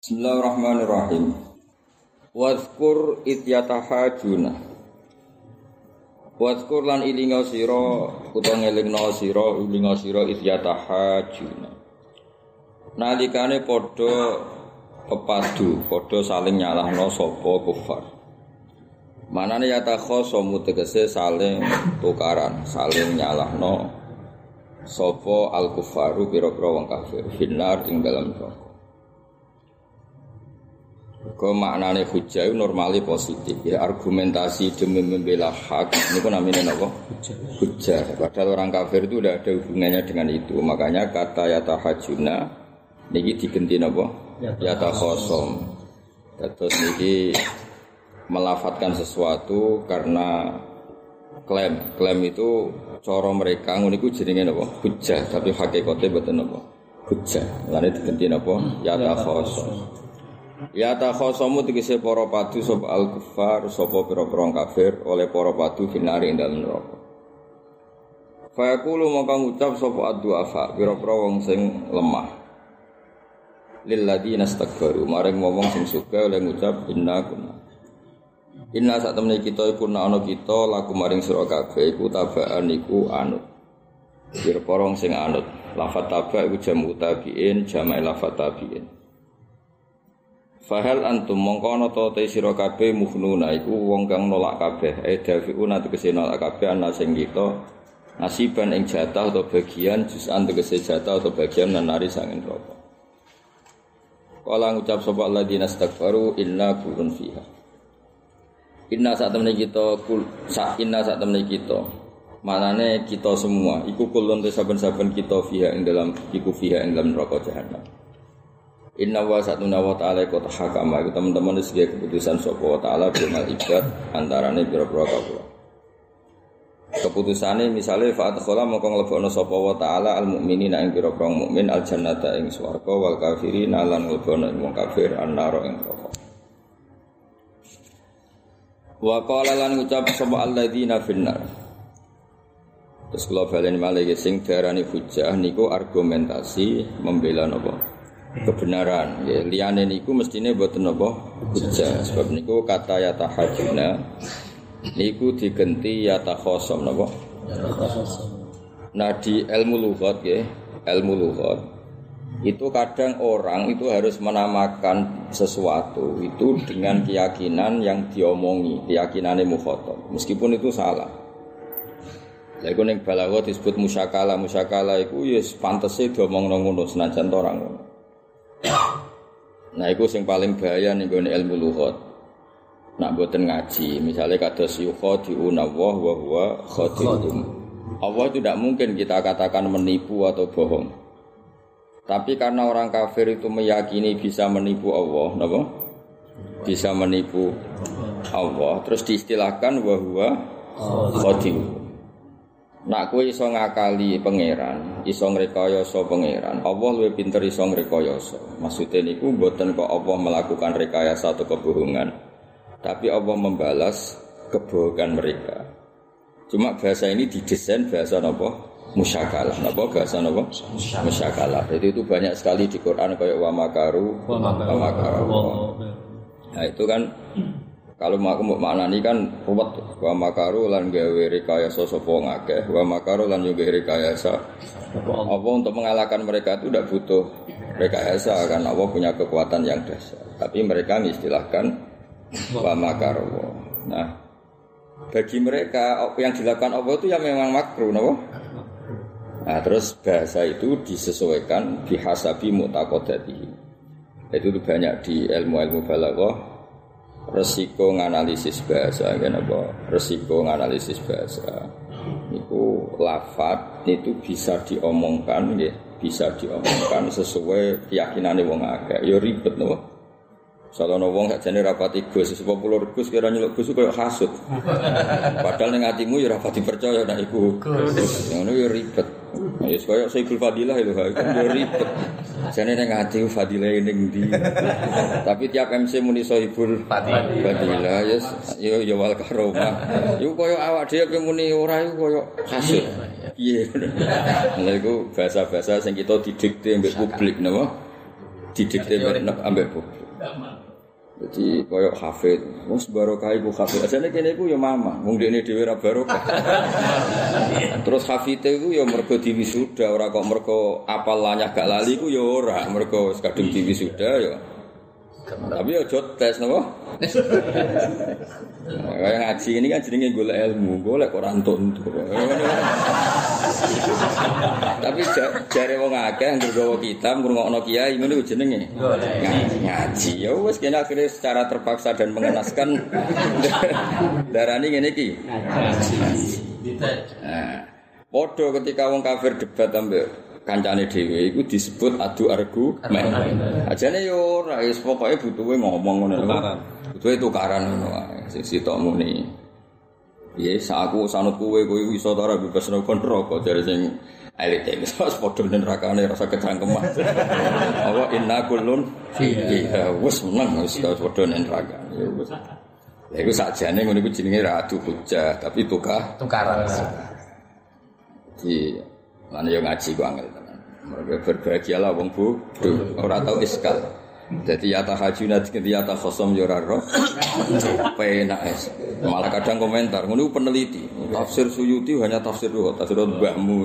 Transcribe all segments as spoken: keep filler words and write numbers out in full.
Bismillahirrahmanirrahim. Wadhkur idyatahajuna. Wadhkur lan ilinga sira utawa ngelingna sira ilinga sira idyatahajuna. Nalikane padha pepadu, padha saling nyalahno sapa kufar. Manane yatakhasamu tegese saling tukaran, saling nyalahno sapa al-kufaru pira-pira wong kafir finnar ing dalam neraka. Kau maknane hujjah itu normali positif ya, argumentasi demi membela hak ini pun namanya apa? Hujjah. Padahal orang kafir itu tidak ada hubungannya dengan itu. Makanya kata yatahajuna niki diganti apa? Yatakhasam. Terus niki melafatkan sesuatu karena klaim. Klaim itu cara mereka ngono iku jenenge apa? Hujjah, tapi hakikate mboten apa? Hujjah. Lane diganti apa? Yatakhasam. Ya takhasamu tegese para padu sapa al-kuffar sapa pira-pira kafir oleh para padu finari ing dalem neraka. Fa yaqulu maka ngucap sapa ad-du'afa pira-pira wong sing lemah. Lil ladina istakbaru maring wong sing suka oleh ngucap inna kunna. Inna sak temene kita iku ana kita laku maring sira kabeh iku tabaan iku anut. Pira-pira wong sing anut. Lafat taba iku jamu tabiin jama'i lafat tabiin. Fahal antum mongkono to te sira kabeh mukhnuna iku wong kang nolak kabeh e dafiuna tegese nolak kabeh ana sing kita nasiban ing jatah atau bagian jusan tegese jatah atau bagian nanari sangin neraka. Kala ngucap sapa alladzina istakbaru inna kulun fiha. Inna sak temene kita kul sak inna sak temene kita. Manane kita semua iku kulun te saben-saben kita fiha ing dalam iku fiha ing dalam neraka jahanam. Inna wa satuna wa ta'ala iku tahakama iku teman-teman wis dia keputusan sapa wa ta'ala bimal ibad antarane pira-pira kawula. Keputusane misale fa adkhala mongko nglebokno sapa wa ta'ala al mukminina ing pira-pira mukmin al jannata ing swarga wal kafirina lan nglebokno ing wong kafir annara ing neraka. Wa qala lan ngucap sapa alladzina finnar. Terus kula balen malih sing diarani hujjah niku argumentasi membela napa? Kebenaran ya liyane niku mestine mboten apa hujjah sebab niku kata yatahajuna niku digenti yatakhasam napa nah di ilmu lughat ya ilmu lughat itu kadang orang itu harus menamakan sesuatu itu dengan keyakinan yang diomongi keyakinane mukhatab meskipun itu salah. Lha iku ning balaghah disebut musyakala musyakala iku ya pantese diomongno ngono senajan to ora ngono. Nah, itu yang paling bahaya nih gone ilmu lughat. Nak mboten ngaji, misalnya kados yukhadi'una wa huwa khadi'uhum. Allah itu tidak mungkin kita katakan menipu atau bohong. Tapi karena orang kafir itu meyakini bisa menipu Allah, napa? Bisa menipu Allah, terus diistilahkan wa huwa khadi'uhum. Nak kowe iso ngakali pangeran, iso ngrekayasa pangeran. Allah luwih pinter iso ngrekayasa. Maksude niku mboten kok Allah melakukan rekayasa atau kebohongan. Tapi Allah membalas kebohongan mereka. Cuma bahasa ini didesain bahasa napa? Musyakalah. Napa bahasa napa? Musyakalah. Jadi itu banyak sekali di Quran kayak wa makaru wa makaru. Nah, itu kan kalau aku mau maknani kan ruwet wa makaru lan gawe rekayasa sapa ngakeh wa makaru lan yo gawe rekayasa apa untuk mengalahkan mereka itu tidak butuh rekayasa karena Allah punya kekuatan yang dahsyat tapi mereka mengistilahkan wa makaru. Nah bagi mereka apa yang dilakukan Allah itu ya memang makruh napa? Nah terus bahasa itu disesuaikan bihasabi mu'taqadatihi. Itu banyak di ilmu-ilmu balaghah. Resiko nganalisis bahasa kan apa resiko nganalisis bahasa itu lafaz itu bisa diomongkan nggih bisa diomongkan sesuai keyakinane wong akeh ya ribet napa salono wong sakjane rapati Gus sepuluh Gus kira nyeluk Gus koyo hasud padahal ning atimu ya rapati percaya nek iku Gus ngono ya ribet ya koyo Sayyidul Fadilah itu ya ribet jane ning ati Fadilah ning ndi tapi tiap M C muni Sayyidul Fadilah ya yo yo wal karomah iku koyo awak dhewe muni ora iku koyo hasud piye lha iku bahasa-bahasa sing kita didikte mbek publik napa didikte ambek bobo. Jadi koyo hafid, wis barokah iku hafid. Asane kene iku ya mama, wong dekne dhewe ra barokah. Terus hafite iku ya mergo diwisuda, ora kok mergo apal lanyah gak lali iku ya ora, mergo wis kadung diwisuda ya. Tapi aja tes napa? Kayak ngaji ini kan jenenge golek ilmu, golek kok ora entuk-entuk. Tapi jare wong akeh anggere gawa kitab ngrungokno kiai ngono ku jenenge ngaji. Ya wis kene akhire secara terpaksa dan mengenaskan darani ngene iki. Nah, padha ketika wong kafir debat ambek kancane dhewe iku disebut adu argumen. Ajane yo ora wis pokoke butuhe ngomong ngono lho. Butuhe tukaran ngono wae. Sing sitok muni. Piye saku sanut kowe kowe iso ta ora bebas neraka jare sing elit iki wis padha nerakane rasa kecangkeman. Apa inna kullun fihi wis meneng wis padha neraka. Ya wis. Lha iku sakjane ngono iku jenenge ra adu hujah tapi tukar tukaran. Di lan yo ngaji ku angel tenan. Mergo berbahagialah wong bodho, ora tau iskal. Dadi ya tahajuna dadi ya takhosam yo ora ro. Penak es. Malah kadang komentar, ngono peneliti. Tafsir Suyuti hanya tafsir kok, tafsir mbahmu.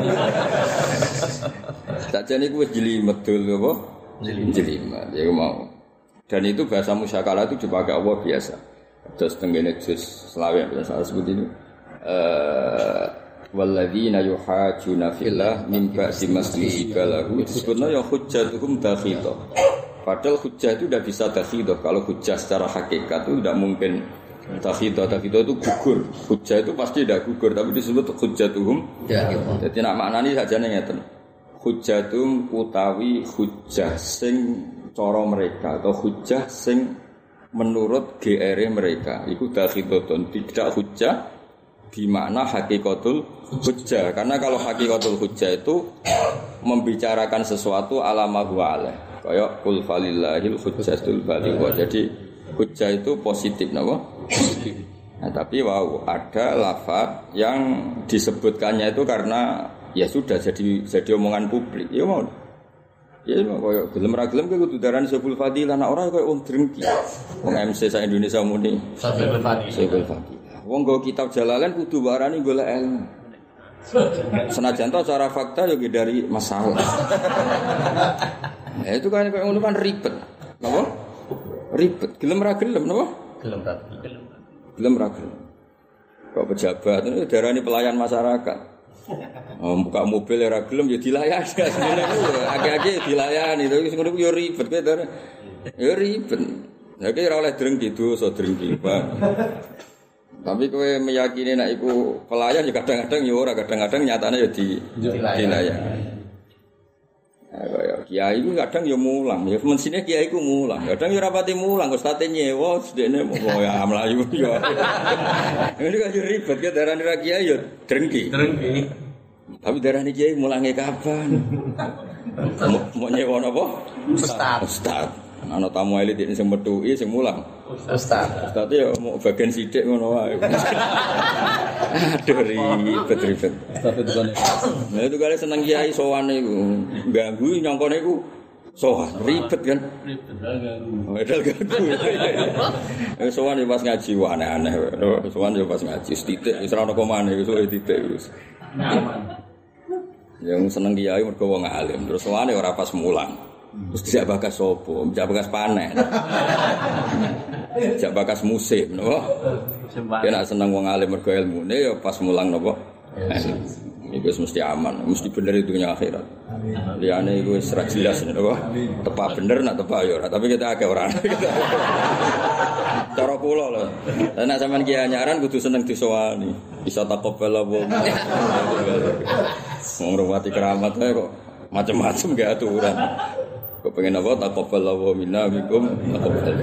Sakjane ku wis jelimet dul apa? Jelimet. Ya mau. Dan itu bahasa musyakalah itu dipakai Allah biasa. Terus tenggene juz selawe biasa sebut ini. Eh walladzina yuhajjuna fillah min ba'di maslihi lahu disebutnya ya hujjatuhum dakhidah. Padahal hujjah itu tidak bisa dakhidah. Kalau hujjah secara hakikat itu tidak mungkin dakhidah. Dakhidah itu gugur. Hujjah itu pasti tidak gugur, tapi disebut hujjatuhum dakhidah. Jadi nak maknani sajane ngeten. Hujjatum utawi hujjah sing cara mereka atau hujjah sing menurut G R mereka. Iku dakhidatun, tidak hujjah di makna hakikatul hujjah. Karena kalau hakikatul hujjah itu membicarakan sesuatu ala ma huwa alaih. Kayak qul falillahil hujjatul baligh. Jadi hujjah itu positif napa? Nah, tapi wow, ada lafaz yang disebutkannya itu karena ya sudah jadi jadi omongan publik. Ya mau. Ya mau koyo gelem ra gelem kudu darani sebul fadilah nek ora koyo wong drengki. Wong M C sa Indonesia muni sebul fadilah. Sebul fadilah. Wong nggo kitab Jalalain kudu warani golek ilmu. Senajan to cara fakta yo dari masalah. Nah, itu kan kayak ngono kan ribet. Napa? Ribet. Gelem ra gelem napa? Gelem ra gelem. Gelem ra gelem. Kok pejabat itu darani pelayan masyarakat. Oh, buka mobil ra gelem ya dilayani. Asline ku age-age dilayani. Terus ngono ku yo ribet kowe darane. Yo ribet. Ya ki ora oleh drengki dosa drengki, Pak. Tapi kowe meyakini nek iku pelayan ya kadang-kadang ya ora, kadang-kadang nyatane ya di dilayani. Nah, kaya kiai ku kadang ya mulang, ya mensine kiai ku mulang. Kadang ya ora pati mulang, ustate nyewa, sedene mau ya mlayu ya. Ini kan ribet ya darane ra kiai ya drengki. Drengki. Tapi darane kiai mulange kapan? Mau nyewa napa? Ustaz. Ustaz. Ana tamu elit iki sing metuki sing mulang. Ustaz. Ustaz ya mau bagian sithik ngono wae. Aduh ribet ribet. Ustaz itu kan. Nah itu kali seneng kiai sowan iku. Ganggu nyongkone iku sowan ribet kan. Ribet ganggu. Wedal ganggu. Eh sowan yo pas ngaji aneh-aneh. Sowan yo pas ngaji sithik wis ora ono komane wis titik wis. Yang seneng kiai mergo wong alim. Terus sowan ora pas mulang. Terus tidak bakas sopo, tidak bakas panen, tidak bakas musim, no? Dia nak senang wong alim mergo ilmu, ne ya pas mulang nopo, itu mesti aman, mesti bener itu nya akhirat. Liane itu serak jelas, no? Tepat bener nak tepat ya, tapi kita agak orang. Cara kula lho. Lah nek sampean kiai nyaran kudu seneng disowani. Bisa takobal apa. Wong rumati keramat ae kok macam-macam gak aturan. Kok pengen apa takobal minna bikum takobal.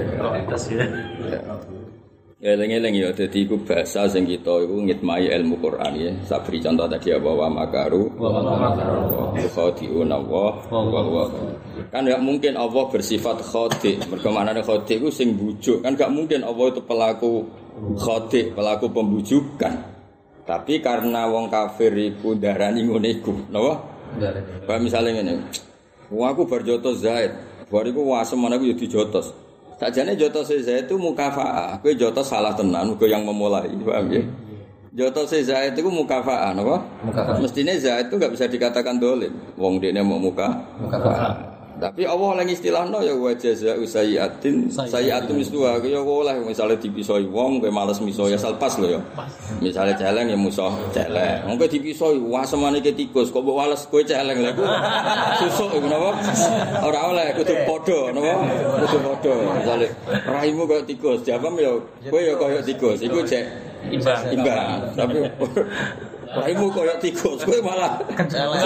Ya eling-eling ya dadi iku bahasa sing kita iku ngitmai ilmu Quran ya. Sabri contoh tadi apa wa makaru wa makaru khadi'una wa wa. Kan enggak mungkin Allah bersifat khadi'. Mergo maknane khadi' iku sing bujuk. Kan enggak mungkin Allah itu pelaku khadi', pelaku pembujukan. Tapi karena wong kafir iku darani ngene iku, napa? Darani. Pak misale ngene. Wong aku barjoto Zaid, Bariku wasem ana ku yo dijotos. Sakjane jotos Zaid itu mukafaah. Kowe jotos salah tenan, muga yang memulai, paham ya? Jotos Zaid itu mukafaah, napa? Mukafaah. Mestine Zaid itu enggak bisa dikatakan dolim. Wong dekne mau muka mukafaah. Tapi Allah lagi istilahno ya wa jazaa'u sayyi'atin sayyi'atun misluha ya oleh misale dipisoi wong kowe males miso ya salpas lho ya. Misale celeng ya musuh celeng. Wong kowe dipisoi wasemane ke tikus kok mbok wales kowe celeng lha iku susuk iku napa? Ora oleh kudu padha napa? Kudu padha. Misale raimu koyo tikus, jawab ya kowe ya koyo tikus. Iku cek imbang. Imbang. Tapi raimu koyo tikus, kowe malah celeng.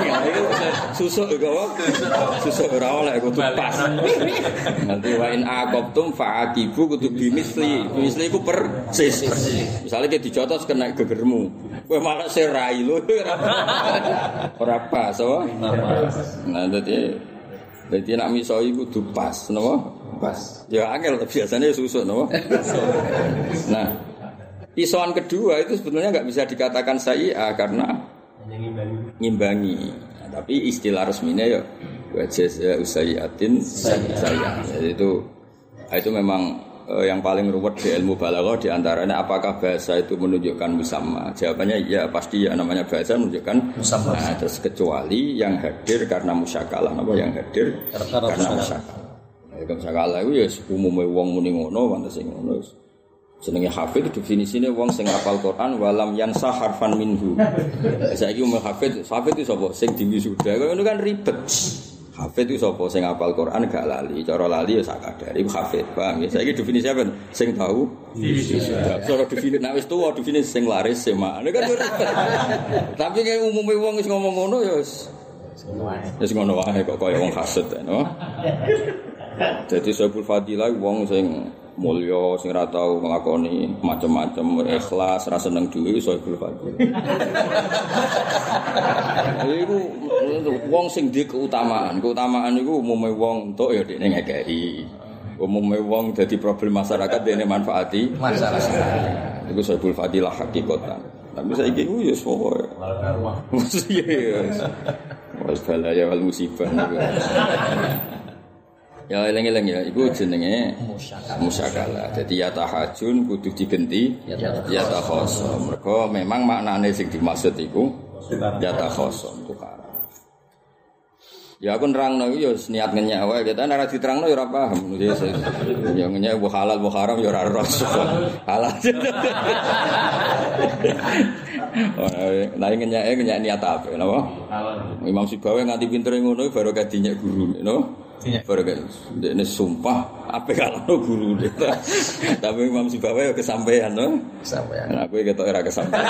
Susuk iku wae. Susuk ora oleh kudu pas. Nanti wa in aqabtum fa'aqibu kudu bimisli. Bimisli iku persis. Misale ki dijotos kena gegermu. Kowe malah serai lho ora pas apa? Nah dadi dadi nek miso iku kudu pas, napa? Pas. Ya angel biasanya susuk napa? Nah, pisauan kedua itu sebetulnya enggak bisa dikatakan sayyi'ah karena ngimbangi. Nah, tapi istilah resminya ya wajah usayyatin sayyi'ah. Jadi itu itu memang eh, yang paling ruwet di ilmu balaghah di antaranya apakah bahasa itu menunjukkan musamma. Jawabannya ya pasti ya namanya bahasa menunjukkan musamma. Nah, terus kecuali yang hadir karena musyakalah, apa yang hadir karena, karena musyakalah. Ya musyakalah itu ya umume wong muni ngono pantes sing ngono. Jenenge hafid definisine wong sing hafal Quran walam yansa harfan minhu. Saiki umum hafid, hafid itu sapa? Sing diwisuda. Kok ngono kan ribet. Hafid itu sapa? Sing hafal Quran gak lali. Cara lali ya sakadare iku hafid. Paham ya? Saiki definisi apa? Sing tahu wisuda. Cara definisi nek wis tuwa definisi sing laris sema. Ini kan ribet. Tapi kayak umume wong wis ngomong ngono ya wis wis ngono wae kok kaya wong hasud no. Jadi Saiful Fadilah wong sing mulya sing ora tau nglakoni macam-macam ikhlas ra seneng duwe iso Saiful Fadilah. Iku wong sing duwe keutamaan. Keutamaan iku umume wong entuk ya dekne ngekeki. Umume wong dadi problem masyarakat dekne manfaati masyarakat. Iku Saiful Fadilah hakikatan. Tapi saiki ku ya pokoke. Iya. Wis balaya wal musibah niku. Ya eling-eling ya, iku jenenge musyakalah. Jadi ya tahajun kudu digenti ya takhasum. Mergo memang maknane sing dimaksud iku ya takhasum tukaran. Ya aku nerangno iku ya niat ngenyek wae, kita nek diterangno ya ora paham. Ya ngenyek bu halal bu haram ya ora ros. Halal. Lah ngenyek ngenyek niat apa napa? Imam Sibawi nganti pintere ngono baru kadinyek guru, no? Baru ini sumpah apa kalau guru dia tapi Imam Sibawi ya kesampaian no? Kesampaian nah, aku ketok era kesampaian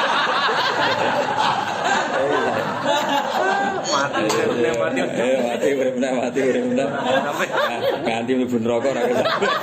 mati mati mati benar mati benar ganti mlebu neraka ora kesampaian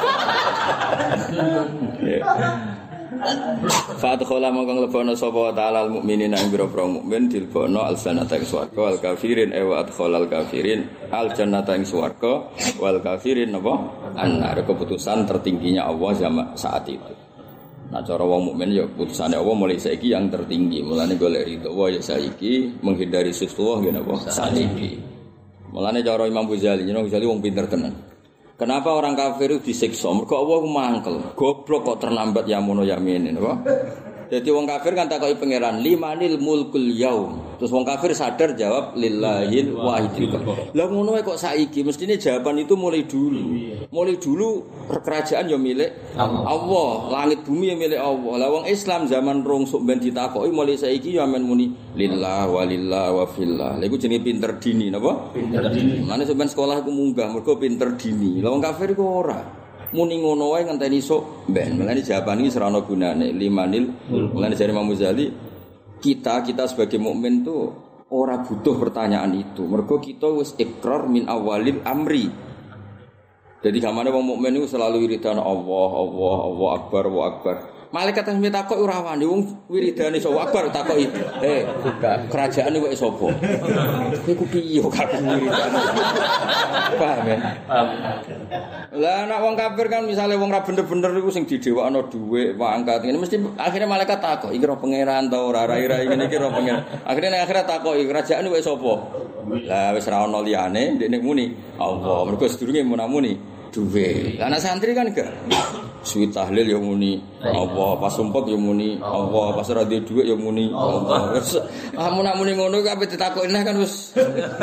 Fadkhala mongkong lebono sapa ta'ala al-mukminina ing boro-boro mukmin dilbono al-jannata ing swarga wal kafirin ewa adkhalal kafirin al-jannata ing swarga wal kafirin napa annar keputusan tertingginya Allah zaman saat itu. Nah cara wong mukmin ya keputusane Allah mulai saiki yang tertinggi. Mulane golek ridho wa ya saiki menghindari sifat ngene apa saat iki. Mulane cara Imam Ghazali, Imam Ghazali wong pinter tenan. Kenapa orang kafir itu disiksa? Mergo Allah mangkel. Goblok kok terlambat ya mono yamin napa? Jadi wong kafir kan takoki pangeran, limanil mulkul yaum. Terus wong kafir sadar jawab lillahil wahidil qahhar. Lah ngono kok saiki mestine jawaban itu mulai dulu. Mulai dulu kerajaan ya milik Allah, langit bumi ya milik Allah. Lah wong Islam zaman rungsuk ben ditakoki mulai saiki ya men muni lillah walillah wa fillah. Lha iku jenenge pinter dini napa? Pinter dini. Mane sampean sekolah iku munggah mergo pinter dini. Lah wong kafir iku ora. Muni ngono wae ngenteni sok ben. Mulane jawaban iki serana gunane limanil. Mulane jare Imam Ghazali kita kita sebagai mukmin tuh ora butuh pertanyaan itu. Mergo kita wis ikrar min awalil amri. Jadi gamane wong mukmin iku selalu wiridan Allah, Allah, Allah akbar, Allah akbar. malaikat sing takok ora wani wong wiridane iso wabar takoki. Eh, kerajaan iki sapa? Iku piye kok wiridane. Paham ya? Lah nek wong kafir kan misale wong ra bener-bener iku sing didhewakno dhuwit, pangkat ngene mesti akhirnya malaikat takok iki ro pangeran ta ora rai-rai ngene iki ro pangeran. Akhirnya nek akhirat takoki kerajaan iki sapa? Lah wis ra ono liyane ndekne muni Allah. Mergo sedurunge muni duwe. Lah anak santri kan enggak. Suwi tahlil ya muni Allah, pas sumpek ya muni Allah, pas ora duwe dhuwit ya muni Allah. Ah mun muni ngono kabeh ditakoki kan wis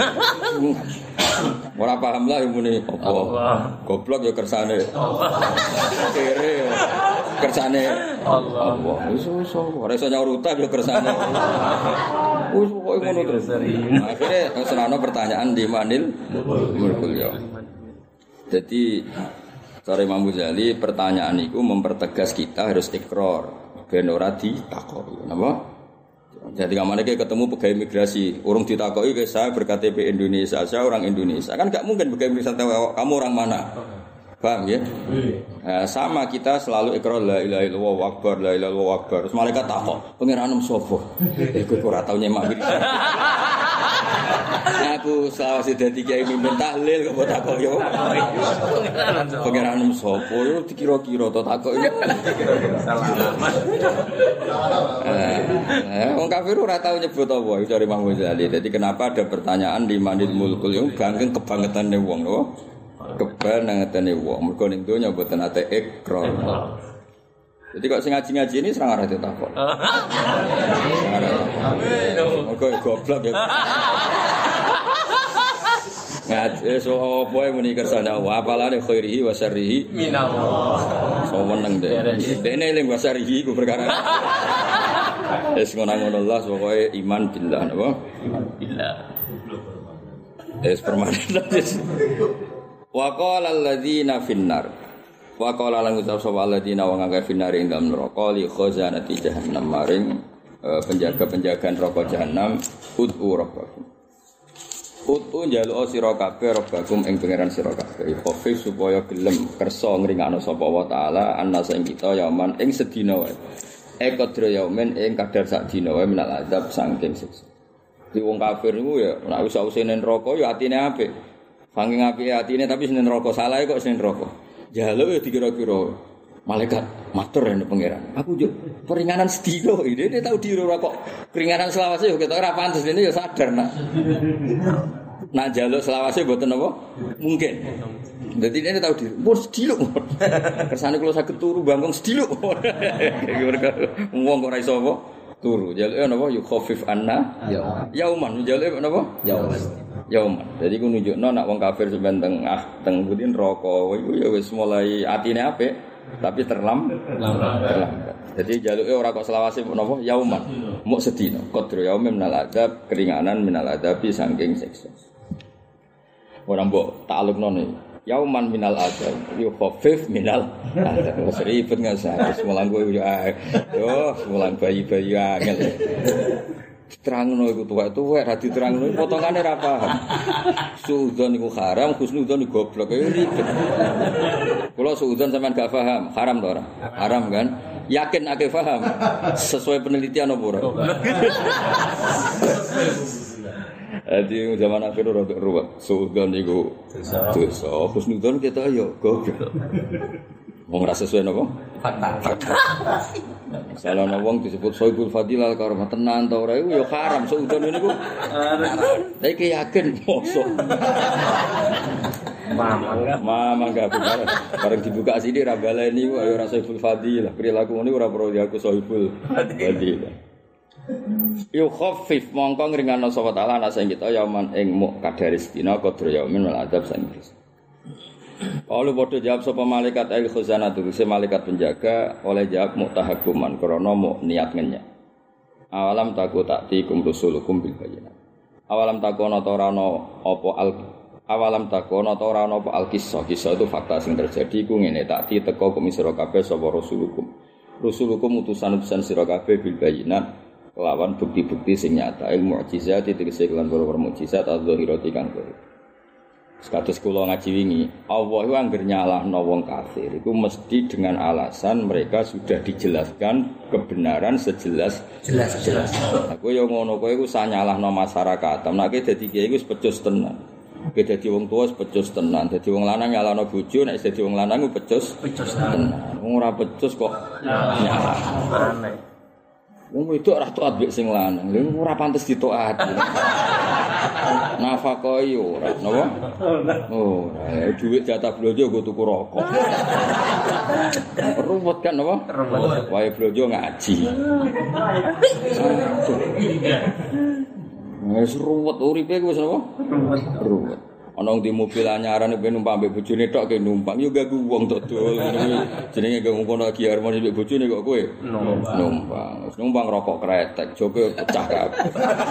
ora paham lah ya muni Allah. Goblok ya kersane Allah. Kere kersane Allah. Wis wis ora iso nyaur utang ya kersane. Wis kok ngono terus. Akhire serana pertanyaan di manil mulkul ya. Jadi cara Imam Ghazali pertanyaan itu mempertegas kita harus ikrar ben ora ditakoki. Napa? Jadi kamane ketemu pegawai imigrasi, urung ditakoki ke saya ber K T P Indonesia, saya orang Indonesia. Kan enggak mungkin pegawai imigrasi kamu orang mana? Paham ya? Nah, sama kita selalu ikrar la ilaha illallah wa akbar, la ilaha illallah wa akbar. Terus malaikat takok, pangeranmu sapa? Iku ora tau nyemak iki. Aku selawase dadi kiai mimpin tahlil kok takok yo. Pangeranmu sapa yo dikira-kira to takok iki. Salaman. Eh, wong kafir ora tau nyebut apa iki dari Imam Ghazali. Jadi kenapa ada pertanyaan di manil mulkul yo gangeng kebangetane wong lho. Kebangetane wong mergo ning donya mboten ate ikrar. Jadi kok sing ngaji-ngaji ini serang arah ditakok. Mergo goblok ya. Ngaji so apa muni kersane wa apalane khairihi wa syarrihi minallah. So meneng deh. Dene eling wa syarrihi ku perkara. Wis ngono-ngono Allah pokoke iman billah napa? Billah. Es permanen. Wa qala alladziina finnar. Wa qala lan ucap sapa alladziina wa ngangge finnar ing dalem neraka li khazanati jahannam maring penjaga-penjagaan neraka jahanam ud'u rabbakum. Ud'u njaluk sira kabeh rabbakum ing pangeran sira kabeh. Khafif supaya gelem kersa ngringakno sapa wa taala annas ing kita yaman ing sedina wae. Ekadra yaumen ing kadar sak dina wae minal azab saking siksa. Di wong kafir niku ya nek wis usine neraka ya atine apik. Saking apike atine tapi senen neraka salah kok senen neraka. Jaluk ya dikira-kira malaikat matur nek pangeran. Aku yo peringanan sedina iki dia tau diro kok keringanan selawase yo ketok ora pantes dene yo sadar nak. Nak jaluk selawase mboten apa? Mungkin. Dadi dene tau diro. Pun sediluk. Kersane kula saged turu bangkong sediluk. Wong kok ora iso apa? Turu. Jaluke napa yu khafif anna yauman. Jaluke napa? Yauman. Yauman. Jadi ku nunjukno nek wong kafir sampeyan tengah teng pundi neraka iku ya wis mulai atine apik tapi terlam terlambat. Jadi jaluke ora kok selawase napa yauman. Muk sedina. Qadru yaumin minal adab keringanan minal adabi saking siksa. Ora mbok taklukno ne. Yauman minal adab yu khafif minal adab. Wis ribet ngasah. Semulang kowe yo yo semulang bayi-bayi angel. Diterangno iku tuwek-tuwek ra diterangno potongane ra paham. Suudzon iku haram, husnudzon iku goblok ya ribet. Kula suudzon sampean gak paham, haram to ora? Haram kan? Yakin akeh paham. Sesuai penelitian apa ora? Adi zaman akhir ora ruwet. Suudzon iku dosa. Husnudzon kita yo goblok. Wong ra sesuai napa? Fakta. Salah wong disebut Soibul Fadilah karo tenan ta ora iku ya haram seudon niku. Lah iki yakin mosok. Mamang enggak? Mamang enggak benar. Bareng dibuka sini ra baleni kok ya ora Soibul Fadilah. Perilaku ngene ora perlu diaku Soibul Fadilah. Yo khafif mongko ngringano sapa taala ana sing kita yaman ing muk kadare sedina qadra yaumin wal adab sanis. Kalau bodoh jawab sapa malaikat al khazanah itu se malaikat penjaga oleh jawab mutahakuman krana mu niat ngenyek. Awalam taku taktikum rusulukum bil bayyinat. Awalam takono ta ora ana apa al awalam takono ta ora ana apa al kisah. Kisah itu fakta sing terjadi ku ngene takti teko kum sira kabeh sapa rusulukum. Rusulukum utusan-utusan sira kabeh bil bayyinat lawan bukti-bukti sing nyata il mukjizat tegese kelan para mukjizat adzahirati kang Kados kula ngaji wingi, Allah iku anggere nyalahno wong kafir iku mesti dengan alasan mereka sudah dijelaskan kebenaran sejelas jelas-jelas. Aku yo ngono kowe iku sanyalahno masyarakat. Nek dadi kiai iku pecus tenan. Kowe dadi wong tuwa pecus tenan, dadi wong lanang nyalahno bojo, nek dadi wong lanang iku pecus pecus tenan. Wong ora pecus kok nyalah. Aneh. Wong wedok ora taat mbek sing lanang, lha ora pantes ditaati. Nafkah yo ora, napa? Oh, ora. Dhuwit jatah blonjo nggo tuku rokok. Ruwet kan napa? Ruwet. Wae blonjo ngaji. Wis ruwet uripe wis napa? Ruwet. Ruwet. Ana di mobil anyaran ben numpak mbek bojone tok ke numpang yo ganggu wong tok dol. Jenenge ganggu kono lagi harmoni mbek bojone kok kowe. Numpang. Numpang. Wis numpang rokok kretek, joge pecah kabeh.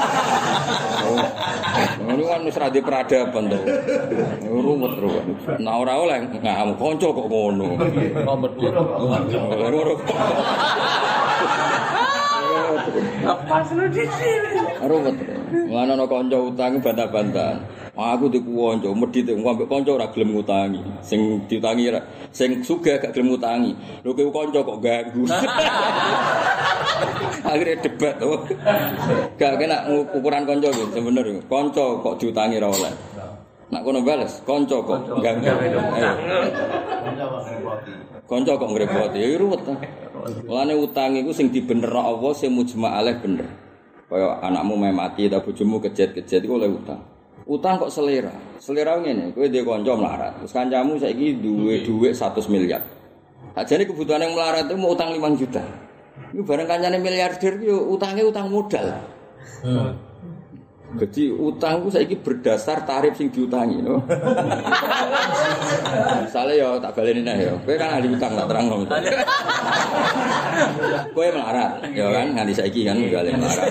Ngono kan wis ra di peradaban to. Ruwet ruwet. Nah ora oleh ngamuk kanca kok ngono. Kompet. Apa sih di sini? Ruwet. Ngono ana kanca utang bantah-bantahan. Aku diku kanca medhit wong ambek kanca ora gelem ngutangi. Sing diutangi ora sing sugih gak gelem ngutangi. Lho kowe kanca kok ganggu. Akhirnya debat to. Gak kena ukuran kanca iki sebenarnya. Kanca kok diutangi ora oleh. Nak kono bales, kanca kok ganggu. Kanca kok ngrepoti. Ya ruwet ta. Mulane utang iku sing dibenerno Allah sing mujma' alaih bener. Kaya anakmu meh mati ta bojomu kejet-kejet iku oleh utang. Utang kok selera. Selera ngene, kowe duwe kanca melarat. Terus kancamu saiki duwe dhuwit seratus miliar. Ajane kebutuhan yang melarat itu mau utang lima juta. Iku bareng kancane miliarder yo utange utang modal. Hmm. Jadi utang ku saiki berdasar tarif sing diutangi, no. Misale yo tak baleni neh yo. Kowe kan ahli utang tak terangno. Kowe melarat, yo kan nganti saiki kan baleni melarat.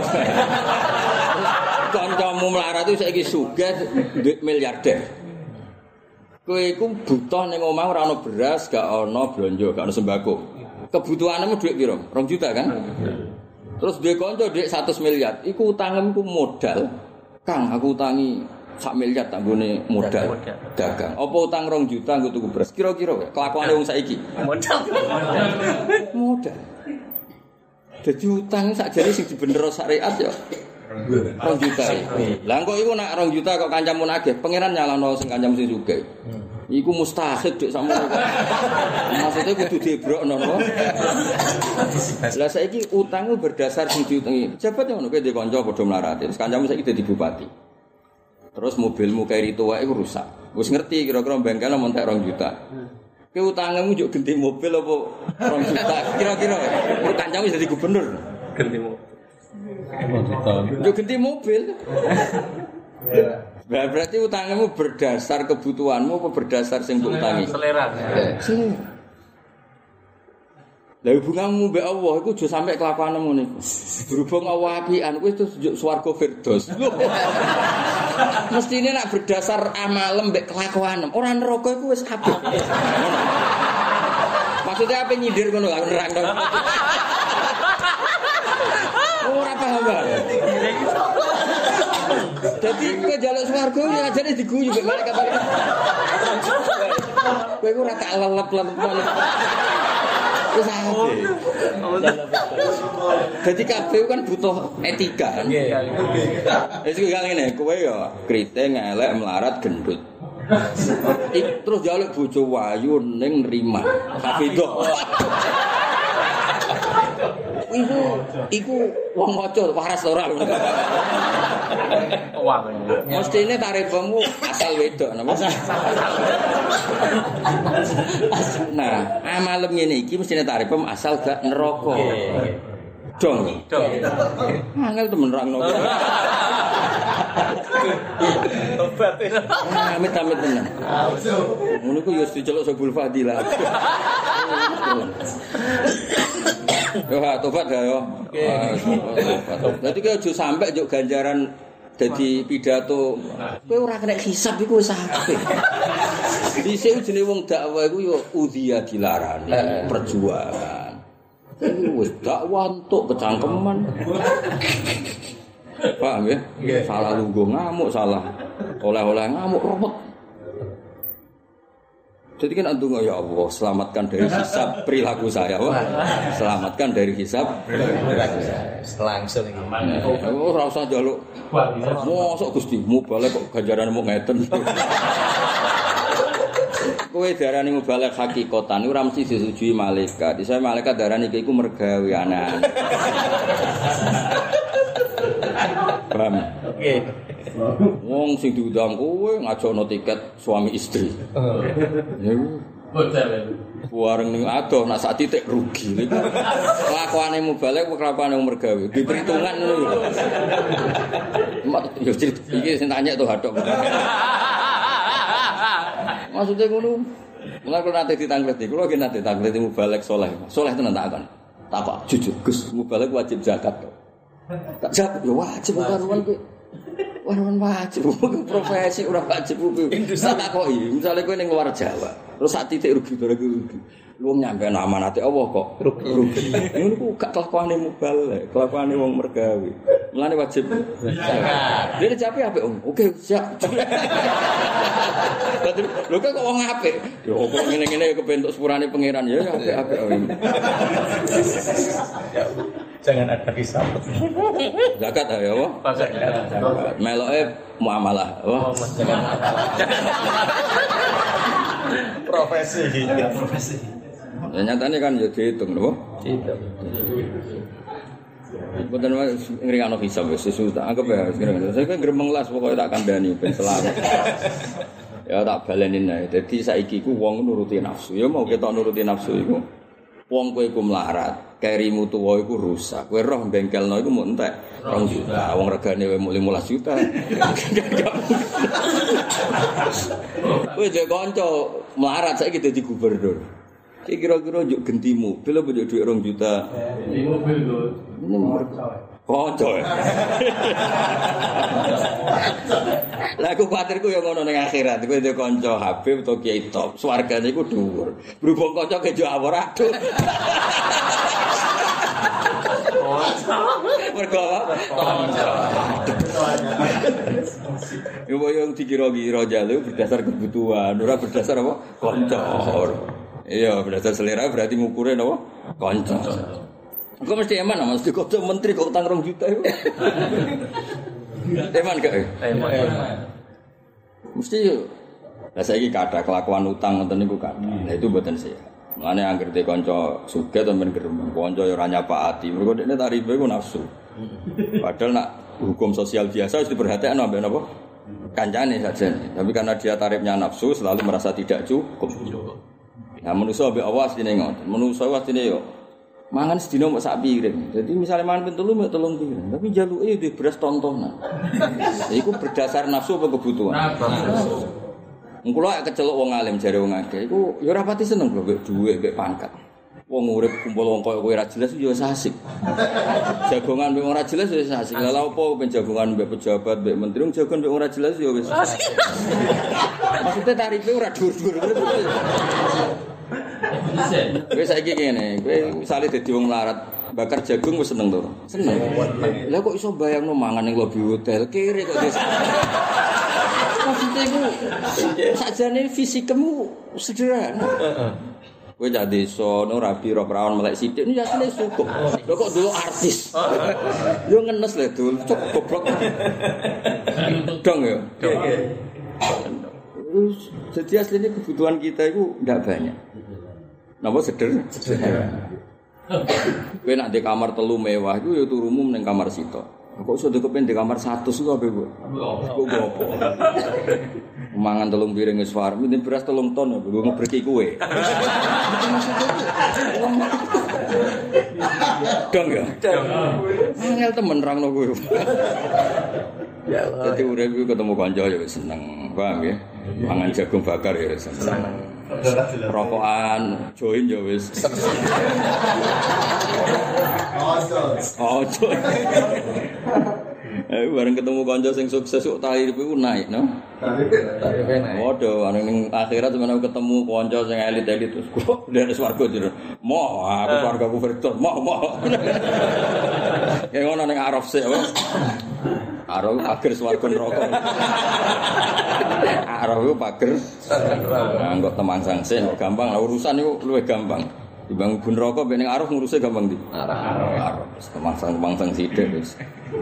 Kancamu melarat itu saiki sugih duit miliarder. Kowe iku butuh ning omah ora ana beras, gak ana blonjo, gak ana sembako. Kebutuhanmu duit piro? dua juta kan? Terus duwe kanca duit seratus miliar, iku utangmu modal. Kang, aku utangi sak miliar tak nggone modal dagang. Apa utang dua juta nggo tuku beras? Kira-kira kelakuane wong saiki. Modal. Modal. Dadi utang sakjane sing dibenerno syariat ya dua juta. Lah kok iku nak dua juta kok kancamu nagih, pangeran nyalano sing kancamu sing sugih. Iku mustahil dik sakmono. Maksudnya kudu dibrokno no. Lah saiki utangmu berdasar sing diutangi. Pejabat ngono kowe ndek kanca padha mlarat. Terus kancamu saiki dadi bupati. Terus mobilmu keri tuwa iku rusak. Wis ngerti kira-kira bengkel montek dua juta. Kowe utangmu njuk ganti mobil apa dua juta? Kira-kira kancamu jadi gubernur. Ganti mobil. Yo ganti mobil. Nah, berarti utangmu berdasar kebutuhanmu apa berdasar sing mbok utangi? Selera. Selera. Lah hubunganmu mbek Allah iku aja sampe kelakuanmu niku. Berhubung Allah apian kuwi terus swarga firdaus. Mestine nek berdasar amal mbek kelakuan, ora neraka iku wis apik. Maksudnya apa nyindir ngono lho nerangno. Ora paham banget. Jadi kowe njaluk swarga ya ajane diguyu mek malaikat. Kowe ora tak lelep-lelep. Wis ate. Dadi kabeh kan butuh etika kan. Wis kok ngene, kowe ya kriting elek melarat gendut. Terus njaluk bojo wayu ning nrima. Hafidho. Iku iku wong maca waras ora lho. Wah. Mestine tarifmu asal wedok napa? Nah, amalem ngene iki mestine tarifmu asal gak neraka. Dong. Dong. Angel temen rangno. Tobat. Amit-amit tenan. Ngono ku yo diceluk Sobul Fadilah. Yo ha tobat ya yo. Dadi kowe aja sampe njuk ganjaran dadi pidato. Kowe ora kena hisab iku wis apik. Dhisik jenenge wong dakwah iku yo udhiya dilarani, perjuangan. Iku wis dakwah entuk kecangkeman. Paham ya? Salah lungguh ngamuk, salah oleh-oleh ngamuk repot. Jadi kan antung ya Allah, selamatkan dari hisab perilaku saya, wah. Selamatkan dari hisab perilaku saya. Langsung iki. Oh, ora usah njaluk. Mosok Gusti, mubalek kok ganjarane mung ngeten. Kowe darani mubalek hakikatan iku ora mesti disetujui malaikat. Dise malaikat darani iki iku mergawe anak. Paham? Oke. Wong sing diundang kowe ngajakno tiket suami istri. Ya. Hotel. Wareng ning adoh nak sak titik rugi. Iku kelakuane mubalek kok kelakuane wong mergawe. Di perhitungan ngono lho. Mak yo cerita iki sing tanya tuh hadok. Maksudnya ngono. Mulai kalau nanti ditangleti, kalau lagi nanti ditangleti mubalek soleh, soleh tenan tak akan. Tak apa, jujur, Gus, mubalek wajib zakat. Tak jawab, ya wajib karuan kowe. Waruan wajib, profesi ora wajib kuwi. Tak takoki, misale kowe ning luar Jawa, terus sak titik rugi barang rugi. Lu nyampe amanate Allah kok rugi. Rugi. Ngono ku gak kelakuane mubalek, kelakuane wong mergawe. Mulane wajib zakat. Dene jape apik om. Oke, siap. Lho kok wong apik. Ya kok ngene-ngene kebentuk sepurane pangeran ya apik-apik. Jangan ada hisab. Zakat ya apa? Zakat. Meloke muamalah. Wah, Profesi. Profesi. Ya nyatane kan ya dihitung lho. Dihitung. Mboten ngrikano hisab wis susah. Anggap ya ngrikano. Saya kan gremeng las pokoke tak kandhani ben selamat. Ya tak balenin ae. Dadi saiki ku wong nuruti nafsu. Ya mau ketok nuruti nafsu iku. Wong kowe iku melarat, kerimu tuwa iku rusak. Kowe roh bengkelno iku mung entek rong juta. Wong regane wae mung lima belas juta. Kowe dhek kanca melarat saiki dadi gubernur. Iki kira-kira njuk genti mobil apa njuk dhuwit rong juta? Di mobil lho. Kanca. Lah aku kuwatirku ya ngono ning akhirat. Kowe ndek kanca Habib utawa Kiai top, swargane iku dhuwur. Berhubung kanca kejo awor aduh. Mergo apa? Kanca. Yo yang dikira-kira jalu berdasar kebutuhan, ora berdasar apa? Kanca. Iya, berdasar selera berarti ngukurnya apa? Kanca. Kok mesti eman Mas di kota menteri kok utang rong juta itu. Eman gak? Eman. Mesti yo. Lah saiki kathah kelakuan utang ngoten niku kathah. Lah itu mboten sehat. Mulane anggere te kanca sugih sampean gremeng, kanca yo ora nyapakati. Mergo dekne tarife ku nafsu. Padahal nak hukum sosial biasa wis diperhatikan ambek napa? Kancane saja. Tapi karena dia tarifnya nafsu selalu merasa tidak cukup. Nah manusa ambek awas dene ngoten. Manusa awas dene yo mangan sedina mok sak piring. Jadi misalnya mangan ping telu mek telung piring, tapi jaluke di beras tontonan. Iku berdasar nafsu apa kebutuhan? Nafsu. Engko lek kecelok wong alim jare wong akeh iku ya ora pati seneng kok mbek dhuwit mbek pangkat. Wong urip kumpul wong koyo kowe ora jelas yo asik. Jagongan mbek ora jelas yo asik. Lah opo ben jagongan mbek pejabat mbek menteri wong jagongan mbek ora jelas yo wis asik. Maksudnya tarife ora dhuwur-dhuwur. Wis saiki ngene, kowe misale dadi wong larat, bakar jagung wis seneng to? Seneng. Lah kok iso bayangno mangan ning lobi hotel, kere kok wis. Maksudnya iku sakjane fisikmu sederhana. Heeh. Kowe jak desa no rabi ro prawan melek sithik niku asline cukup. Lho kok dulu artis. Yo ngenes lho dul, cuk goblok. Dong ya. Jadi aslinya kebutuhan kita itu tidak banyak. Napa seder? Sederhana. Kowe nak di kamar telu mewah iku ya turumu ning kamar sitok. Kok iso dikepen di kamar seratus iku ape, Bu? Kok gopo. Mangan telung piring wis war, mending beras telung ton ya, gue ngebreki kowe. Dong ya? Dong. Angel temen rangno kowe. Ya Allah. Dadi urip iku ketemu kanca ya wis seneng, paham ya? Mangan jagung bakar ya wis seneng. Rokokan join ya wis. Oh, oh. Eh bareng ketemu kanca sing sukses kok tarif iku naik, no? Tarif naik. Waduh, ning akhirat sampeyan ketemu kanca sing elit-elit terus kok dari swarga jero. Mo, aku swargaku Firdaus, mo, mo. Kayak ngono ning Arab sik apa? Araf pager swarga neraka. Araf iku pager neraka. Engko temang sangsih gampang lah urusan iku luwih gampang. Dibang bun neraka ben ning araf nguruse gampang ndi? Araf. Araf wis temang sang-temang sang sithik wis.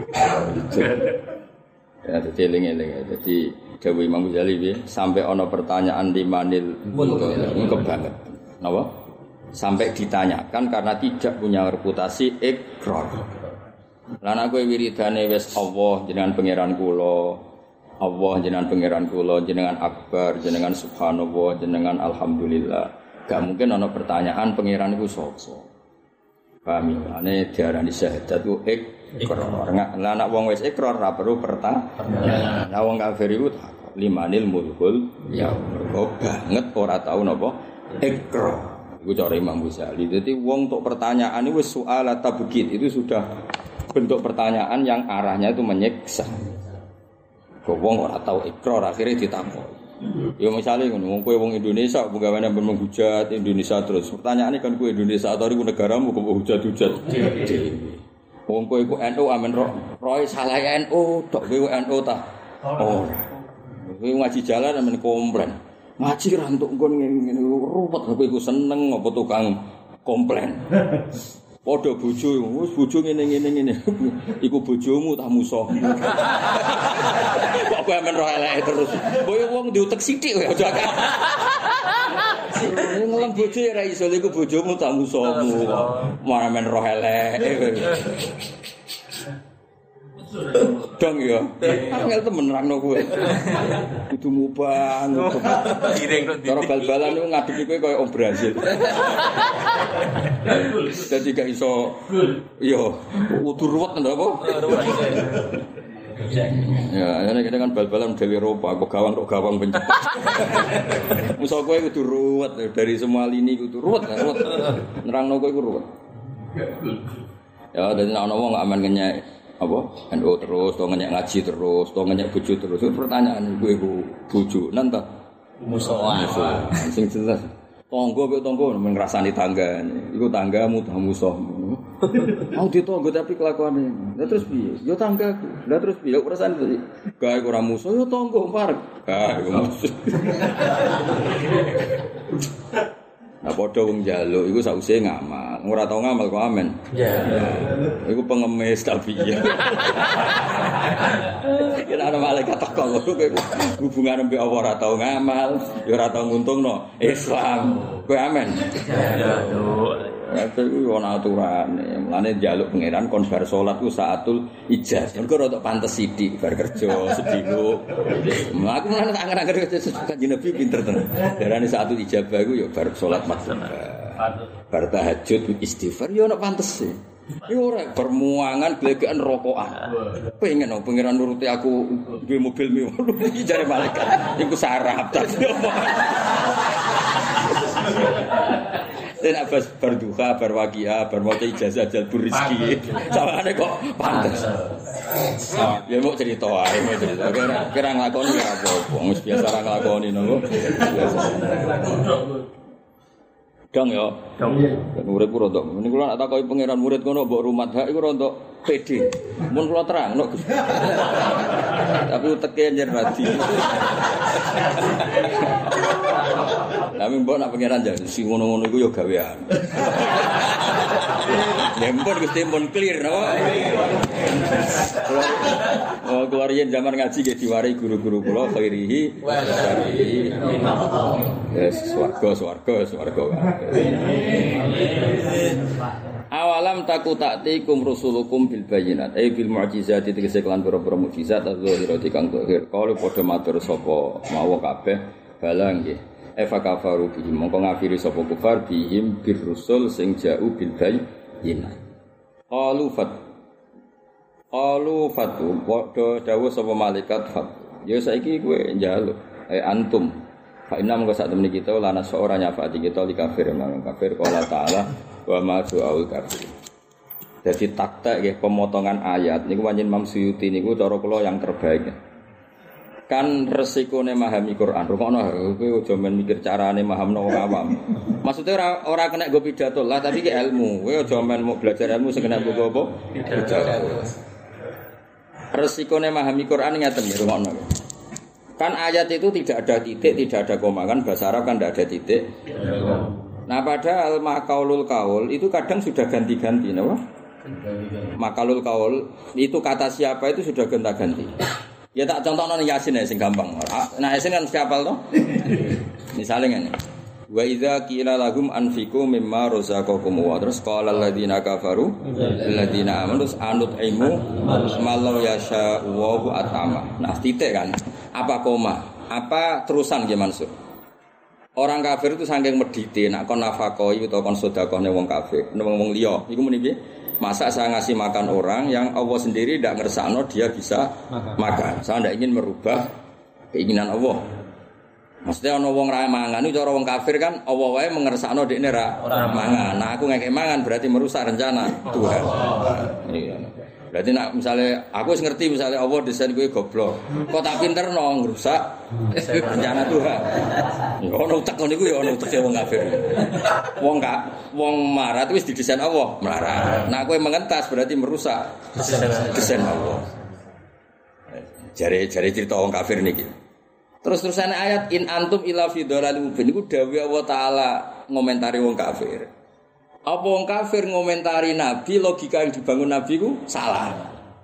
Ya dadi eling-eling. Dadi dawuh Imam Ghazali piye sampai ana pertanyaan di manil engko banget. Napa? Sampai ditanyakan karena tidak punya reputasi ikrar. Lan aku wiridane wis Allah jenengan pangeran kula. Allah jenengan pangeran kula, jenengan akbar, jenengan subhanallah, jenengan alhamdulillah. Gak mungkin ana pertanyaan pangeran iku sapa. Paham ya? Ane diarani syahadat ku ikrar. Lah nek wong wis ikrar ora perlu pertanyaan. Lah wong kafir iku limanil mulkul ya mergo banget ora tau napa ikrar. Iku cara Imam Ghazali. Dadi wong untuk pertanyaan itu soal tabukit itu sudah bentuk pertanyaan yang arahnya itu menyiksa. Kok wong ora tau ikrar akhirnya ditakoni. Ya misalnya ngono, wong kowe wong Indonesia penggaweane menghujat Indonesia terus. Pertanyaane kan kowe Indonesia atau iku negaramu kok hujat-hujat. Wong kowe iku N U amen roh, roe salah N U, tok kowe N U ta. Ora. Kowe ngaji jalan amen komplain. Ngaji ra entuk nggon ngene ruwet kowe iku seneng apa tukang komplain. Padha bojo, wis bojo ngene-ngene ngene. Iku bojomu ta musuh. Kok kowe men roh eleke terus. Kowe wong diutek sithik kowe aja akeh. Ngelem bojo ora iso iku bojomu ta musuhmu. Malah men roh eleke. Dong ya. Angel temen nerangno kowe. Kudu mubang. Cara bal-balan niku ngadepi kowe koyo om Brazil. Dadi gak iso. Iya, kudu ruwet ndak apa? Ya, ini kita kan bal-balan dari Eropa, kok gawang kok gawang pencepat. Musuh kowe kudu ruwet dari semua lini kudu ruwet, ruwet. Nerangno kowe iku ruwet. Ya, dadi nek ana wong gak aman ngenyek apa? N U terus, to ngenyek ngaji terus, to ngenyek bojo terus. Pertanyaan kowe iku bojo nan ta? Musuhan. Sing jelas. Tangga kok tangga men ngrasani tanggane. Iku tanggamu ta musuhmu. Mau ditangga tapi kelakuane. Lah terus piye? Ya tanggaku. Lah terus piye? Kok rasane to? Gawe ora musuh ya tangga parek. Gawe musuh. Nah padha wong njaluk iku sausé ngamal. Ora tau ngamal kok amen. Iya. Iku pengemis tapi ya. Yen ana malaikat teko kowe hubungan mbek Allah ora tau ngamal, ya ora tau nguntungno Islam. Kowe amen. Ya. Itu ana aturane. Mulane njaluk pangeran kon bar salat ku saatul ijazah. Mergo rada pantes sithik bar kerja sedino. Aku mulane tak angen-angen Kanjeng Nabi pinter tenan. Darane saatul ijabah iku ya bar salat maghrib. Bar tahajud istighfar ya ana pantese. Iki ora permuangan glegekan rokokan. Pengen no pangeran nuruti aku duwe mobil mewah jare malaikat. Iku sarap ta. Dan abas berduka, berwakia, bermoto ijazah jalbur rizki. Sawane kok pantes. Ya mau cerita ae, mau cerita. Kira kira nglakoni apa-apa. Wis biasa ra nglakoni nopo. Biasa. Dong ya. Dong. Murid ku rodok. Ini kula nak takoki pangeran murid kono mbok rumat hak iku rodok pede. Mun kula terangno. Tapi uteke njen radi. Tapi mbok nak pangeran jan sing ngono-ngono iku ya gawean. Lempon Gusti pun clear no. Oh keluar yen zaman ngaji nggih diwarai guru-guru kula khairihi wa syarrihi. Yes, swarga swarga swarga. Awalam taku taktikum rusulukum bil bayinat ay bil mu'jizati tegese kelan pira-pira mukjizat zahirati kang zahir. Kalau padha matur sapa mawa kabeh balang nggih. Eva kafaru bihim mongko ngafiri sapa kufar bihim bir rusul sing ja'u bil bayinat. Qalu fat Qalu fatu padha dawuh sapa malaikat fat. Ya saiki kowe njaluk ay antum fa inna mongko sak temene kita lana seorang nyafati kita li kafir nang kafir qala ta'ala wa ma su'ul kafir. Jadi takta nggih pemotongan ayat niku panjen Imam Suyuti niku cara kula yang terbaik. Kan resikone memahami Quran. Rungokno kowe aja men mikir carane mahamno wong awam. Maksudnya ora ora kena go pidato lah tapi ki ilmu. Kowe aja men mau belajar ilmu sing kena go apa? Pidato. Resikone memahami Quran ngeten ya rungokno. Kan ayat itu tidak ada titik, tidak ada koma kan bahasa Arab kan tidak ada titik. Nah padahal makaulul kaul itu kadang sudah ganti-ganti, napa? Makalul kaul itu kata siapa itu sudah ganti-ganti. Ya tak contohno Yasin ya sing gampang. Nah Yasin kan mesti hafal toh? Misale ngene. Wa idza qila lahum anfiqu mimma razaqakum wa terus qala alladziina kafaru alladziina amanu anut ilmu malau yasha wa atama. Nah titik kan. Apa koma? Apa terusan nggih Mansur? Orang kafir itu saking medite nak kon nafakoi utawa kon sedekahne wong kafir, wong liya. Iku muni piye? Masa saya ngasih makan orang yang Allah sendiri tidak ngersakno dia bisa makan. makan. Saya tidak ingin merubah keinginan Allah. Maksudnya ana wong ra mangan itu cara wong kafir kan Allah wae mengersakno dekne ra mangan. Nah aku ngekek mangan berarti merusak rencana Tuhan. Iya. Berarti nak misalnya aku wis ngerti misalnya Allah desain kowe goblok. Kok tak pinterno ngrusak rencana Tuhan. Ya ono utek ngono iku ya ono uteke wong kafir. Wong gak wong marah wis didesain Allah, marah. Nah kowe mengentas berarti merusak desain Allah. Jare-jare cerita wong kafir niki. Terus-terusan ayat in antum ila fi dhalalin mubin iku dawuh Allah taala ngomentari wong kafir. Apa wong kafir ngomentari nabi logika yang dibangun nabi ku salah.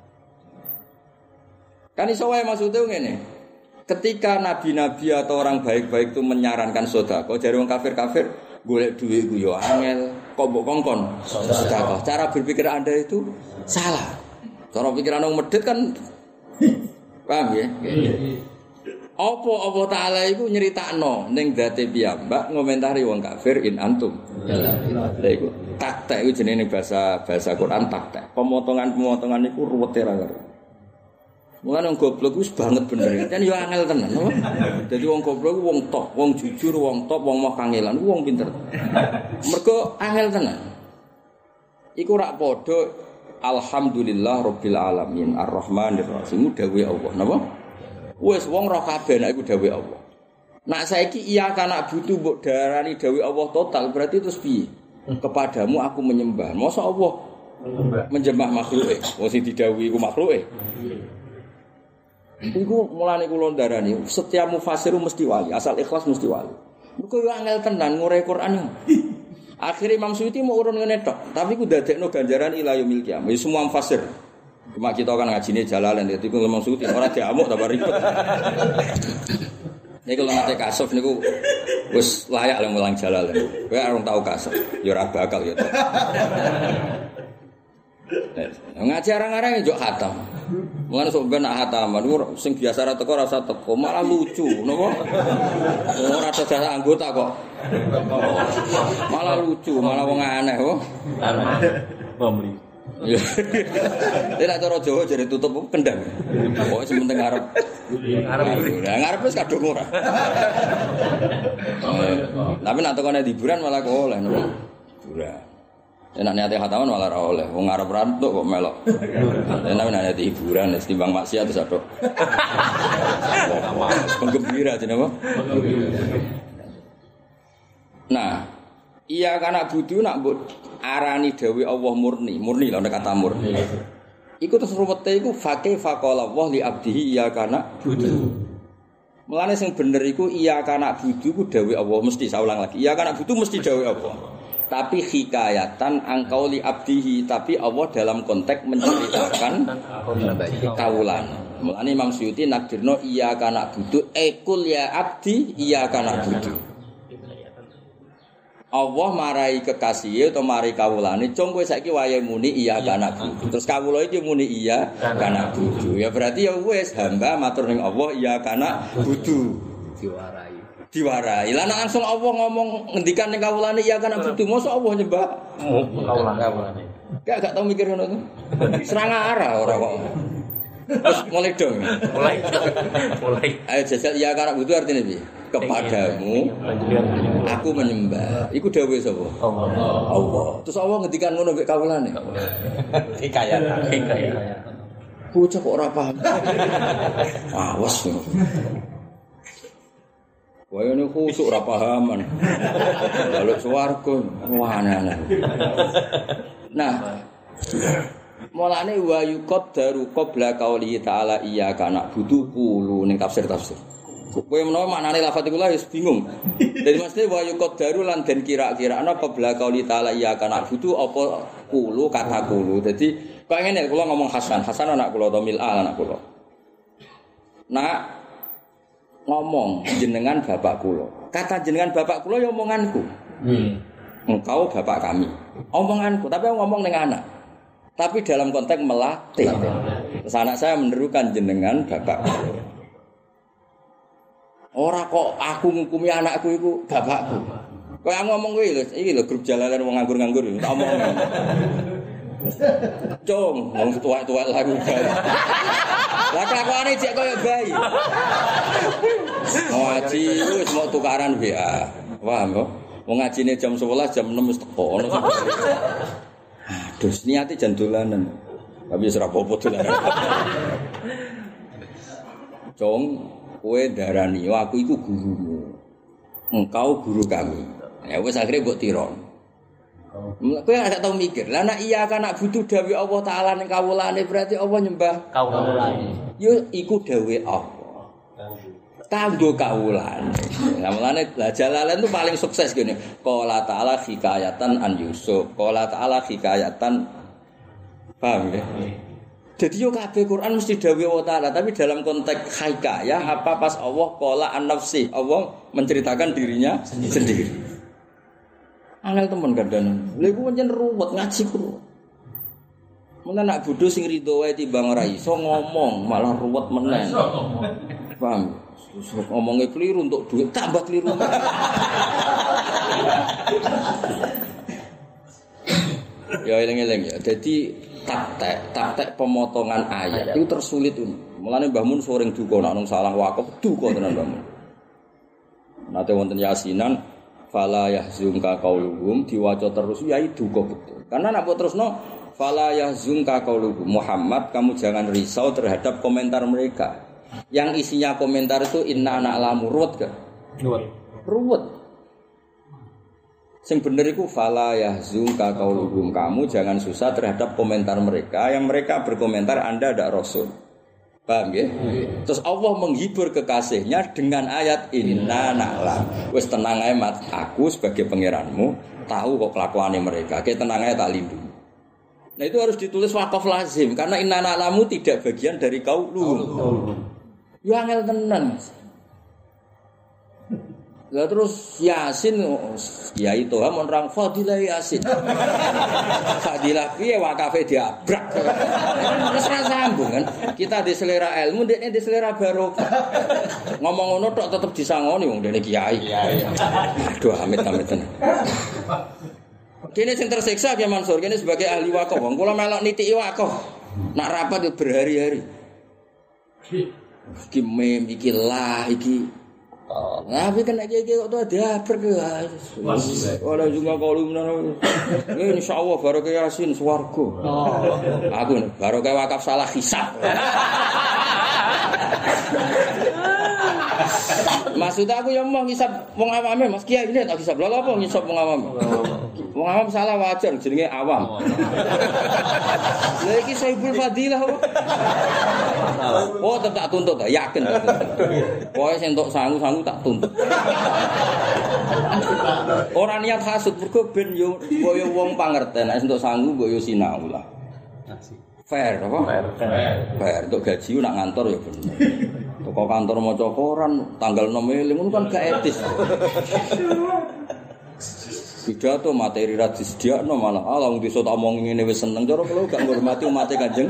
Kan iso wae maksude ngene. Ketika nabi-nabi atau orang baik-baik itu menyarankan sedekah, jare wong kafir-kafir golek dhuwit ku yo angel, kok mbok kongkon sedekah. Cara berpikir Anda itu salah. Cara pikiran wong medhit kan paham ya? Apa Allah Ta'ala itu nyeritakno ning dzate piyambak ngomentari wong kafir in antum. Lha iku taktek iku jenenge bahasa bahasa Quran taktek. Pemotongan-pemotongan iku ruwete ra karo. Mulane wong goblok wis banget bener. Kan yo angel tenan, apa? Dadi wong goblok ku wong top, wong jujur, wong top, wong moh kangelan, wong pinter. Mergo angel tenan. Iku rak padha alhamdulillah rabbil alamin arrahmanir rahim dawuh Allah. Napa? Wes wong roh kabeh nek iku dawuh Allah. Nak saiki iya kana butuh mbok darani dawuh Allah total berarti terus piye? Kepadamu aku menyembah. Masa Allah menyembah makhluke? Wong sing didhawuhi iku makhluke. Iku mulane kula ndarani setiap mufasir mesti wali, asal ikhlas mesti wali. Mergo yo angel tenan ngure Quran. Akhire Imam Suyuti mau urun ngene tok, tapi ku dadekno ganjaran ila yaumil qiyamah. Semua mufasir cuma kita kan ngajine Jalalain itu memang suci ora diamuk tambah ribet. Nek kalau nate kasuf niku wis layak lah mulang Jalalain. Kowe arung tau kasuf, ya ora bakal ya. Ngaji arang-arang njuk khatam. Mulane sok ben nak khataman sing biasa ra teko ora usah teko, malah lucu, napa? Ora ada jasa anggota kok. Malah lucu, malah wong aneh kok. Aneh. Pamli. Ya. Nek cara Jawa jare tutup kendang. Pokoke sementing ngarep. Ngarep. Lah ngarep wis kadung ora. Tapi nek tekone hiburan malah kok oleh nopo. Hiburan. Nek niate khataman malah ora oleh. Wong ngarep rantuk kok melok. Nek niate hiburan wis timbang maksiat terus atok. Penggembira jenenge apa? Nah, iya karena butuh nak mbok arani dewi Allah murni, murni lah kata murni. Iku terus ruwete iku faqih faqala Allah li abdihi iya kana butuh. Mulane sing bener iku iya kana butuh ku dewi Allah mesti saya ulang lagi. Iya kana butuh mesti dewi Allah. Tapi hikayatan angkau li abdihi, tapi Allah dalam konteks menceritakan kaulan. Mulane Imam Suyuti nakdirno iya kana butuh ekul ya abdi iya kana butuh. Allah marai kekasih atau marai kawulane, cung kowe saiki wayahe muni iya kana budu. Terus kawula iki muni iya kana budu. Ya berarti ya wis hamba matur ning Allah iya kana budu. Diwarai. Diwarai. Lah nek langsung Allah ngomong ngendikan ning kawulane iya kana budu, mosok Allah nyembah kawulane. Gak gak tau mikir ngono to. Serang arah ora kok. Terus mulai dong. Mulai. Mulai. Ayo jajal iya kana budu artine piye? Kepadamu aku menyembah. Iku dawuh sapa? Allah. Allah. Terus Allah ngendikan ngono mek kawulane. Hikayat, hikayat. Bocah kok ora paham. Awas. Wae niku khusuk ora pahaman. Lalu swarga wah aneh-aneh. Nah, Mulane wa yuqaddaru qabla qauli ta'ala iyyaka na'budu qulu ning tafsir-tafsir. Kowe menawa maknane lafadz iku lha wis bingung. Dadi mesti wa yuqaddaru lan den kira-kirana qabla qauli ta'ala iyyaka na'budu apa qulu kata qulu. Dadi kok ngene kula ngomong Hasan, Hasan anak kula to Mil'al anak kula. Nak ngomong jenengan bapak kula. Kata jenengan bapak kula ya omonganku. Hmm. Engkau bapak kami. Omonganku, tapi aku ngomong dengan anak. Tapi dalam konteks melatih. Terus anak saya menerukan jenengan bapak. Ora kok aku ngukumi anakku iku bapakku. Kok aku ngomong kuwi lho, iki lho grup jalanan wong nganggur-nganggur tak omong. Cung, wong tuwa-tuwa lagu bayi. Lah kelakuane cek koyo bayi. Ngaji wis mau tukaran B A. Paham kok? Wong ngajine jam sebelas jam enam wis teko ono. Aduh, niate jan dolanan. Tapi wis ora apa-apa dolanan. Cung, kowe darani aku iku gurumu. Engkau guru kami. Ya wis akhire mbok tiron. Kowe gak tau mikir. Lah nek iya kan nak butuh dawuh Allah taala ning kawulane berarti Allah nyembah kawulane. Yo iku dawuh Allah. Kanggo kawulane. Lah mulane lah Jalalain itu paling sukses gini. Qala ta'ala hikayatan an Yusuf. Qala ta'ala hikayatan paham ya? Jadi yo kabeh Quran mesti dawuh Allah taala, tapi dalam konteks hikayah apa pas Allah qala an nafsi. Allah menceritakan dirinya sendiri. sendiri. Angel temen kadang. Lha iku pancen ruwet ngaji ku. Mun anak bodho sing rido wae timbang ora iso ngomong, malah ruwet meneh. Paham? Ngomongnya keliru untuk duit tambah keliru. Ya eling-eling ya. Jadi taktek, taktek pemotongan ayat itu tersulit ini. Mulane Mbah Mun sering duka nek nang salah wakaf duka tenan Mbah Mun. Nate wonten yasinan fala yahzunka qauluhum diwaca terus ya duka betul. Karena nek terusno fala yahzunka qauluhum Muhammad kamu jangan risau terhadap komentar mereka. Yang isinya komentar itu inna na'lamu ruwet kan? Ruwet. Ruwet. Sing bener iku fala yahzunka qauluhum kamu jangan susah terhadap komentar mereka yang mereka berkomentar Anda ada rasul. Paham ya? Hmm. Terus Allah menghibur kekasihnya dengan ayat inna na'lam. Wis tenang ae mat, aku sebagai pangeranmu tahu kok kelakuane mereka. Kayak tenang ae tak lindungi. Nah itu harus ditulis wakaf lazim karena inna na'lamu tidak bagian dari qauluhum. Ya angel tenan. Lah terus Yasin Kiai Toha mon rang Fadilah Yasin. Fadilah piye wakafe diabrak. Terus ra sambung kan. Kita di selera ilmu, dekne di selera barokah. Ngomong ngono tok tetep disangoni wong dene kiai. Aduh amit-amit tenan. Kene sing tersiksa Ki Mansur, kene sebagai ahli wakaf. Wong kula melok nitiki wakaf. Nak rapat yo berhari-hari. Iki mem iki lah iki. Nah, tapi kan iki kok tuh ada berke. Ora juga kalau menawa. Ya insyaallah barokah Yasin swarga. Oh. Aku barokah wakaf salah hisab. Maksud aku yang mau ngisap wong awame Mas Kiai ini tak hisab. Lha apa ngisap wong awam? Wong awam salah wajar jenenge awam. Lha iki Saibul Fadilah apa? Oh tetap tuntut yakin. Pokoke sing entuk sangu-sangu tak tuntut. Ora niat hasud mergo ben yo koyo wong pangerten nek entuk sangu mbok yo sinau lah. Fair apa? Fair. Fair untuk gaji nak ngantor ya bener. Toko kantor maca koran tanggal enam Mei ngono kan gak etis. Pidato materi ra disediakno malah ala wong desa tak omong ngene wis seneng cara kula gak ngurmati umate Kanjeng.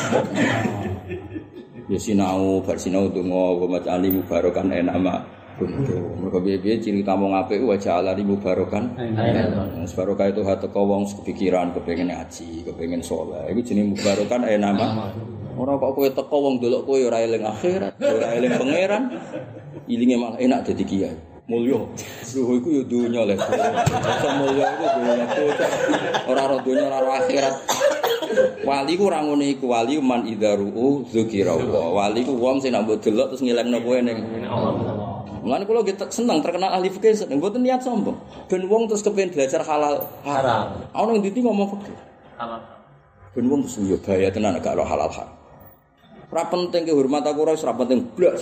Ya sinau bar sinau donga wa macali mubarokan enama kuntu. Mergo piye-piye ciri tamu apik wajah alani mubarokan. Wis barokah itu hate wong kepikiran kepengin ngaji, kepengin saleh. Iku jenenge mubarokan enama. Ora kok kowe teko wong delok kowe ora eling akhirat, ora eling pangeran. Ilinge malah enak dadi kiai. Mulya. Lho iku ya dunya le. Iso mulya iku dunya. Ora ora dunya ora akhirat. Wali ku ora ngene iku, wali man idzaru dzikra Allah. Wali ku wong sing nek mbok delok terus ngelingno kowe ning Allah. Mulane kula nggih seneng terkenal ahli fikih, mboten niat sombong. Ben wong terus kepengin belajar halal haram. Ana ndi ngomong fikih. Halal. Ben wong mesti yo bahaya tenan gak ora halal hak. Ora penting ke hormat aku ora ora penting blas.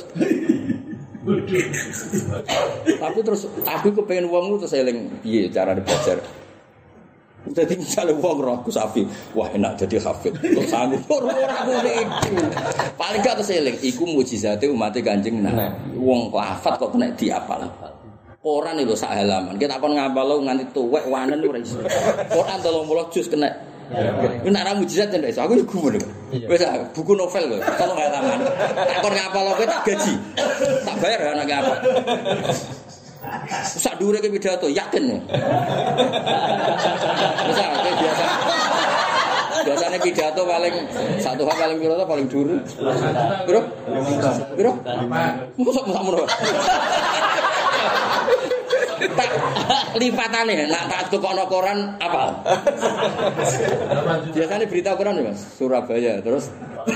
Tapi terus aku kepengen wong terus eling piye carane belajar. Jadi misalnya wong roh Gus Safi, wah enak jadi hafid. Terus sanggup ora ngene iku. Paling gak terus eling iku mukjizate umat Kanjeng Nabi. Wong lafat kok kena diapal. Quran itu sak halaman. Kita kon ngapal nganti tuwek wanen ora iso. Quran telung puluh juz kena. Ini nak ra mujizat ndak iso. Aku yo gumun. Wis buku novel kok. Telung halaman. Tak kon ngapal kowe tak gaji. Tak bayar anak apa. Sak dhuwure ke pidato yakin ya. Bisa biasa. Biasanya pidato paling satu hal paling piro to paling dhuwur. Piro? Piro? Mosok mosok ngono. Tak lipatane nak tak tukokno koran apa? Biasanya berita koran ya Mas, Surabaya terus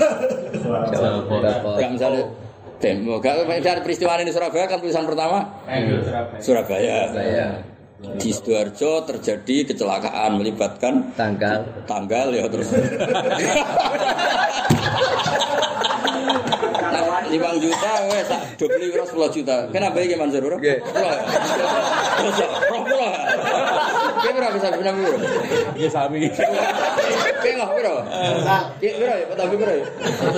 enggak misalnya demo, enggak misalnya peristiwa ini Surabaya kan tulisan pertama Surabaya. Surabaya. Di Sidoarjo terjadi kecelakaan melibatkan tanggal tanggal ya terus lima juta wes tak dobeli kira sepuluh juta. Kenapa iki Mansur? Nggih. Terus roh kula. Ki pira bisa benar piro? Iya sami. Ki ngoh piro? Ki piro ya? Tapi piro ya?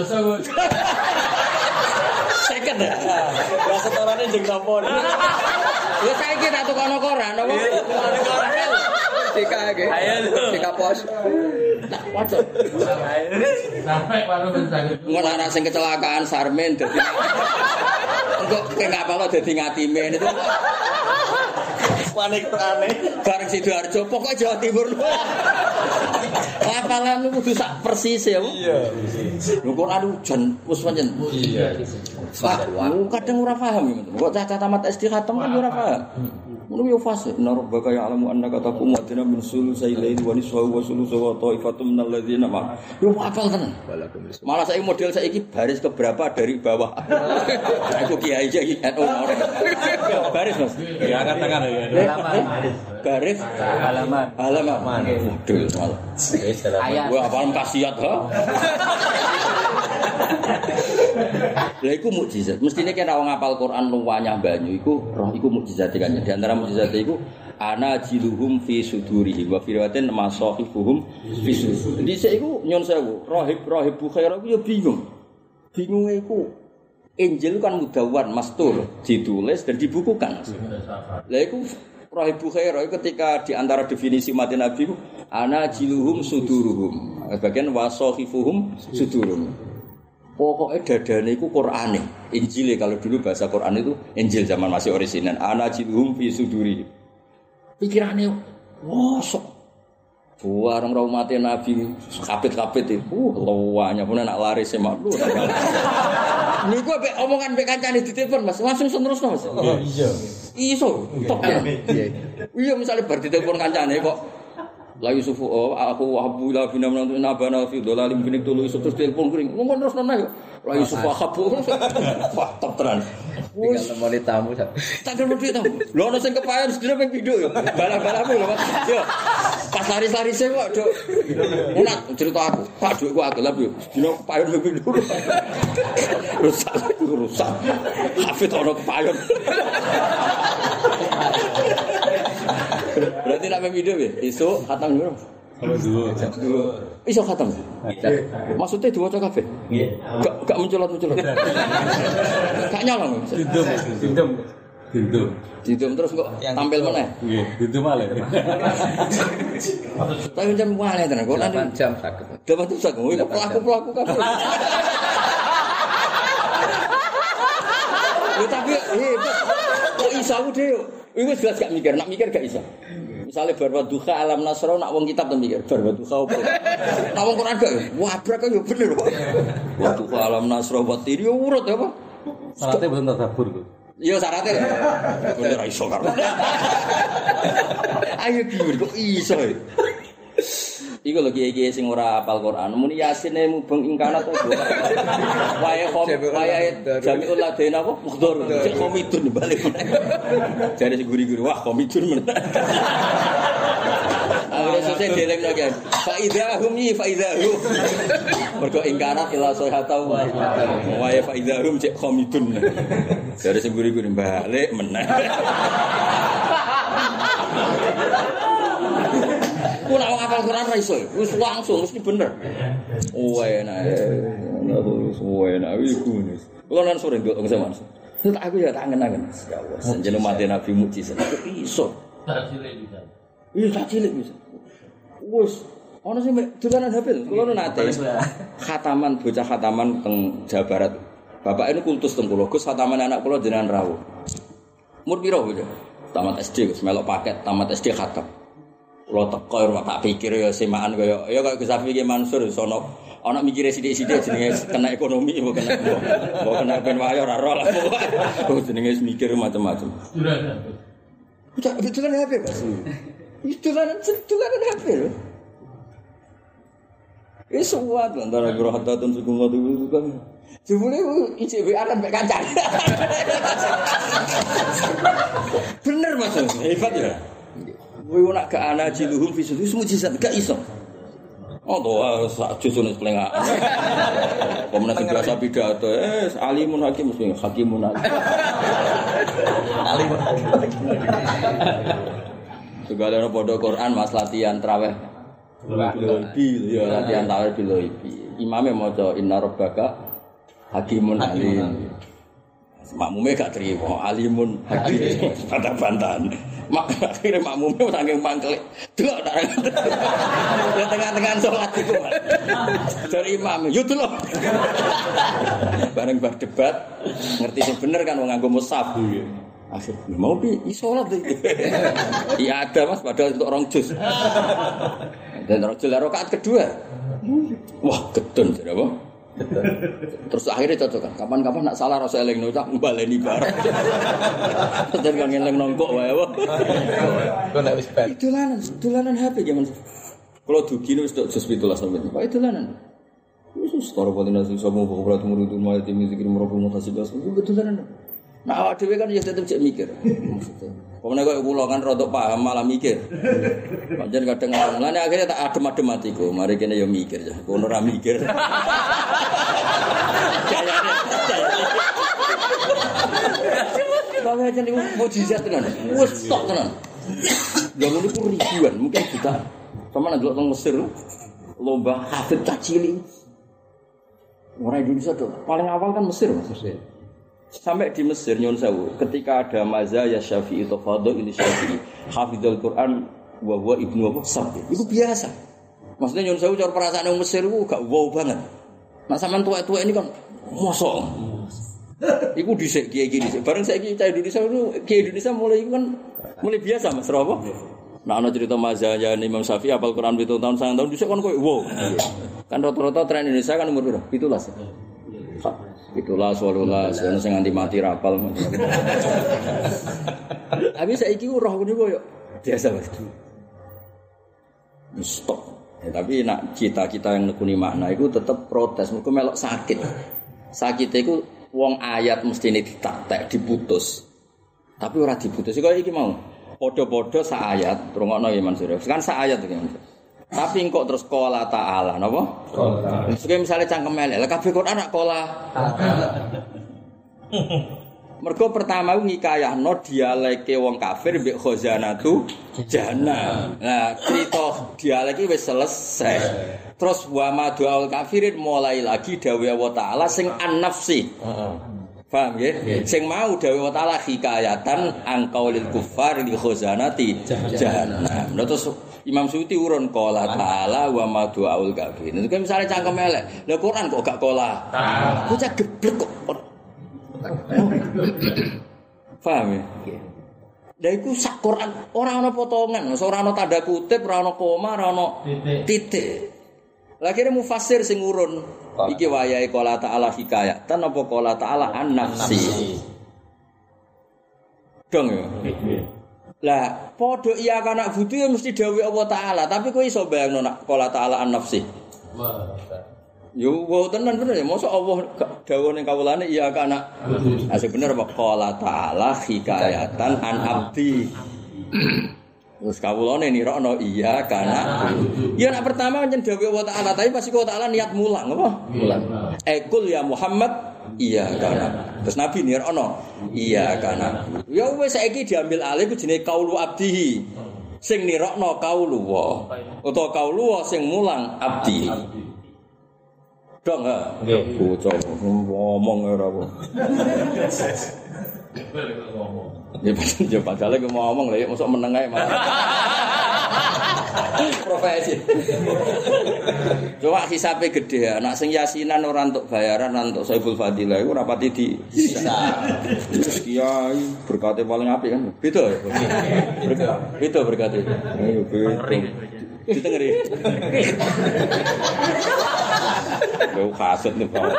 Seket ya. Ya setorane jeng sampun. Ya saiki tak tukono koran apa? Koran. Tika nggih. Tika pos. Tak wajib. Sampai baru menjadi. Ngono ana sing kecelakaan Sarmin dadi. Engko enggak apa-apa dadi ngatimen itu. Panik aneh. Bareng Sidoarjo pokok Jawa Timur. Lapangan lu kudu sak persis ya. Iya. Lho kok anu jan wis pancen. Iya. Kadang ora paham kok cacah tamat S D khatam kan ora paham. Ngono yo fase narbaka ya alamu annaka taqum wa tina min sulusai laili wa nisfahu wa sulusu wa ta'ifatum minal ladzina ma. Yo apal tenan. Malah saiki model saiki baris ke berapa dari bawah. Aku kiai iki ono. Baris Mas. Ya angkat tangan ya. halaman Baris halaman halaman. Model malah. Ayat. Wah apal kasiat ha. Lha iku mukjizat. Mestine kena wong ngapal Quran luwanyah banyu iku roh iku mukjizat kan. Di antara mukjizat iku ana jiluhum fi sudurihim wa fi riwayatin masahifuhum fi sudurihim. Dhisik iku nyon sewu, rahib-rahib Bukhaira iku ya bingung. Bingunge iku Injil kan mudawwan mastur, ditulis dan dibukukan. Lha iku rahib Bukhaira ketika di antara definisi mati Nabi iku ana jiluhum suduruhum. Bagian wasahifuhum suduruhum. Pokoknya dadane iku Qur'ane. Injil kalau dulu bahasa Qur'an itu Injil zaman masih orisinal. Ana jilhum fi suduri. Pikirane wah sok. Buareng ra umat Nabi kapit-kapit itu. Uh, luwanya pun nak laris semak lu. Niku mek omongan mek kancane ditelepon Mas, langsung terusno Mas. Oh iya. Iso. Tok ya. Iya misale bar ditelepon kancane kok la Yusufu oh, aku wahabu la bina menantu nabana fi dolalim binik tulu Yusuf terus telepon kuring ngomong terus nona yo la Yusufu wahabu wah top tenan wis nemoni tamu tak gelem duit tamu lho ono sing kepayon sedina ping pindho yo balak-balakmu lho Mas yo pas lari-lari se kok Duk enak cerita aku Pak duit ku agelap yo sedina kepayon ping pindho rusak rusak hafid ono kepayon berarti nak main video ya? Isu khatam dulu. Kalau dulu. Isu khatam. Maksudnya dua cok kafe? Iya. Gak gak mencolot mencolot. Gak nyolong. Didum, didum, didum. Didum terus kok tampil mana? Iya, didum malah. Tapi jam mana tenan? Kok delapan jam sakit. delapan jam sakit. Wih pelaku pelaku kafe. Ya tapi hebat. Kok iso aku dhewe? Iku jelas gak mikir, nak mikir gak iso. Misale bar duha alam nasra nak wong kitab ten mikir, bar duha opo. Nak wong Quran gak, wah brak yo bener kok. Wa duha alam nasra wa tiri yo urut apa? Syaratnya betul tadabbur kok. Iya syaratnya. Bener ra iso karo. Ayo kiwir kok iso. Iku lho kiye-kiye sing ora hafal Quran, muni Yasine mubeng ing kana to. Wae kom wae Jamiul Ladain apa? Mukhtar. Cek komidun balik. Jare sing guri-guri wah komidun men. Akhire Maksudnya dielingno kan. Fa idzahum yi fa idzahum. Mergo ingkarat ila sohatau. Wa ya fa idzahum cek khamidun. Dari sing guri-guri balik meneh. Ku nak ngapal Quran ra iso. Wis langsung mesti bener. Oh enak. Oh enak iku. Kulo nang sore ndok sama. Terus aku ya tak angen-angen. Ya Allah, jeneng mati Nabi mukjizat. Iso. Tak cilik bisa. Iya, tak cilik bisa. Wes, ana sing dolanan H P. Kulo nate khataman bocah khataman teng Jawa Barat. Bapak ini kultus teng kula, Gus khataman anak kula jenengan rawuh. Umur piro bocah? Tamat S D, Gus, melok paket tamat S D khatam. Kulo teko ora tak pikir ya semaan kaya ya kaya Gus Safi ki Mansur sono ana mikire sithik-sithik jenenge kena ekonomi apa kena apa kena ben wayo ora ora lah pokoke jenenge mikir macam-macam. Dolanan. Udah dolanan H P, Mas. Itu dolanan dolanan H P lho. Wis suwat antara rohatun suku ngono itu kan. Jebule I C B A kan mek kancan. Bener Mas, hebat ya. Kowe nak gak ana jiluhum fi sudus mujizat gak iso. Oh doa sak jusune plengaan. Pemenang sing biasa pidato, eh alimun hakim mesti hakimun hakim. Alimun hakim. Segala padha Quran mas latihan traweh. Biloibi ya latihan traweh biloibi. Imame maca inna rabbaka hakimun alim. Makmume gak trimo alimun hakim. Bantah-bantahan. Mak akhire makmume saking mangkel. Delok tak. Ya tengah-tengah salat iku. Dari imam, yo delok. Bareng bar debat, ngerti sing bener kan wong nganggo mushaf. Akhir mau pi salat iki. Iya ada Mas padahal untuk rong juz. Dan rajul rakaat kedua. Wah, gedun jare apa? Terus akhirnya cocok kan. Kapan-kapan nak salah rasa elingno cak mbaleni bareng. Terus kan ngeleng nongkok wae apa. Kok nek wis ben. Dolanan, dolanan H P zaman. Kalau dugi wis tok jus tujuh belas sampe. Kok dolanan. Wis setara paling sing somo kok murid umah tim zikir merokok mutasibas. Itu dolanan. Nah, awak dhewe kan ya tetep cek mikir. Maksudnya. Pemene kok kula kan rodok paham malah mikir. Pancen kadang ngene akhirnya tak adem-adem atiku. Mari kene ya mikir ya. Kono ora mikir. Tapi aja niku mukjizat tenan. Wes tok tenan. Ya ngono ku ribuan, mungkin jutaan. Sama nang delok teng Mesir lomba hafid cilik. Orang Indonesia tuh paling awal kan Mesir, Mesir. Sampai di Mesir nyon sewu, ketika ada mazhab Syafi'i atau fadhil ini Syafi'i, hafizul Quran wa huwa ibnu apa sabit. Itu biasa. Maksudnya nyon sewu cara perasaan orang Mesir itu gak wow banget. Nah sampean tua-tua ini kan mosok. Iku dhisik kiai iki dhisik. Bareng saiki cah Indonesia itu kiai Indonesia mulai kan mulai biasa Mas apa? Nah ana cerita mazhab Imam Syafi'i hafal Quran pitung tahun sangang tahun dhisik kan koyo wow. Kan rata-rata tren Indonesia kan umur piro? tujuh belas. Itulah seolah-olah ana sing nganti mati rapal. Tapi saiki roh ngene koyo biasa Mas. Stop. Ya, tapi nak cita-cita yang nekuni makna itu tetap protes. Mergo melok sakit. Sakit itu wong ayat mestine ditatek, diputus. Tapi ora diputus. Kaya iki mau. Padha-padha sak ayat, rungokno ya Mansur. Kan sak ayat iki. Tapi kok terus qala ta'ala napa? Qala. Sing misale cangkem elek, kabeh Quran nak qala ta'ala. Mergo pertama ngikayahno dialeke wong kafir mbek khazanatu jannah. Nah, cerita dialek iki wis selesai. Terus wa madul kafirin mulai lagi dawuh Allah taala sing an-nafsi. Heeh. Paham nggih? Sing mau dawuh Allah taala hikayatan angkaulil kufar li khazanati jannah. Nah, terus Imam Suyuti urun qala ta'ala wa madul kafirin. Itu misale cangkem elek. Lah Quran kok gak qala ta'ala. Bocah geblek kok. Paham ya? Lah iku sak Quran ora ana potongan, ora ana tanda kutip, ora ana koma, ora ana titik. Lah kene mufassir sing urun iki wayahe qala ta'ala hikayatan apa qala ta'ala an-nafsi. Dong ya. Lah padha iya kana butuh ya mesti dawuh Allah taala, tapi kowe iso bayangno nak qala ta'ala an-nafsi. Yo wo tenan bener ya, mosok Allah dawuh ning kawulane iya kana. Asih bener apa qala ta'ala hikayatan an abdi. Terus kawulane nirokno iya kana. Ya nek pertama pancen dawuh wa ta'ala tapi pasti wa ta'ala niat mulang apa? Mulang. Ekul ya Muhammad iya kana. Terus Nabi nirokno iya kana. Ya wis saiki diambil alih ku jenenge kaulu abdihi. Sing nirokno kaulu wa utawa kaulu wa sing mulang abdi. Dong ha. Nggih. Bocah ngomong ora apa. Ya padahal ya padahal aku mau ngomong lah ya mosok meneng ae malah. Profesi. Coba hisabe gede ya, nak sing yasinan ora entuk bayaran entuk Saiful Fadilah iku ora pati di bisa. Terus kiai berkate paling apik kan. Beda ya. Beda berkate. Ayo beda. Ditengeri. Lu kasut nih Pak.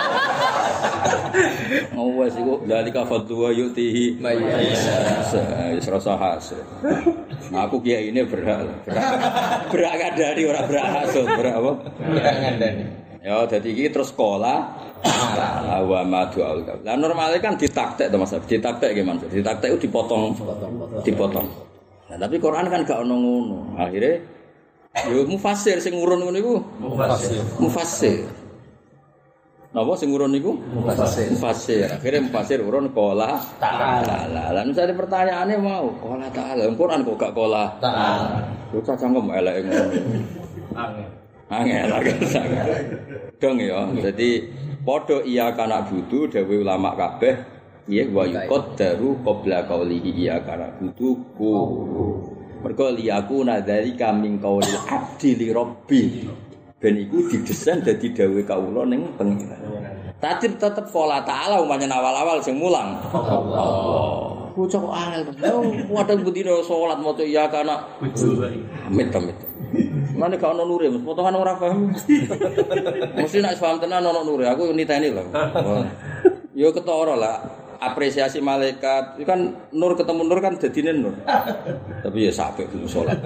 Ngawas iku dalika fadlu wa yutihi mayasa. Wis rasa hasud. Aku kiai ini berak. Berak kadari ora berak hasud, berak apa? Berak ngandani. Ya dadi iki terus sekolah wa madu al. Lah normale kan ditaktek to Mas. Ditaktek ki Mas. Ditaktek itu dipotong, dipotong. Nah, tapi Quran kan gak ono ngono. Akhire yo mufassir sing ngurun ngono iku. Mufassir. Mufassir. Napa sing urun niku? Mufassir. Mufassir. Akhire mufassir urun qala ta'ala. Lah misale pertanyaane mau qala ta'ala. Quran kok gak qala ta'ala. Bocah cangkem eleke ngono. Angel. Angel. Dong ya. Dadi padha iya kana budu dewe ulama kabeh ya wa yuqaddaru qabla qaulihi iya kana budu ku. Mergo liyaku nadzalika min qaulil abdi li rabbi. Ben iku didesain dadi dawuh kawula ning pengiran. Tapi tetep qala ta'ala umpamane awal-awal sing mulang. Allah. Bocah kok angel tenan. Wadang bendina salat maca iya kana. Amit-amit. Mane gak ono nure, potongan ora paham. Mesti nek paham tenan ono nure, aku niteni lho. Yo ketara lah. Apresiasi malaikat itu kan nur ketemu nur kan dadine nur. Tapi ya sampai belum salat.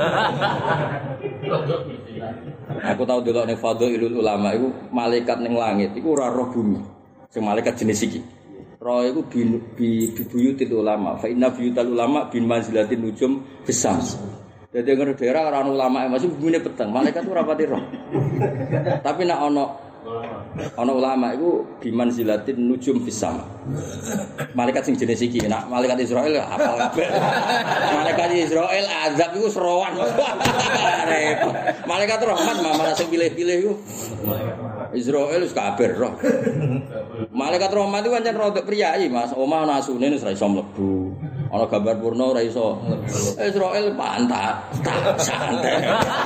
Aku tahu delok ning Fadhailul Ulama iku malaikat ning langit iku ora roh bumi. Sing malaikat jenis iki. Roh iku bi buyutil ulama. Fa inna buyutal ulama bin manzilatin nujum besam. Dadi ngono daerah ora ulama masih bumine peteng. Malaikat ora pati roh. Tapi nek ana ana ulama iku bi manzilatin nujum besam. Malaikat sing jenis iki, nak malaikat Israel apal kabeh. Malaikat Israel azab iku serowan. Repot. Malaikat rahmat malah sing pilih-pilih iku. Israel wis kabeh roh. Malaikat rahmat iku pancen rodok priyayi, Mas. Omah ana asune wis ra iso mlebu. Ana gambar purna ora iso. Israel pantat, tak santai.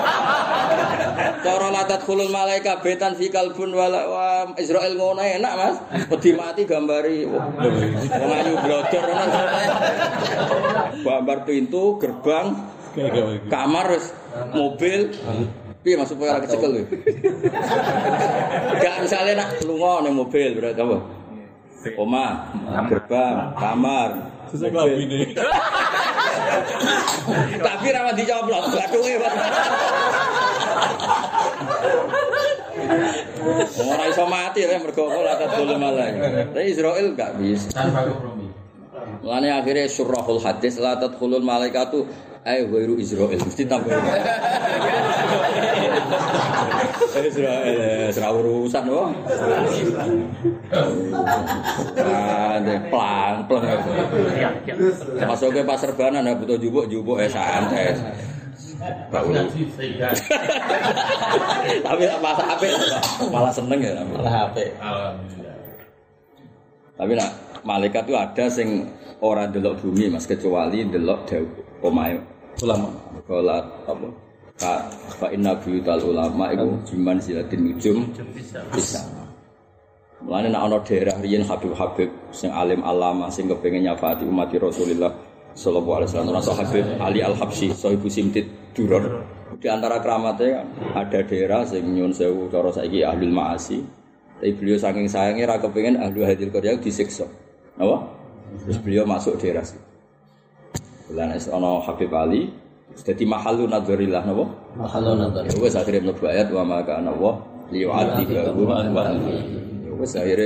Cara latat khulul malaika betan fi kalbun wala wa Israel ngono enak, Mas. Wedi mati gambari. Wong ayu blodor ana. Gambar pintu, gerbang, kamar wis mobil. Piye masuk ora kecekel kowe? Gak misale nak lunga ning mobil berarti apa? Omah, gerbang, kamar. Seselabine. Tapi ra dicoplok, bathuke. Ora iso mati ya mergo ora kadul malah. Tapi Israil gak bisa. Tanpa kompromi. Mulane akhire surahul hadis la tadkhulul malaikatu ay ghairu Israil mesti tambah. Israil ora urusan wae. Ade plang-plang. Masuke pasar banan ya butuh jubuk-jubuk ya santai. Tapi masa apik malah seneng ya malah apik. Alhamdulillah. Tapi nak malaikat itu ada sing ora delok bumi Mas kecuali delok dawuh omahe ulama. Kala apa? Ka fa inna biyutal ulama iku jiman silatin nujum bisa. Mulane nek ana daerah riyen Habib-habib sing alim alama sing kepengin nyafaati umat Rasulullah sallallahu alaihi wasallam rasa Habib Ali Al-Habsyi Sahibu Simtid Duror. Di antara keramatnya ada daerah sing nyun sewu cara saiki ahlul maasi. Tapi beliau saking sayangnya ra kepengin ahlu hadil qarya disiksa. Napa? Terus beliau masuk daerah situ. Bulan es ana Habib Ali dadi mahallu nadzarillah napa? Mahallu nadzarillah. Wes akhire mlebu ayat wa maka ana wa li'atiba wa wes akhire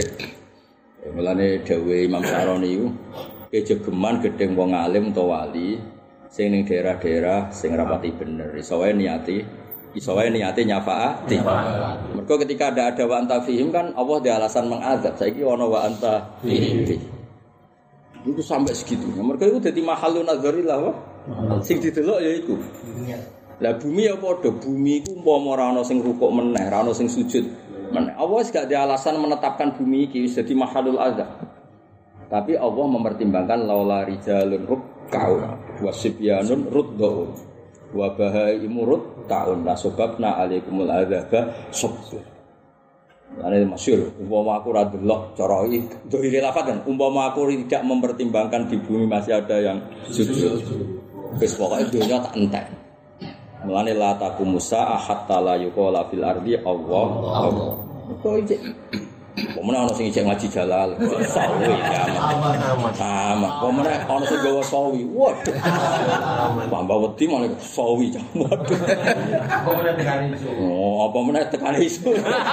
mulane dawuh Imam Saroni iku kejegeman gedeng wong alim utawa wali sing ning daerah-daerah sing rapati bener iso wae niati iso wae niate nyafaati. Mergo ketika ada ada wa anta fihim kan Allah di alasan mengazab. Saiki ana wa anta fihim. Itu sampai segitunya. Mergo itu dadi mahallun nadzarillah wa sing didelok ya iku. Lah bumi ya padha, bumi iku umpama ora ana sing rukuk meneh, ora ana sing sujud meneh. Allah wis gak ada alasan menetapkan bumi iki wis dadi mahallul azab. Tapi Allah mempertimbangkan laula rijalun ruk'au wasibyanun ruddu wa bahaimu rud ta'un la sababna alaikumul adzaba sabr. Ane masyhur umpama aku ora delok cara iki dohire lafaz kan umpama aku tidak mempertimbangkan di bumi masih ada yang sujud. Wis pokoke dunya tak entek. Mulane la taqumusa hatta la yuqala fil ardi Allah Allah. Kok iki Pemene ana sing ijek ngaji jalal, sawi aman. Aman. Pemene ana sing gawa sawi. Waduh. Tambah wedi malah sawi cah. Waduh. Apa meneh tekan isu? Oh, apa meneh tekan isu.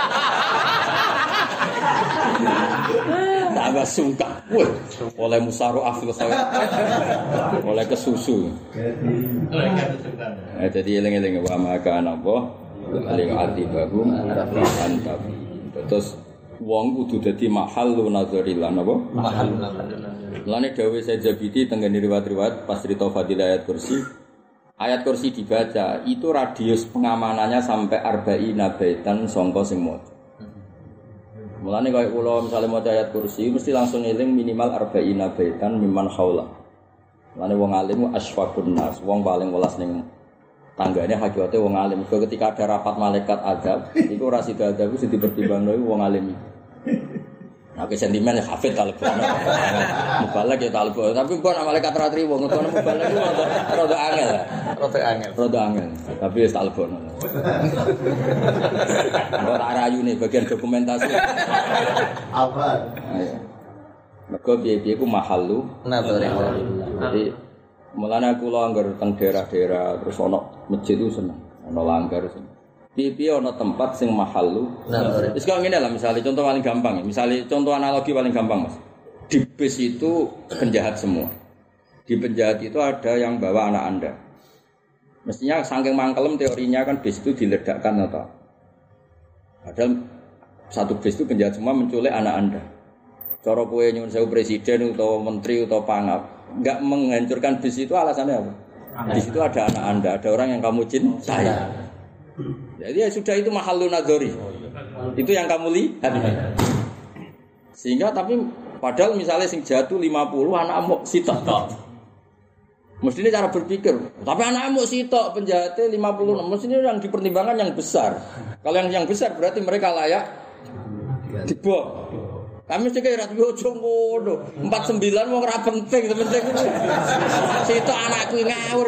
Tambah sungkak. Wah, oleh musaru afil khair. Oleh kesusu. Eh jadi eling-eling wa maka napa aling atibahum anta. Terus wong kudu dadi mahallun nadzarillah napa? Mahallun nadzarillah. Lane dawuh Sajabiti tenggene riwayat-riwayat pas cerita fadilah ayat kursi. Ayat kursi dibaca, itu radius pengamanannya sampai arba'ina baitan sangka sing maca. Mulane kaya kula misale maca ayat kursi mesti langsung eling minimal arba'ina baitan mimman haula. Mulane wong alim asfaqun nas, wong paling welas ning tanggane hakikate wong alim. Ketika ada rapat malaikat azab, iku ora sida azab sing dipertimbangno wong alim. Nah, ke sentimen hafid talbono. Mubalak ya talbono, tapi mbok nek malaikat ra triwo ngono mubalak ku rada angel. Rada angel. Rada angel. Tapi wis talbono. Ora tak rayune bagian dokumentasi. Apa? Ayo. Mergo piye-piye ku mahallu Nadzarillah. Jadi mulane kula anggar teng daerah-daerah terus ana masjid itu seneng, ana langgar seneng. Piye-piye ana tempat sing mahallu. Nah, wis kok ngene lah misalnya contoh paling gampang, misalnya contoh analogi paling gampang Mas. Di bis itu penjahat semua. Di penjahat itu ada yang bawa anak Anda. Mestinya saking mangkelem teorinya kan bis itu diledakkan atau padahal satu bis itu penjahat semua menculik anak Anda. Cara kowe nyuwun sewu presiden atau menteri atau pangap, enggak menghancurkan bis itu alasannya apa? Di situ ada anak Anda, ada orang yang kamu cintai. Jadi ya sudah itu mahallun nadzari. Itu yang kamu lihat. Sehingga tapi padahal misalnya sing jatuh lima puluh anak amuk sitok. Mestinya cara berpikir. Tapi anak amuk sitok penjahatnya lima puluh. Mestinya yang dipertimbangkan yang besar. Kalau yang yang besar berarti mereka layak dibom. Kami mesti kira yo ngono. empat puluh sembilan wong ora penting, penting. Sitok anakku ngawur.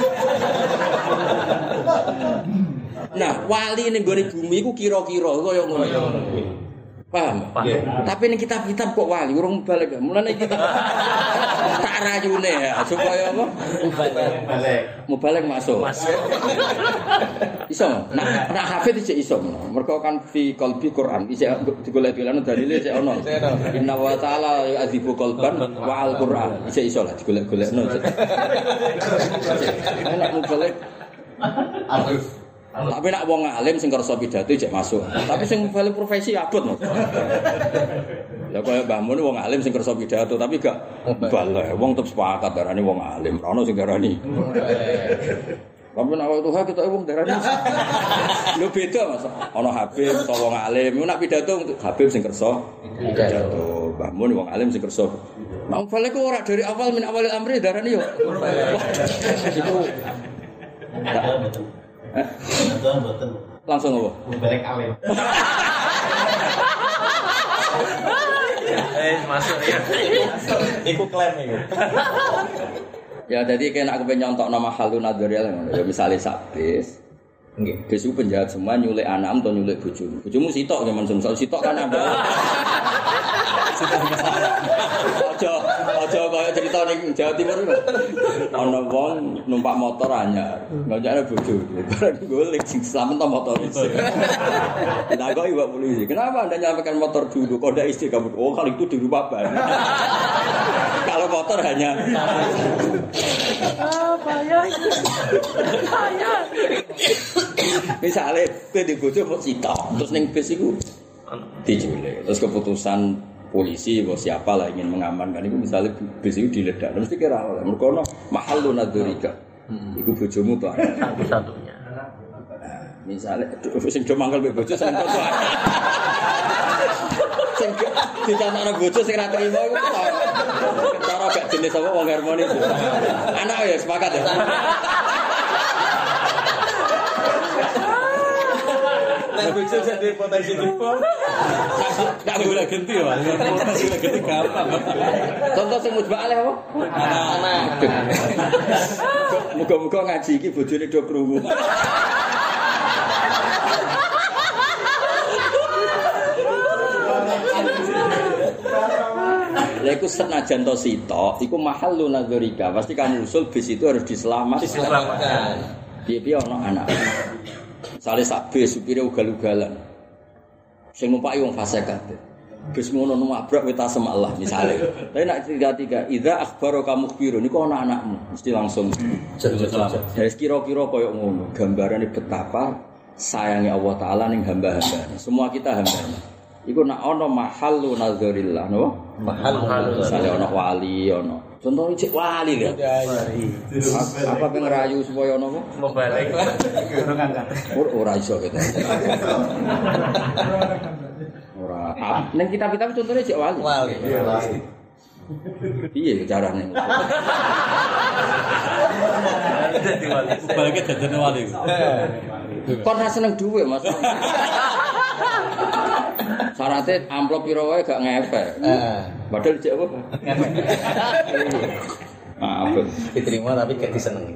Nah, wali ning gone bumi iku kira-kira kaya ngono. Paham? Paham. Tapi ning kitab-kitab kok wali urung balik. Mulane kita tak rayune ya supaya apa? Balik. Mubalik masuk. Masuk. Iso. Nah, nak hafid iki iso. Mergo kan fi qalbi Quran isih digolek-golekno dalile isih ono. Inna wa ta'ala yu'adzibu qalban wa al-Quran. Isih iso lah digolek-golekno. Nek mubalik arif. Tapi nak wong alim sing kersa pidato jek masuk. Tapi sing bali profesi abot. Ya kaya Mbah Mun wong alim sing kersa pidato tapi gak balik. Wong tetep sepakat darane wong alim. Ora ono sing darani. Tapi nek waktu kita wong darani. Lho beda Mas. Ono Habib utawa wong alim. Nek pidato Habib sing kersa pidato. Mbah Mun wong alim sing kersa. Nek balik kok ora dari awal min awalil amri darani yo. Iku langsung apa? Balik alim. Eh masuk ya. Iku klaim iku. Ya jadi kena aku pengen nyontok nama halun nadzariyah ya misalnya sabis. Nggih, bis penjahat semua nyulik anak atau nyulik bojomu. Bojomu sitok ya men soal sitok kan ada. Aja aja kaya cerita ning Jawa Timur lho. Ana wong numpak motor anyar, ngajare bojo. Bareng golek sing selamat to motor iki. Ditakoni Pak polisi, "Kenapa Anda nyalakan motor dulu? Kok ndak istri kamu?" Oh, kalau itu di rumah ban. Kalau kalau kotor hanya Apa ya? Saya. misalnya kowe di bojo kok sitok terus ning bis iku diculik. Terus keputusan polisi atau siapa lah ingin mengamankan itu misalnya bis itu diledak. Mesti kira oleh mergo ono mahallun nadzurika. Iku bojomu to. Satu-satunya. Misalnya sing do mangkel mbek bojo sing foto. Sing dicantakno bojo sing ra trimo iku cara gak jenis apa wong harmonis. Anak ya sepakat ya. Nek bojo jadi potensi dibom. Tak boleh ganti ya. Potensi ganti gampang. Contoh sing mujba aleh apa? Anak. Muga-muga ngaji iki bojone do krungu. Lah iku senajan to sitok, iku mahallun nadzurika. Pasti kamu usul bis itu harus diselamatkan. Diselamatkan. Piye-piye ono anak. Sale sak bis supire ugal-ugalan. Sing numpaki wong fasik kabeh. Bis ngono numabrak weta semalah misale. Tapi nek tiga-tiga idza akhbaro kamu khbiru niku ana anakmu mesti langsung Jadi selamat. ya kira-kira koyo ngono. Gambarane betapa sayangnya Allah taala ning hamba-hambane. Semua kita hambane. Iku nak ana mahallu nadzurillah no? Mahal. Misale ana wali ana. Contoh cek wali lho. Apa pengen rayu supaya ana apa? Mau balik. Kurang angkat. Ora iso gitu. Ora. Ning kitab-kitab contohnya cek wali. Wali. Piye carane? Jadi wali. Baliknya jadi wali. Kon ra seneng dhuwit, Mas. Syaratnya amplop piro wae gak ngefek. Heeh. Padahal cek apa? Maaf. Diterima tapi gak disenengi.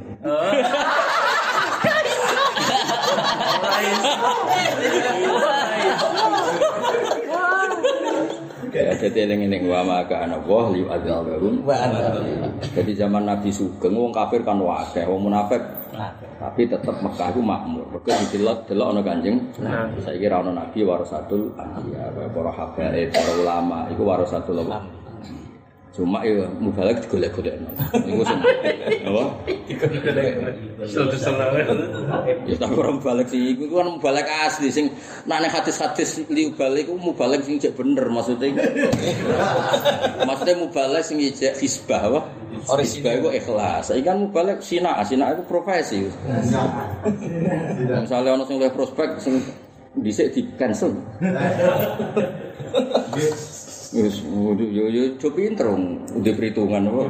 Ya, jadi eling-eling wa maka ana wa li adzalun Wa anta. Jadi zaman Nabi Sugeng wong kafir kan akeh, wong munafik. Tapi tetap Mekah itu makmur. Mergo didelok-delok ana Kanjeng. Saiki ra ana nabi warasatul anbiya, para habaib, para ulama iku warasatul ulama. Cuma ya mubalek digolek-golekno. Niku sing apa? Ya tak kurang balik sih, itu kan mubalek asli sing nek hadis-hadis li balik iku mubalek sing cek bener maksudnya. Maksudnya mubalek sing ijek hisbah apa? Hisbah iku ikhlas. Saiki kan mubalek sina, sina iku profesi. Misalnya ana sing luwih prospek sing dhisik di cancel. Wis yo yo yo pinter udah perhitungan apa.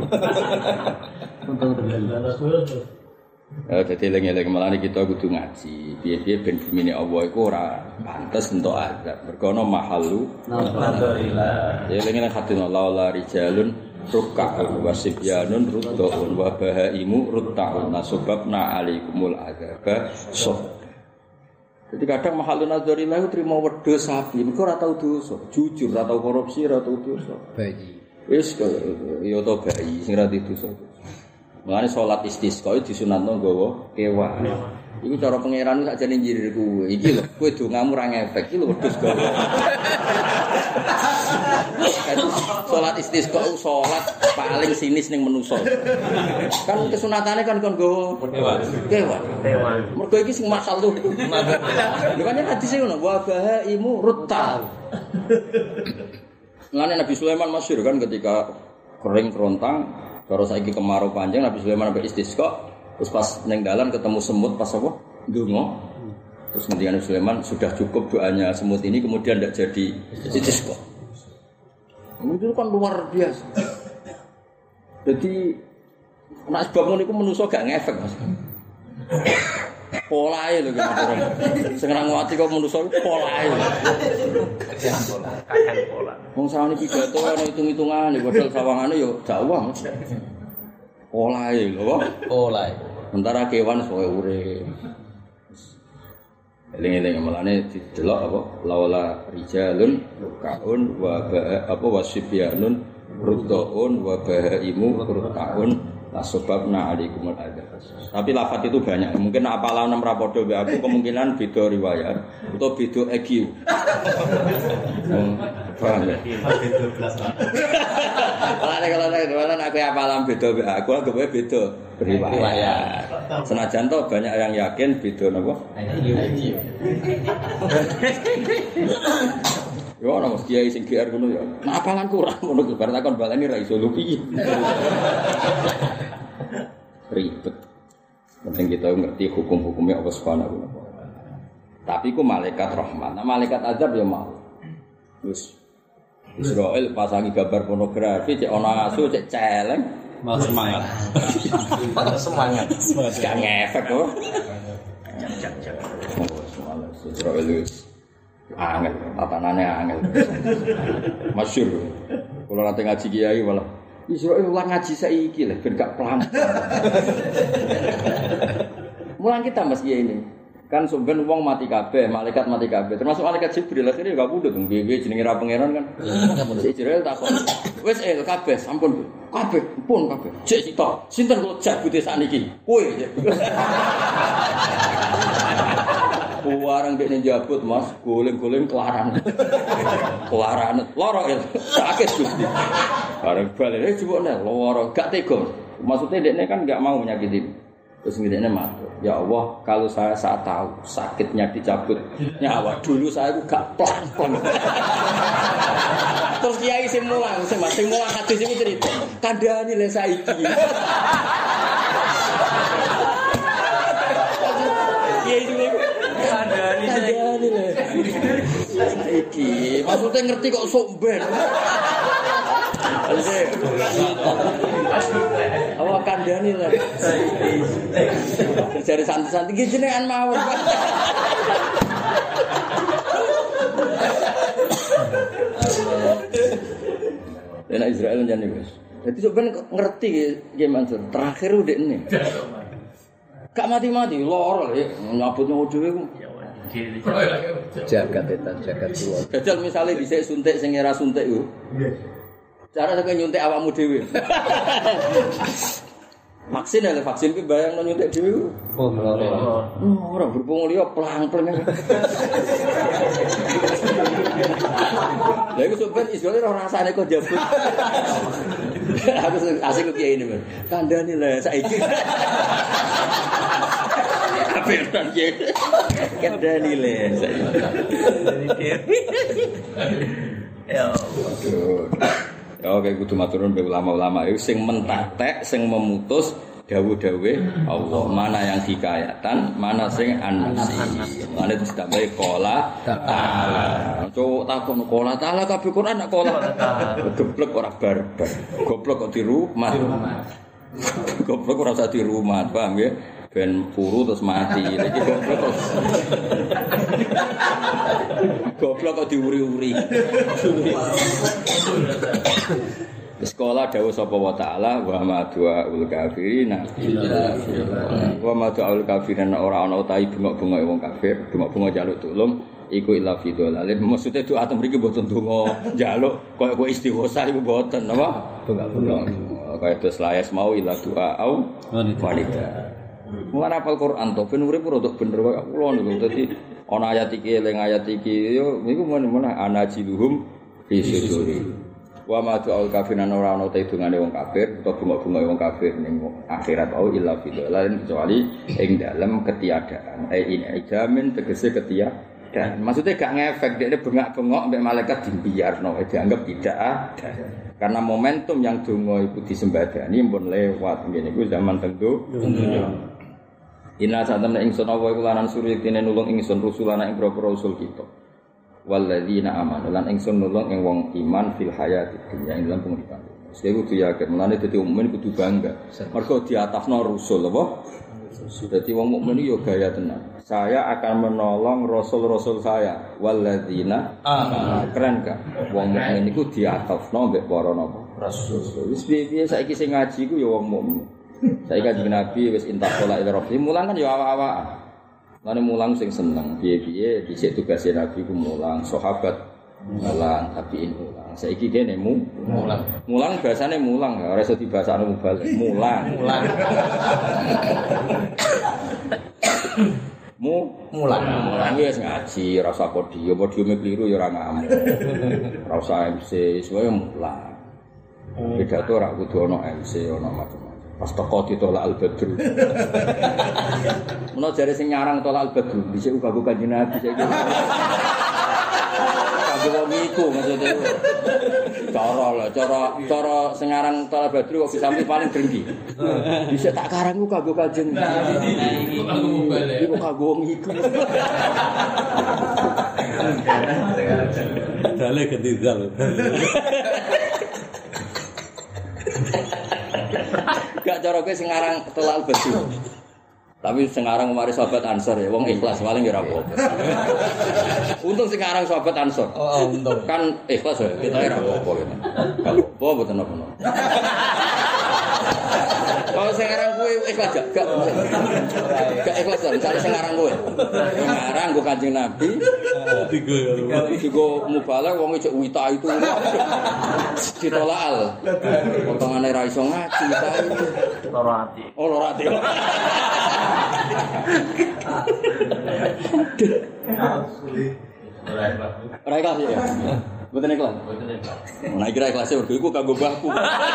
Eh dadi eling-eling malane kita kudu ngaji. Piye-piye ben bumine Allah iku ora pantes entuk azab. Mergo ana mahallu alhamdulillah. Ya eling-eling hadina la rijalun ruk'un wasibyanun ruddaun wa bahaimu rutta'un nasabna alaikumul azaba sob. Jadi kadang mahalun nadzarilah itu terima wedhus sapi, mergo ora tau dosa, jujur ora tau korupsi, ora tau dosa. Bayi. Wis ya to bayi sing ora dosa. Mulane salat istisqa disunatno nggawa kewan. Iku cara pangeran sakjane njirir kowe. Iki lho, kowe dongamu ora ngefek, iki lho wedhus gawe. Salat istisqa salat paling sinis ning manusa. Kan kesunatane kan kon nggawa kewan. Kewan. Kewan. Mergo iki sing masal tuh. Lho kan hadis e ngono, wa bahaimu rutta. Mulane Nabi Sulaiman masyhur kan ketika kering kerontang, cara saiki kemarau panjang Nabi Sulaiman sampai istisqa. Terus pas neng dalan ketemu semut pas apa? Ndonga. Terus ngendikan Sulaiman sudah cukup doanya semut ini kemudian tidak jadi istisqa. Itu kan luar biasa. Jadi nek sebab ngono iku menungso gak ngefek Mas. Polae lho kira-kira. Sing ora nguwati kok menungso iku polae. Kakek pola. Wong sawane pidato ana hitung-hitungan padahal sawangane yo dakwah. Polae lho kok. Oleh. Sementara kewan soe urip. Eling-eling malane didelok apa laula rijalun lukaun wa ba apa wasibyanun ruddaun wa bahaimu rutaun la sebabna alaikumul adzab. Tapi lafaz itu banyak. Mungkin apalah enam rapodo be aku kemungkinan beda riwayat atau beda E Q. Paham ya? dua belas lah. Kalau kalau kalau aku apalan beda aku aku beda riwayat. Senajan toh banyak yang yakin beda napa? Yo ana mesti kiai sing G R ngono ya. Nah, apalan kurang ngono bar takon baleni ra iso lho piye. Ribet. Penting kita ngerti hukum-hukumnya Allah Subhanahu wa taala. Tapi ku malaikat rahmat. Nah, malaikat azab ya mau. Wis Israel pasangi gambar pornografi cek ana asu cek celeng. Mau semangat. Semangat. Gak ngefek kok. Israel wis angel, tatanane angel. Masyhur. Kalau nanti ngaji kiai malah Israel ulang ngaji saiki lah ben gak pelan. Mulang kita Mas kiai ini. Kan sampean wong mati kabeh, malaikat mati kabeh. Termasuk malaikat Jibril akhirnya gak pundhut wong piye jenenge ra pangeran kan. Si Jibril takon. Wis el kabeh sampun kabeh pun kabeh. Cek sitok. Sinten kok jak putih sakniki? Kowe. Warang dekne njabut Mas, goleng-goleng kelaran. Kelaran loro el. Sakit Gusti. Bareng balik jebone loro gak tega. Maksudnya dekne kan gak mau menyakiti. Terus ngene matur, ya Allah, kalau saya saat tahu sakitnya dicabut nyawa dulu saya itu gak pelan-pelan. Terus kiai sing mulang, sing sing mulang hadis iki cerita, kandhani le saiki. Kiai iki kandhani kandhani le saiki. Maksudnya ngerti kok sok ben. Awak kandhani lah. Jare santai-santai iki jenengan mawon. Dan Israel njane wis. Dadi sok ben ngerti nggih Mansur. Terakhir udekne. Gak mati-mati loro lho nyabut nyawa dhewe ku. Jagat etan jagat tuwa. Dadi misale dhisik suntik sing ora suntik ku. Cara sampe nyuntik awakmu dhewe. Vaksin ya, vaksin ki bayangno nyuntik dhewe. Oh, loro. Ora berhubung liya plang-plang. Lah iku sampeyan isole ora rasane kok jabut. Aku asik kok kiai ini, kandhani lah saiki. Apel kan kiai. Kandhani le saiki. Ya. Ya oke kudu maturun be ulama-ulama iku sing mentatek sing memutus dawuh-dawuh Allah mana yang hikayatan mana sing anasi. Mane ditambahi qala ta'ala. Cuk takon qala ta'ala kabeh Quran nak qala. Geblek ora barbar. Goblok kok di rumah. Goblok ora usah di rumah, paham ya? Ben puru terus mati. Iki goblok. Goblok kok diuri-uri. Sekolah dawuh sapa wa ta'ala wa ma du'aul kafirin wa ma du'aul kafirin ora ana utahi bengok-bengok wong kafir, bengok-bengok jaluk tulung iku illa fi dhalalin. Maksude doa tem mriki mboten donga njaluk kaya kowe istighosa iku mboten napa? Bengok-bengok. Kaya terus layas mau illa doa au wanita. Mulane apal Quran to ben urip rodok bener kaya kula niku. Dadi ana ayat iki eling ayat iki yo niku men-men anajiluhum fi suduri. Wa ma tu'al kafiran ora ana te dungane wong kafir utawa bunga-bunga wong kafir ning akhirat au illa fi dhalalin kecuali ing dalem ketiadaan. Eh ini jamin tegese ketiadaan. Maksudnya gak ngefek dekne bengak-bengok mbek malaikat dibiarno dianggap tidak ada. Karena momentum yang donga iku disembadani pun lewat ngene iku zaman tentu. Inna satamna ingsun wa iku lanan suri dene nulung ingsun rusulana ing propro rasul kita. Walladzina amanu lan ingsun nulung ing wong iman fil hayati dunya ing dalam penguripan. Sing kudu yakin mulane dadi mukmin kudu bangga. Mergo diatafno rasul apa? Dadi wong mukmin yo gaya tenan. Saya akan menolong rasul-rasul saya. Walladzina amanu. Keren kan? Wong mukmin iku diatafno mbek para napa? Rasul. Wis piye-piye saiki sing ngaji ku yo wong mukmin. Saiki kanjeng Nabi wis intakola ila rabbi mulang kan yo awak-awak. Lane mulang sing seneng, piye-piye dhisik tugase Nabi ku mulang, sahabat mulang, tabiin mulang. Saiki kene mu mulang. Mulang basane mulang, ora iso dibasakno mubalik. Mulang. Mulang. mu mulang. Mulang wis ngaji, ora usah podium, podiume kliru ya ora ngamuk. Ora usah M C, sesuai mulang. Pidato ora kudu ana M C, ana macam-macam. Pas teko ditolak al-badru. Menawa jare sing nyarang tolak al-badru, dhisik uga kanggo Kanjeng Nabi saiki. Kanggo wong iku maksudnya. Cara lho, cara cara sing aran tolak badru kok bisa paling drengki. Dhisik tak karang ku kanggo Kanjeng Nabi. Iku kanggo wong iku. Dale ketidal. Gak cara kowe sing aran tolak badru. Tapi sekarang kemarin sahabat Ansor ya, wong ikhlas paling ya apa. Untung sekarang sahabat Ansor. Oh, untung. Kan ikhlas ya, kita ya apa apa gitu. Kalau apa betul apa. Kalau sekarang gue ikhlas gak, gak, gak ikhlas lah. Misalnya sekarang gue, sekarang gue Kanjeng Nabi, tiga mubalak, wong itu wita itu ditolak al. Potongannya raiso ngaji, itu. Lorati. Oh lorati. Ora ikhlas ya. Mboten ikhlas. Mboten ikhlas. Nah kira ikhlas mergo iku kanggo mbahku.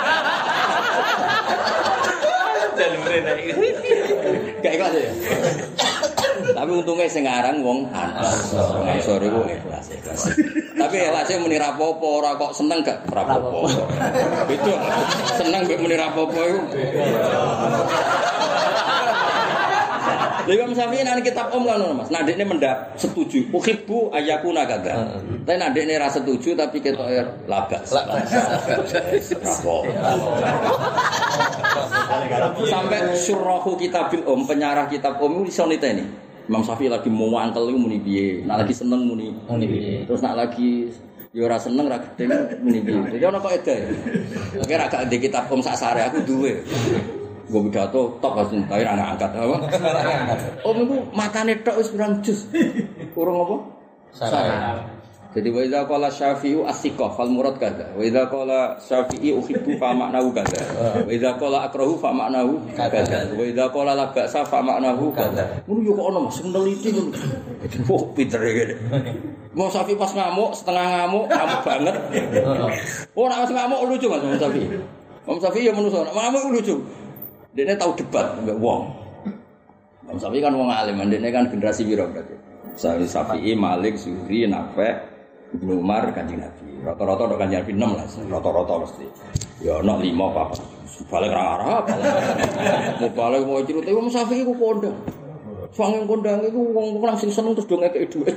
Jalure nek. Gak ikhlas ya. Tapi untungnya sing aran wong Ansor. Wong Ansor iku ikhlas ikhlas. Tapi ikhlasé muni rapopo ora kok seneng gak rapopo. Itu seneng mbek muni rapopo iku. Lha Imam Syafi'i nang kitab Om kan Mas. Nah dekne mendak setuju. Uhibbu ayakuna kadza. Tapi nek dekne ra setuju tapi ketoke labas. Sampai syurrahu kitabil Om, penyarah kitab Om iso niteni. Imam Syafi'i lagi mau angkel iku muni piye. Nek lagi seneng muni muni piye. Terus nek lagi ya ora seneng ra gedeng muni piye. Jadi ana kok edah. Oke ra gak ndek kitab Om sak sare aku duwe. Gue pidato tok pas entai anak angkat apa? Oh niku matane tok wis pirang jus. Urung apa? Sarah. Jadi wa idza qala Syafi'i as-siqah fal murad kadza. Wa idza qala Syafi'i uhibbu fa ma'nahu kadza. Wa idza qala akrahu fa ma'nahu kadza. Wa idza qala la ba'sa fa ma'nahu kadza. Ngono yo kok ono Mas neliti ngono. Oh pinter iki. Mau Syafi'i pas ngamuk, setengah ngamuk, ngamuk banget. Oh nek pas ngamuk lucu Mas Imam Syafi'i. Imam Syafi'i yo manusa, ngamuk lucu. Dia tahu debat mbek wong. Imam Syafi'i kan wong alim, ndekne kan generasi piro berarti. Syafi'i, Syafi'i, Malik, Zuhri, Nafi', Ibnu Umar, Kanjeng Nabi. Rata-rata tok Kanjeng Nabi enam lah, rata-rata mesti. Ya ana lima apa. Balik ra Arab. Mau balik mau cerita Imam Syafi'i ku kondang. Sange kondang iku wong langsung seneng terus do ngekeki dhuwit.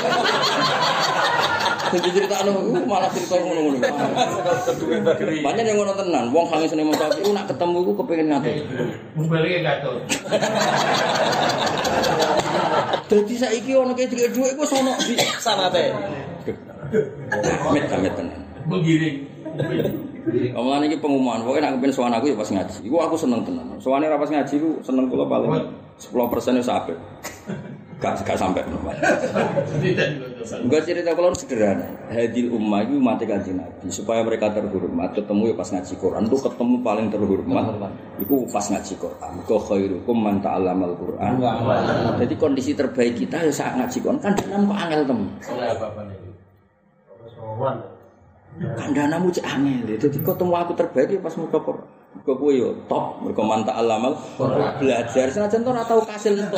Jadi critakno malah cerita ngono-ngono. Banyak yang ngono tenan, wong sange seneng Imam Syafi'i nak ketemu iku kepengin ngatur. Mubalike gatot. Dadi saiki ono kek dhuwit iku sono di sanate. Amit-amit tenan. Menggiring. Omongan iki pengumuman, pokoke nek kepen sowan aku ya pas ngaji. Iku aku seneng tenan. Sowane ra pas ngaji ku seneng kula paling sepuluh persen wis apik. Gak gak sampai normal. Enggak cerita kalau sederhana. Hadil ummah itu umat Kanjeng Nabi supaya mereka terhormat. Ketemu ya pas ngaji Quran itu ketemu paling terhormat. Iku pas ngaji Quran. Ka khairukum man ta'allamal Quran. Jadi kondisi terbaik kita ya saat ngaji Quran kan dalam kok angel tem. Kandhanamu cek angel. Jadi ketemu aku terbaik ya pas muka Quran. Kok kowe yo top mergo man ta'allamal belajar senajan to ora tau kasil entuk.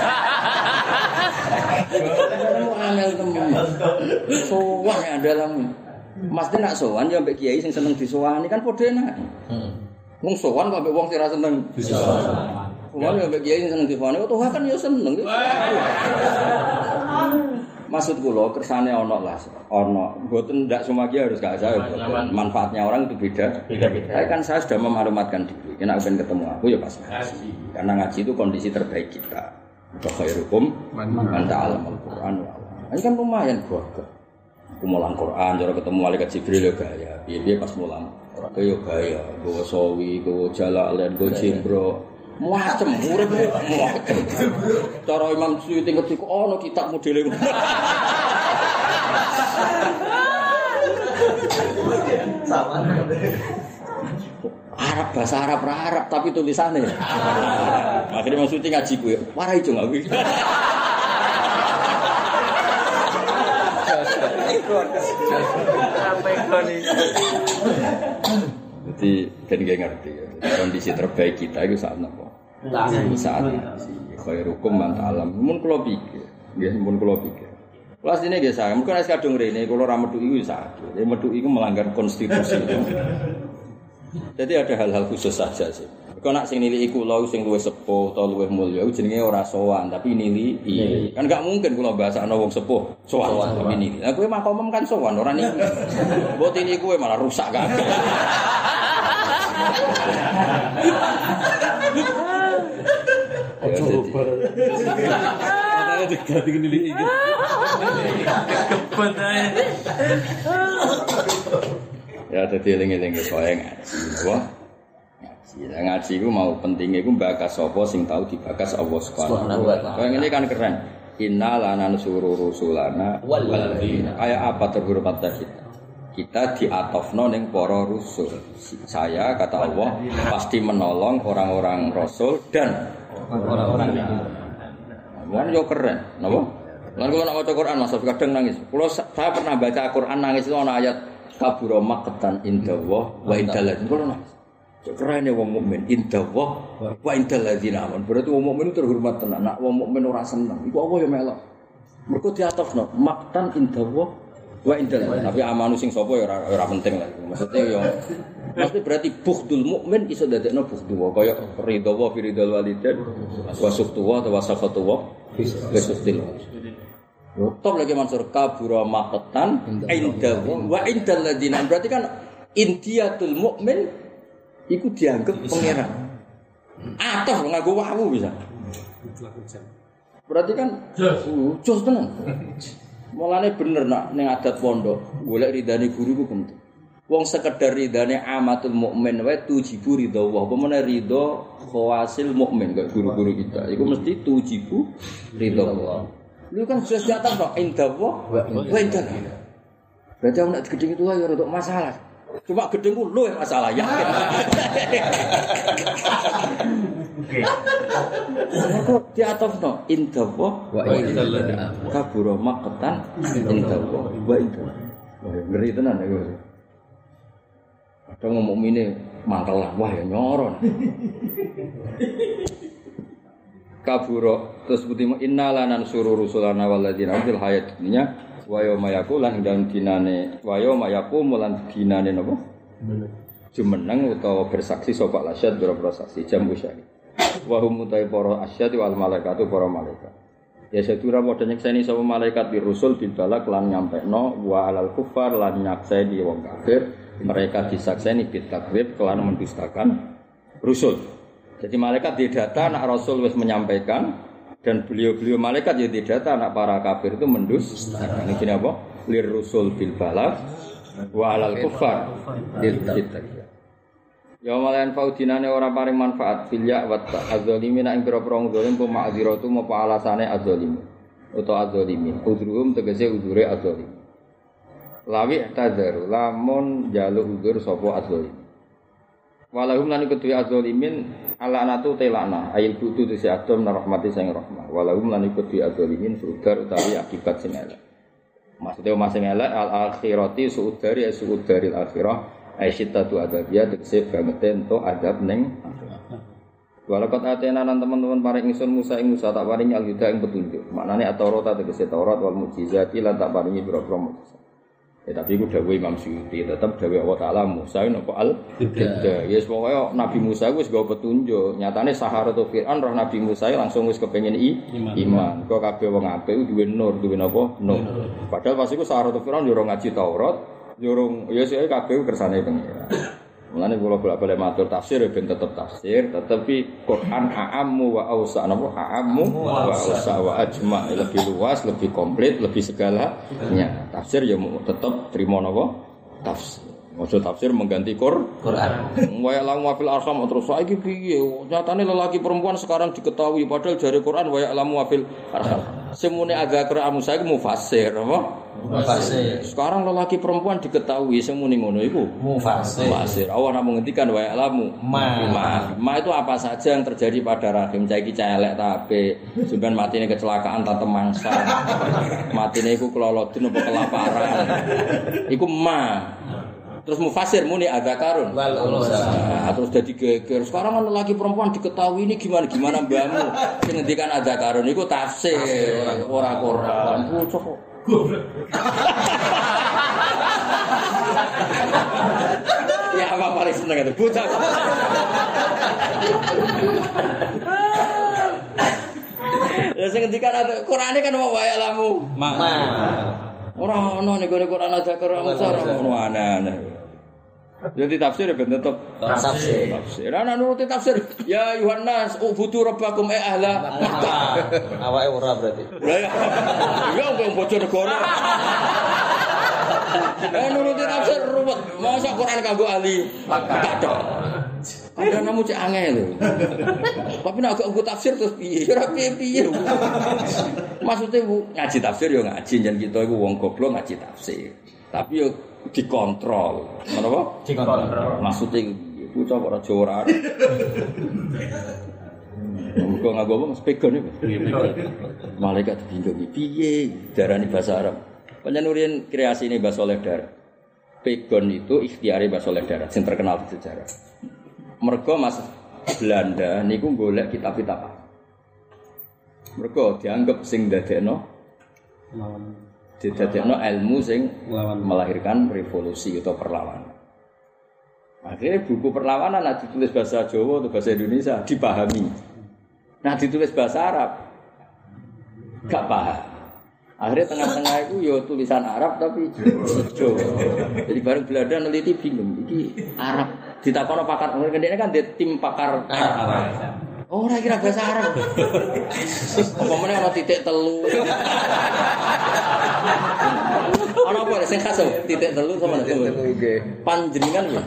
Kamu angel temen. Sowan ya dalam. Mesti nak sowan yo mbek kiai sing seneng disowani kan padha enak. Heeh. Wong sowan kok mbek wong sing ora seneng disowani. Sowan yo mbek kiai sing seneng disowani, oh kan yo seneng. Maksud kula kersane ana lah, ana. Mboten ndak semua kiai harus gak saya. Manfaatnya orang itu beda. Beda-beda. Kan saya sudah memalumatkan diri. Kena ben ketemu aku ya pas ngaji. Karena ngaji itu kondisi terbaik kita. Khairukum man ta'allamal Qur'an. Ini kan lumayan gua. Aku mulang Quran, cara ketemu malaikat Jibril yo gaya. Piye-piye pas mulang. Ora yo gaya, gowo sawi, gowo jalalen, gowo jimbro. Macem urip macem. Cara Imam Suyuti ketika ono kitab modele. Sama. Arab bahasa Arab ra Arab tapi tulisannya. Akhirnya Imam Suyuti ngaji kuwi. Warai jo aku. Sampai koni. Jadi kan gak ngerti ya. Kondisi terbaik kita itu saat apa? Saat ngaji. Khairukum man ta'alam. Mun kula pikir, nggih mun kula pikir. Kelas ini nggih saya, mungkin nek kadung rene kula ra metu iku sakit. Ya metu iku melanggar konstitusi. Jadi ada hal-hal khusus saja sih. Kau nak sing nilai kula sing luwih sepuh atau luwih mulya jenenge ora sowan tapi nilai iya. Kan gak mungkin kula bahasakno wong sepuh sowan tapi nilai. Lah kowe makomem kan sowan ora nilai. Mbok ini kowe malah rusak kabeh. Katanya diganti nilai iki. Kebet ae. Ya dadi eling-eling soe ngaji. Wah. Ngaji. Ngaji ku mau pentinge ku bakas sapa sing tau dibakas Allah Subhanahu wa taala. Kayak ngene kan keren. Inna lana nusuru rusulana wal ladina. Kayak apa terhormat kita? Kita diatofno ning para rusul. Saya kata Allah pasti menolong orang-orang rasul dan orang-orang itu. Mun yo keren, napa? Lan kula nek maca Quran Mas kadang nangis. Kula saya pernah baca Quran nangis itu ana ayat kabura maqtan indallah wa indal ladzina. Kula nangis. Keren ya wong mukmin indallah wa indal ladzina. Berarti wong mukmin itu terhormat tenan. Nek wong mukmin ora seneng, iku apa ya melok. Mergo diatofno maqtan indallah wa indal. Tapi amanu sing sapa ya ora ora penting lah. Maksudnya yo mesti berarti bughdul mukmin iso dadekno bughdu wa kaya ridha wa fi ridal walidain wa sukhtu wa wa sakhatu wa fi sukhtil. Yo top lagi Mansur kabura maqtan inda wa indal ladina. Berarti kan intiyatul mukmin iku dianggap pangeran. Atoh nganggo wawu bisa. Berarti kan jos tenan. Mulane bener nak ning adat pondok, golek ridane guru ku penting. Wong sekedar ridane amatul mukmin wae tujibu ridha wa apa meneh ridha khawasil mukmin kaya guru-guru kita. Iku mesti tujibu ridha Allah. Lu kan jelas di atas kok indah wa wa indah. Berarti aku nak gedeng itu ya untuk masalah. Cuma gedengku lu yang masalah yakin. Oke. Kok di atas no indah wa wa indah. Kabura maqtan indah wa wa indah. Wah, ngeri tenan ya gue. Kadang ngomong mukmine mantel lah, wah ya nyoron. Kaburo terus butimu innalan suru rusulana waladina fil hayat dunya wa yauma yaqulan dan dinane wa yauma yaqum lan dinane napa jumeneng utawa bersaksi sapa lasyad boro saksi jam usyari wa hum mutai para asyad wal malaikatu para malaikat ya sadura padha nyekseni sapa malaikat di rusul dibalak lan nyampekno wa alal kufar lan nyakseni wong kafir mereka disakseni bitakwib kelan mendustakan rusul. Jadi malaikat di data anak Rasul wis menyampaikan dan beliau-beliau malaikat ya di data anak para kafir itu mendustakan. Ini apa? Lir rusul bil balagh wa alal kufar bil kitab. Ya malayan faudinane ora paring manfaat fil ya wa ta'adzalimin ing pira-pira zalim po ma'dziratu apa alasane adzalimin utawa adzalimin. Udhurhum tegese udhure adzalimin. Lawi tadzaru lamun jaluk udzur sapa adzalimin. Walahum lan kedue adzalimin ala anatu telana ayil butu tisi adom narahmati sing rahmah. Walahum lan kedue adzalimin sudar utawi akibat sing elek. Maksudnya mas sing elek al akhirati suudari suudaril akhirah aisyitatu adabiyah tegese banget ento adab ning Walaqad atena lan teman-teman paring ingsun Musa ing Musa tak paringi al-huda ing petunjuk. Maknane at-Taurat tegese Taurat wal mukjizati lan tak paringi pira-pira mukjizat. Ya tapi ku dawuh Imam Suyuti tetep dawuh Allah Taala Musa napa al-huda. Ya pokoke Nabi Musa wis gawa petunjuk. Nyatane Saharatu Fir'aun roh Nabi Musa langsung wis kepengin i, iman. Kok kabeh wong apik duwe nur, duwe napa? Nur. Padahal pas iku Saharatu Fir'aun yo ora ngaji Taurat, yo ora ya sik kabeh kersane pengira. Mulane kula bolak-balik matur tafsir ben tetep tafsir, tetapi Quran a'ammu wa awsa' napa a'ammu wa awsa' wa ajma' lebih luas, lebih komplit, lebih segalanya. Tafsir ya tetep trimo napa? Tafsir. Maksud tafsir mengganti Qur Quran. Wa ya'lamu wa fil arham terus saiki piye? Nyatane lelaki perempuan sekarang diketahui padahal dari Quran wa ya'lamu wa fil arham. Semune adzakar amusa iku mufassir apa? Mufassir. Sekarang lelaki perempuan diketahui semune ngono iku Mufassir. mufassir. Allah namung ngendikan wa ya'lamu Ma. ma. Ma itu apa saja yang terjadi pada rahim. Saiki celek ta apik, sampeyan matine kecelakaan ta temangsa. Matine iku kelolodun apa kelaparan. Iku ma. Terus mufassir muni adzakarun Wal unsa. nah, terus jadi geger. Sekarang kan lelaki perempuan diketahui ini gimana gimana mbahmu. Sing ngendikan adzakarun iku tafsir, ora Quran. Bocah kok. Ya apa paling seneng itu bocah. Ya sing ngendikan Qur'ane kan wa ya'lamu. Ma. Ora ono nek Quran adzakarun ora ono aneh. Jadi tafsir ya ben tetep Tafsir. tafsir. Ana nuruti tafsir. Ya Yohanes, ubudu rabbakum e ahla Makkah. Awake ora berarti. Lah ya. Ya wong bocor negara. Eh nuruti tafsir ruwet. Masa Quran kanggo ahli Makkah. Kadang namu cek angel lho. Tapi nek agak nggo tafsir terus piye? Ora piye-piye. Maksudnya ngaji tafsir ya ngaji jan kita iku wong goblok ngaji tafsir. Tapi yo dikontrol. Menapa? Dikontrol. Maksudnya iku cok ora Jawa ora. Muga nganggo apa spegon iku. Malaikat bingung piye darani bahasa Arab. Panjenengan kreasine Mbah Saleh Darat. Pegon itu ikhtiare Mbah Saleh Darat sing terkenal di sejarah. Mergo Mas Belanda niku golek kitab-kitab. Mergo dianggap sing dadekno didadekno ilmu sing melahirkan revolusi atau perlawanan. Akhirnya buku perlawanan nah ditulis bahasa Jawa atau bahasa Indonesia dipahami. Nah ditulis bahasa Arab gak paham. Akhirnya tengah-tengah itu ya tulisan Arab tapi Jawa. Jadi bareng Belanda neliti bingung iki Arab. Ditakono pakar ngene kan dia tim pakar Arab. Oh, ora kira bahasa Arab. Apa meneh ana titik telu. Ana apa sing khas titik telu sama telu. Panjenengan ya.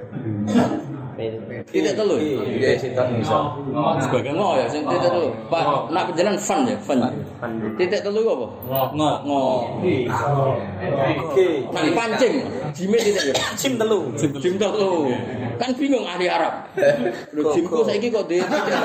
Titik telu. Iya, sitok iso. Sebagai ngo ya sing titik telu. Pak, nak panjenengan fan ya, fan. Titik telu apa? Ngo. Ngo. Oke. Nak pancing, jime titik ya. Sim telu. Jim telu. Kan bingung ahli Arab. Lho jimku saiki kok titik telu.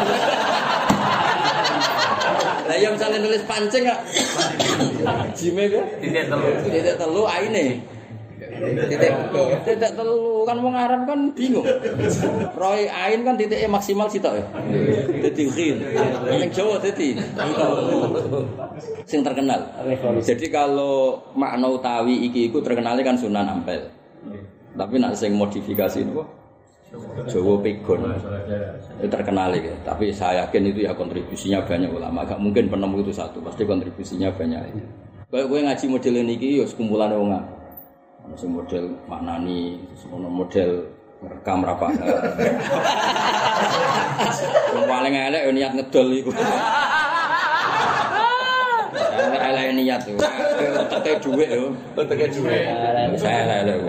Lah ya misalnya nulis pancing kok. Jime kok titik telu. Titik telu aine. Titik titik telu kan wong Arab kan bingung. Roy ain kan titiknya maksimal sitok ya. Dadi ghin. Ning Jawa dadi sing terkenal. Jadi kalau makna utawi iki iku terkenalnya kan Sunan Ampel. Tapi nak sing modifikasi niku Jawa Pegon. Itu terkenal ya. Tapi saya yakin itu ya kontribusinya banyak ulama. Gak mungkin penemu itu satu, pasti kontribusinya banyak. Kayak kowe ngaji model niki ya sekumpulan wong. Ono sing model maknani, ono model rekam rapat. Wong paling elek yo niat ngedol iku. Elek niat yo. Teke dhuwit yo. Teke dhuwit. Saya elek.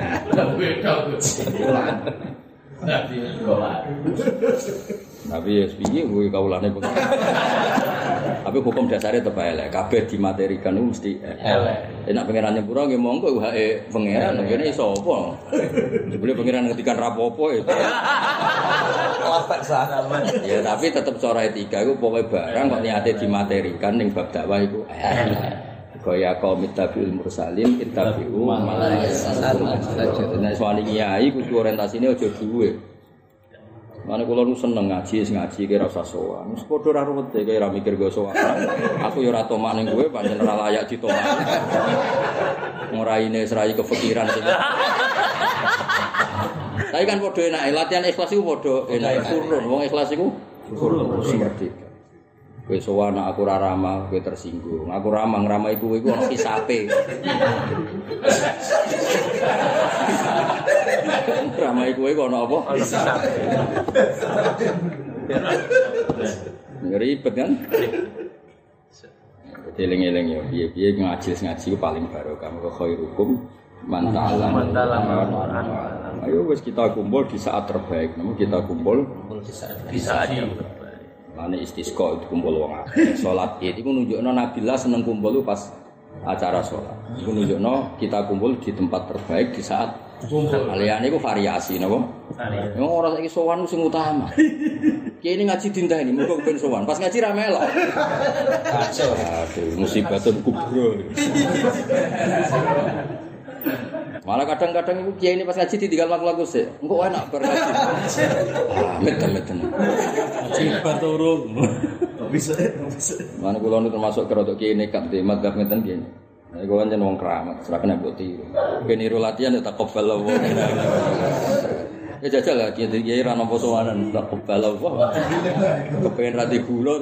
Tapi ya piye kuwi kawulane kok. Tapi hukum dasarnya tetep elek. Kabeh dimaterikan itu mesti elek. Enak pangeran nyepuro nggih monggo hake pangeran ngene iso apa. Jebule pangeran ngetikan rapopo itu. Lapek salaman. Ya tapi tetep cara etika iku pokoke barang kok niate dimaterikan ning bab dakwah iku elek. Kaya kaum tabiul mursalin ittabi'u malaikatan saja. Nek soal kiai kudu orientasine aja duwe. Mane kula nu seneng ngaji, ngaji ki ora usah sowan. Wis padha ora ruwet e kaya ora mikir go sowan. Aku ya ora tomak ning kowe pancen ora layak ditomak. Nguraine serai kefikiran sing. Tapi kan padha enake latihan ikhlas iku padha enake turun. Wong ikhlas iku turun seperti itu. Kowe sowan aku ora ramah, kowe tersinggung. Aku ramah ngramai kowe iku ana hisape. Ramai kowe kok ana apa? Ana hisape. Ribet kan? Eling-eling ya, piye-piye ngaji ngaji ku paling barokah. Kok khairukum man ta'allama. Ayo wis kita kumpul di saat terbaik. Namun kita kumpul di saat terbaik. Lane istisqa itu kumpul wong akeh. Salat Id iku nunjukno Nabilah seneng kumpul pas acara salat. Iku nunjukno kita kumpul di tempat terbaik di saat kumpul. Liyane iku variasi napa? Variasi. Wong ora saiki sowan sing utama. Kiai ini ngaji dinteni muga ben sowan. Pas ngaji ra melok. Kacau. Aduh, musibatun kubro. Malah kadang-kadang ibu kiai ini pas ngaji ditinggal lagu-lagu sih, engkau enak berngaji. Ah, meten-meten. Ngaji baturung. Bisa, bisa. Mana kulo nu termasuk kerodok kiai nekat di madzhab meten kiai. Nah, gue kan jeneng wong keramat, serah kena bukti. Keniru latihan ya tak kobal Allah. Ya jajal lah kiai kiai ra nampa sowanan tak kobal Allah. Kepengen rati gula.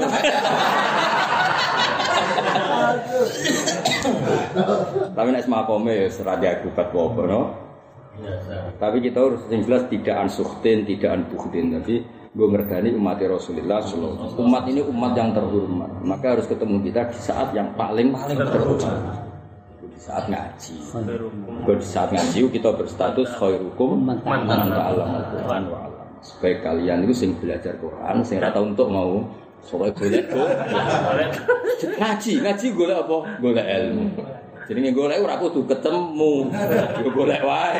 Tapi nek makome wis ra diagubat apa no. Tapi kita harus yang jelas tidak ansuhtin, tidak anbuhtin. Tapi gue ngergani umat Rasulullah sallallahu alaihi wasallam. Umat ini umat yang terhormat. Maka harus ketemu kita di saat yang paling paling terhormat. Di saat ngaji. Gue di saat ngaji kita berstatus khairukum man ta'allama al-Qur'an wa 'allama. Sebaik kalian itu sing belajar Quran, sing ora tau untuk mau soalnya golek kok. Ngaji, ngaji golek apa? Golek ilmu. Jenenge golek ora kudu ketemu. Yo golek wae.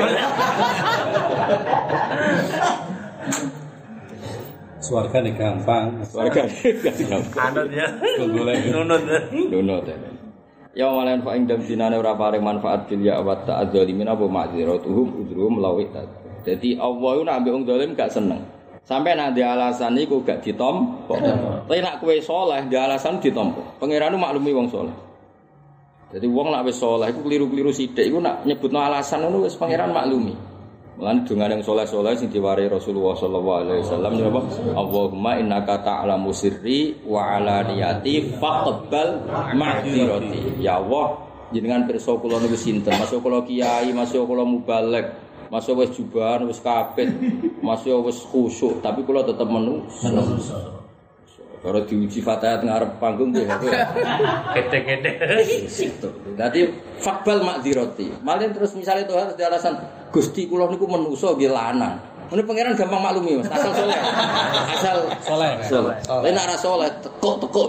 Swargane gampang. Swargane gampang. Anut ya. Golek nunut. Nunut. Ya malahan fa ing dinane ora paring manfaat bil ya wa ta'adzalimin apa ma'dziratuhum udruhum lawi. Dadi Allah ku nek ambek wong zalim gak seneng. Sampai nak di alasan iku gak ditompo. Tapi nak kowe saleh di alasan ditompo. Pangeran maklumi wong saleh. Jadi wong nak wis saleh iku keliru-keliru sithik iku nak nyebutno alasan ngono wis pangeran maklumi. Mulane donga yang saleh-saleh sing diwari Rasulullah sallallahu alaihi wasallam napa? Allahumma innaka ta'lamu sirri wa alaniyati faqbal ma'dzirati. Ya Allah, jenengan pirsa kula niku sinten? Masuk kula kiai, masuk kula mubaligh. Masuk wis jubahan wis kapit, masuk wis khusyuk, tapi kula tetep menungso. Kalau diuji fatihah ngarep panggung nggih. Kete-kete. Dadi fakbal makdzirati. Malih terus misalnya itu harus di alasan Gusti kula niku menungso nggih lanang. Ini pangeran gampang maklumi Mas, asal soleh. Asal soleh. Soleh. Lah nek ora soleh tekuk-tekuk.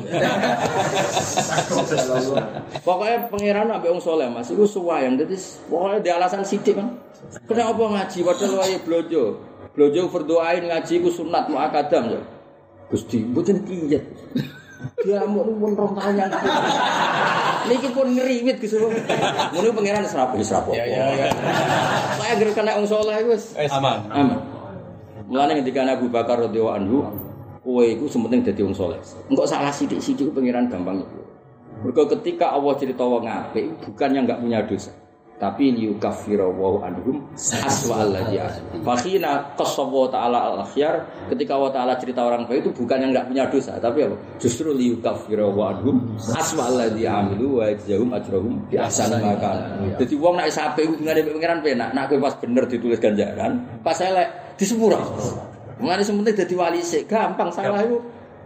Pokoknya pangeran ambek wong soleh Mas iku suwayang. Dadi pokoke di alasan sithik kan. Kena apa ngaji padahal wae blojo. Blojo berdoain ngaji ku sunat muakadam ya. Gusti mboten kiyet. Dia mau pun rong tahun yang niki pun ngeriwit Gus. Ngono pangeran wis rapi wis rapi. Ya ya ya. Saya anggere kena wong saleh wis aman. Aman. Mulane ngendika Abu Bakar radhiyallahu anhu, kowe iku sementing dadi wong saleh. Engko salah sithik-sithik pangeran gampang iku. Mergo ketika Allah cerita wong apik bukannya enggak punya dosa. Tapi liyukaffiru wa anhum aswa allazi aswa. Fakhina qasawa ta'ala al-akhyar, ketika Allah Taala cerita orang baik itu bukan yang enggak punya dosa, tapi apa? Justru liyukaffiru wa anhum aswa allazi amilu wa yajzahum ajrahum bi ahsani ma kana. Dadi wong nek sape hubungane mek pengiran penak, nek kowe pas bener ditulis ganjaran, pas elek disepuro. Mulane sementing dadi wali sik gampang salah iku.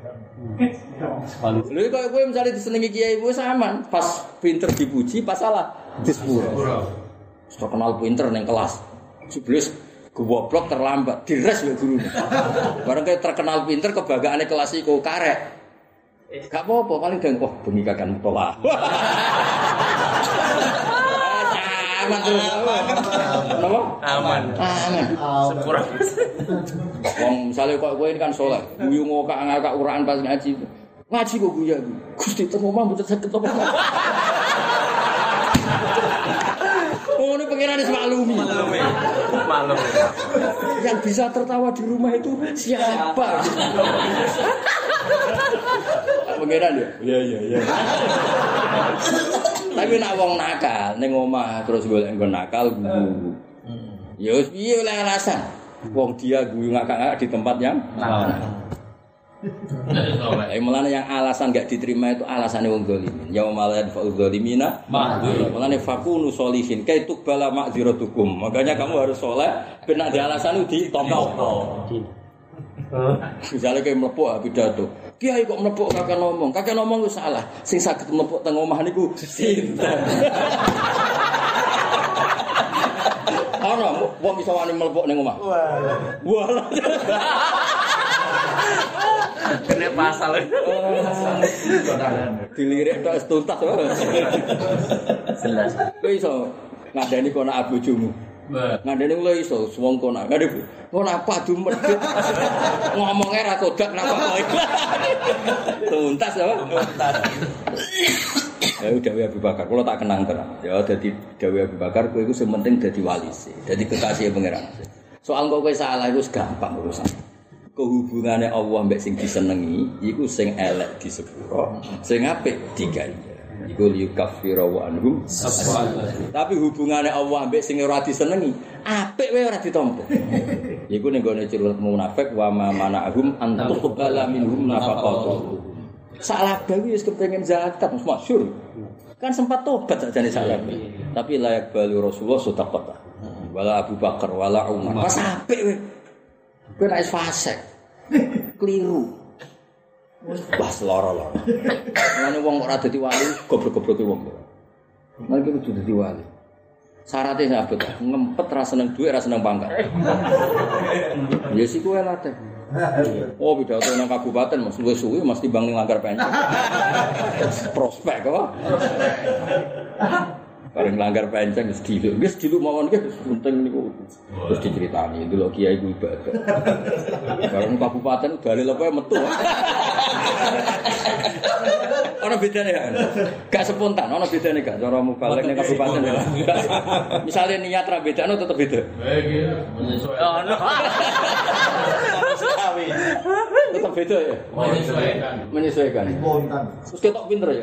Lha kok kowe misale disenengi kiai wis aman, pas pinter dipuji, pas salah disepuro. Terkenal pinter ning kelas. Jeblis goblok terlambat, dires wae gurune. Bareng terkenal pinter kebanggaane kelas iku karek. Gak apa-apa paling deng wah bengi kakan mutola. Aman terus. Napa? Aman. Aman. Sepura. Wong misale kok kowe kan saleh, guyu ngokak-ngakak Quran pas ngaji. Ngaji kok guyu aku. Gusti temu omah mboten saged apa. Oh, ini pengiran maklumi. Maklumi. Maklumi. Yang bisa tertawa di rumah itu siapa? Pengiran ya? Iya, iya, iya. Tapi nak wong nakal ning omah terus golek nggon nakal guyu. Ya wis piye oleh alasan. Wong dia guyu ngakak-ngakak di tempat yang nakal. Eh mulane yang alasan enggak diterima itu alasane wong zalimin. Ya malan fa'ul zalimina ma'dzur. Mulane fakunu sholihin kaitu bala ma'dziratukum. Makanya kamu harus saleh ben nek di alasan itu ditompo. Misalnya kayak melepuk pidato. Kiai kok melepuk kakek ngomong. Kakek ngomong wis salah. Sing saged melepuk teng omah niku sinten. Ana wong iso wani melepuk ning omah. Wah. Wah. Kena pasal. Dilirik tok tuntas. Jelas. Kowe iso ngandani kono abojomu. Ngandani lho iso wong kono. Ngandani ngono apa du medhit. Ngomongnya ra kodak napa kowe. Tuntas ya. Tuntas. Ya Dawi Abu Bakar, kalau tak kenang terang. Ya dadi Dawi Abu Bakar kowe iku sing penting dadi wali sih. Dadi kekasih pangeran. Soal kok kowe salah iku gampang urusan. Kehubungannya Allah mbek sing disenengi iku sing elek di sepuro, sing apik digawe. Iku liyukaffira wa anhum. Tapi hubungannya Allah mbek sing ora disenengi, apik wae ora ditampa. Iku ning gone ciri munafik wa ma mana'hum an tuqbala minhum nafaqatuhum. Salah Dawi wis kepengin zakat masyhur. Kan sempat tobat sakjane salah. Tapi layak bali Rasulullah sedekah. Wala Abu Bakar wala Umar. Pas apik kowe. Kowe nek fasik. Keliru. Wah, lara-lara. Ngene wong ora dadi wali goblok-gobloke wong. Mari kudu dadi wali. Syaratnya sabet, ngempet ra seneng dhuwit, ra seneng pangkat. Ya sik kowe latih. Oh, pidato nang kabupaten Mas suwe-suwe mesti bang ning langgar penceng. Prospek kok. Bareng langgar penceng wis diluk. Wis diluk mawon ki penting niku. Terus diceritani delok kiai ku ibadah. Bareng kabupaten dalil apa metu. Ana bedane kan? Gak spontan, ana bedane gak cara mubalek ning kabupaten. Misale niat ra bedane tetep beda. Ono. Tetap beda ya? Menyesuaikan. Menyesuaikan. Terus ketok pinter ya?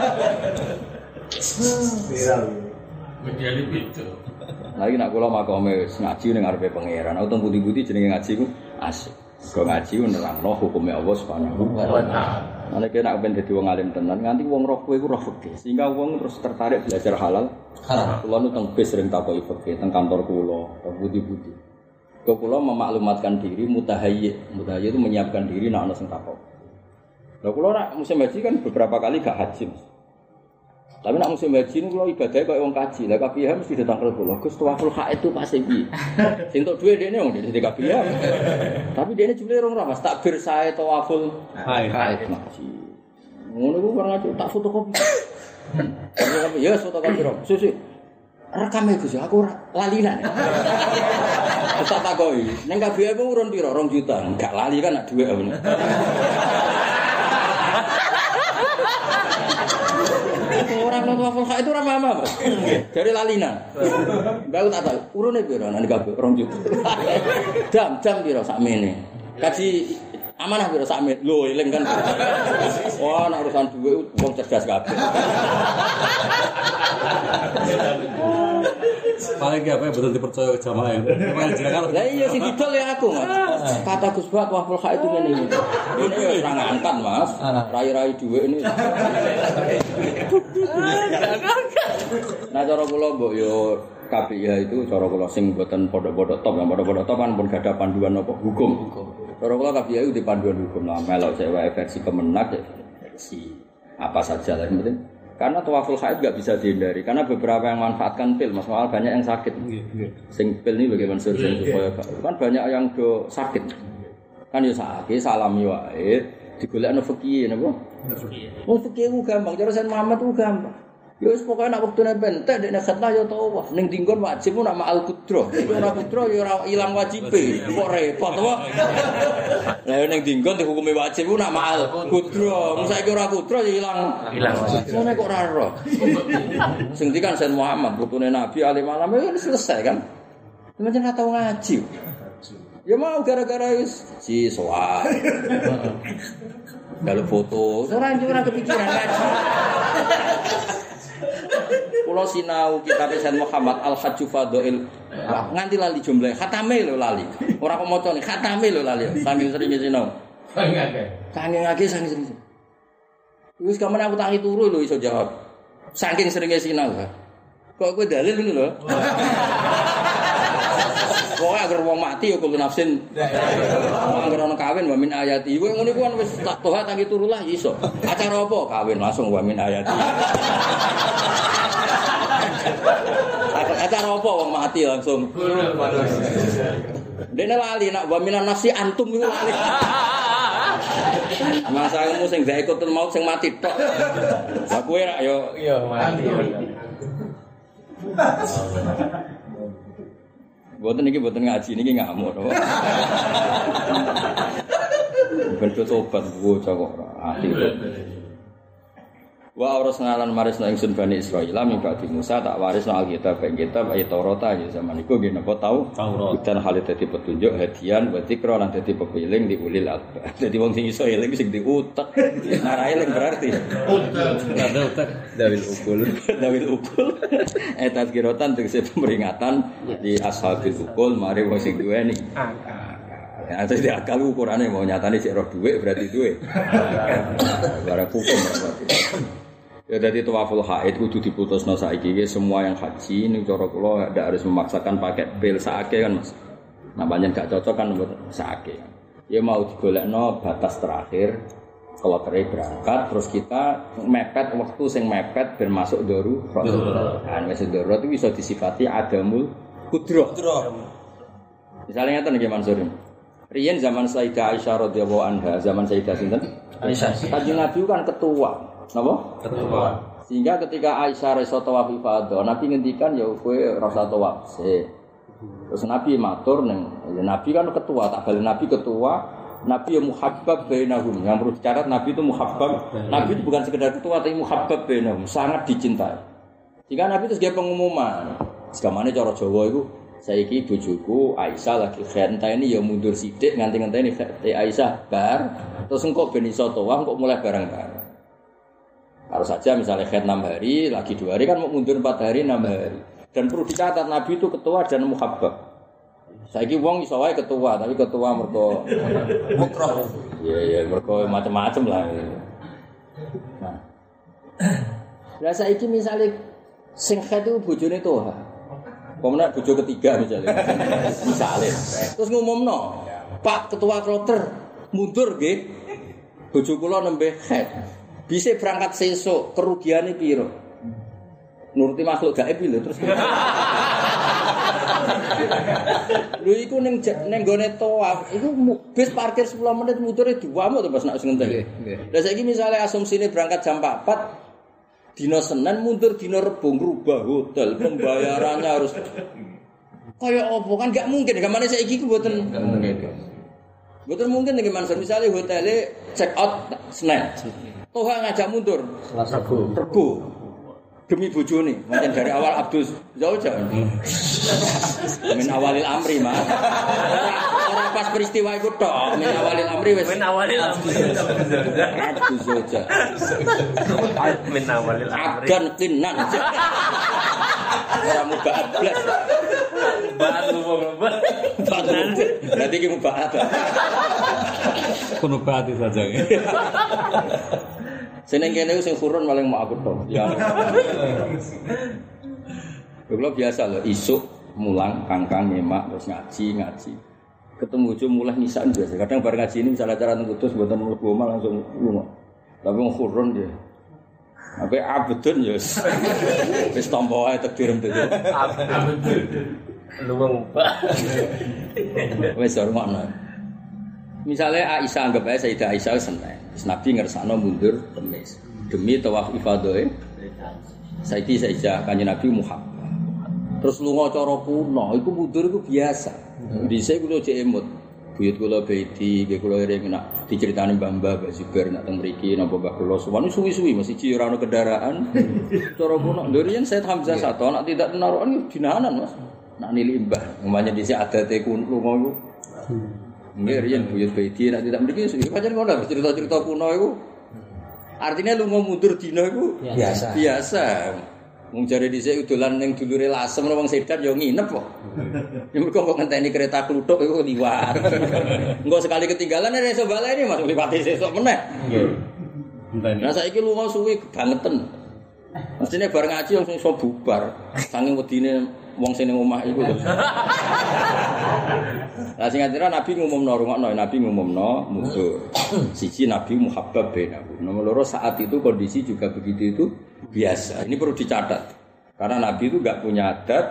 Viral. Menjadi beda. Lagi nak kula makome ngaji ning ngarepe pangeran. Aku teng budi-budi jenenge ngaji ku asik. Kok ngaji nerangno hukume Allah Subhanahu wa taala. Nek nek ben dadi wong alim tenan nganti wong roh kowe iku roh fikih. Sehingga wong terus tertarik belajar halal. Haram. Kula nu teng bis sering takoki fikih teng kantor kula, teng budi-budi. Kok kula memaklumatkan diri mutahayyi. Mutahayyi itu menyiapkan diri nek ana sing takok. Lah kula nek musim haji kan beberapa kali gak haji. Tapi nek musim haji niku kula ibadah koyo wong kaji. Lah kabeh mesti datang ke kula. Gus tawaful haid itu pasti piye? Sing tok duwe dene wong dene kabeh. Tapi dene jumlahe rong ora Mas takbir sae tawaful haid. Ngaji. Ngono ku ora ngaji tak fotokopi. Ya fotokopi ro. Susu. Rekam e Gus aku ora lalinan. Terus tak takoki, ning K B M urun piro? rong juta. Enggak lali kan nak dhuwit ngono. Orang nonton full itu ora paham apa? Dari lalinan. Mbak tak tahu, urune piro nang K B M rong juta. Jam-jam piro sakmene. Kaji amanah piro sakmene. Lho eling kan. Wah, nek urusan dhuwit wong cerdas kabeh. Paling apa betul dipercaya ke jamaah itu. Lah iya sing didol ya aku, Mas. Kata Gus Bak waful kha itu ngene iki. Ini wis ora ngangkat, Mas. Rai-rai dhuwit ini. Nah cara kula mbok yo K P I H itu cara kula sing mboten pondok-pondok top, yang pondok-pondok top kan pun gak ada panduan apa hukum. Cara kula K P I H itu di panduan hukum lah, melok cewek versi Kemenak ya versi apa saja lah yang penting. Karena tawaful haid enggak bisa dihindari karena beberapa yang manfaatkan pil, Mas, soal banyak yang sakit. Sing pil ini bagaimana survei supaya kan banyak yang do sakit. Kan ya sakit salami wae digolekno fikih napa? Wong fikih ku gampang, cara Sayyid Muhammad ku gampang. Ya wis pokoke nek wektune bentek dekne khatlah ya tawaf. Ning dinggon wajib nak ma'al qudra. Ora qudra ya ora ilang wajibe. Kok repot to. Lah ning dinggon dihukumi wajib ku nak ma'al qudra. Mung saiki ora qudra ya ilang ilang wajib. Ngene kok ora ero. Sing ndi kan Sayyid Muhammad putune Nabi alim alam ya selesai kan. Macam ora tau ngaji. Ya mau gara-gara wis si soal. Kalau foto, ora ora kepikiran ngaji. Pulau sinau kitab Sayyid Muhammad Al-Hajju Fadhail nganti lali jumlahe khatame lho lali ora kok macane khatame lho lali saking seringe sinau saking akeh saking akeh saking sering wis kamane aku tangi turu lho iso jawab saking seringe sinau kok kowe dalil ngono lho pokoke agar wong mati ya kulo nafsin agar ana kawin wa min ayati kowe ngono iku kan wis tak toha tangi turu lah iso acara apa kawin langsung wa min ayati acara apa wong mati langsung dene lali nak wa minan nafsi antum iku lali Masa kamu sing gak ikut mau sing mati tok. Lah kowe rak yo Iya, mati. Boten iki boten ngaji niki ngamuk to. Ben tobat bocah kok ati. Wa arsalna marisna ingsun Bani Israil min ba'di Musa tak warisna alkitab ing kitab ayat Taurat ya zaman iku nggih napa tau Taurat. dan hal dadi petunjuk hadian wa dzikra lan dadi pepiling di ulil albab. Dadi wong sing iso eling sing diutek. Narai eling berarti Ada utek. Dawil ukul. dawil ukul eh tazkiratan tegese peringatan di ashabil ukul mari wong sing duweni. Ya, terus dia akal ukurannya mau nyatane cek roh duit berarti duit. Barang hukum berarti. Ya dari tawaful haid kudu diputusno saiki iki semua yang haji ning cara kula ndak harus memaksakan pakai pil saake kan Mas. Nah pancen gak cocok kan buat saake. Ya mau digolekno batas terakhir kalau kere berangkat terus kita mepet waktu sing mepet ben masuk darurat. Kan wis darurat itu bisa disifati adamul qudrah. Misalnya ngeten nggih Mansur. Riyen zaman Sayyidah Aisyah radhiyallahu anha, zaman Sayyidah sinten? Aisyah. Kanjeng Nabi kan ketua, napa? Ketua. Sehingga ketika Aisyah reso tawaf ifadah, Nabi ngendikan ya kowe rasa tawaf sik. Terus Nabi matur ning, ya Nabi kan ketua, tak balik Nabi ketua, Nabi yang muhabbab bainahum. Yang perlu dicatat Nabi itu muhabbab. Nabi itu bukan sekedar ketua tapi muhabbab bainahum, sangat dicintai. Sehingga Nabi itu sebagai pengumuman. Segamane cara Jawa itu saiki bojoku Aisyah lagi khenteni ya mundur sithik nganti-ngenteni Aisyah bar terus engko ben iso tawaf kok mulai bareng-bareng. Harus saja misalnya khet enam hari, lagi dua hari kan mau mundur empat hari enam hari. Dan perlu dicatat Nabi itu ketua dan muhabbab. Saiki wong iso wae ketua tapi ketua mergo mukrah. Iya iya mergo macam-macam lah. Nah. Lah saiki misale sing khet itu bojone toha. Pemenang bojo ketiga misalnya, misalnya, terus ngumumno, Pak Ketua Kloter mundur gih, bojo kula nembe head, bisa berangkat sesuk kerugiannya piro, nuruti makhluk gaib lho terus. Lho iku ning ning gone tawaf, iku bis parkir sepuluh menit mudure dua mu to Mas nek ngenteni. Lah saiki misale asumsine berangkat jam empat. Dino Senin mundur dino Rebo ngrubah hotel, pembayarannya harus kayak opo kan gak mungkin. Gamane saiki ku mboten mungkin. Mboten mungkin nek Mansur misale hotele check out Senin. Toh ngajak mundur Selasa Rebo. Rebo. Demi bojone, pancen dari awal Abdus jauh-jauh. Min awalil amri, Mas. Ora pas peristiwa iku tok, min awalil amri wis. Min awalil amri. Abdus jauh-jauh. Min awalil amri. Agan kinan. Ora mubaat blas. Batu wong Batu. Berarti ki mubaat. Kuno batu saja. Seneng kene sing kurun paling mau aku tok. Ya. Kulo biasa lho isuk mulang kangkang nyemak terus ngaji ngaji. Ketemu bojo mulai nisan biasa. Kadang bar ngaji ini misalnya acara teng Kudus mboten mlebu omah langsung lunga. Tapi wong kurun dia. Apa abdun ya wis. Wis tampa wae takdirem dadi. Abdun. Luwung. Wis hormono. Misalnya Aisyah anggap aja Sayyidah Aisyah seneng. Nabi ngersakno mundur Kamis demi tawaf ifadah. Saiki Sayyidah Kanjeng Nabi Muhammad. Terus lunga cara kuno, iku mundur iku biasa. Dhisik kula jek emut. Buyut kula Baiti, nggih kula ring nak diceritani Mbah-mbah Mbah Zubair nak teng mriki napa Mbah kula suwanu suwi-suwi mesti ci ora ono kendaraan. Cara kuno lho riyen Sayyid Hamzah Sato nak tidak narukan dinahanan Mas. Nak nili mbah, umpamanya dhisik adate kuno lunga iku. Nggih riyen buyut Baiti nak tidak mriki suwi pancen ngono cerita-cerita kuno iku. Artinya lunga mundur dina iku Biasa. Biasa. Wong jare dhisik dolan ning dulure Lasem wong sedan ya nginep kok. Ya mergo kok ngenteni kereta kluthuk iku liwat. Engko sekali ketinggalan ora iso baleni Mas liwati sesuk meneh. Nggih. Nah saiki lunga suwi bangeten. Mestine bar ngaji langsung iso bubar. Saking wedine wong sing ning omah iku lho. Lah sing ngatira Nabi ngumumno rungokno, Nabi ngumumno mundur. Siji Nabi muhabbab bainahu. Nomor loro saat itu kondisi juga begitu itu biasa. Ini perlu dicatat. Karena Nabi itu enggak punya adat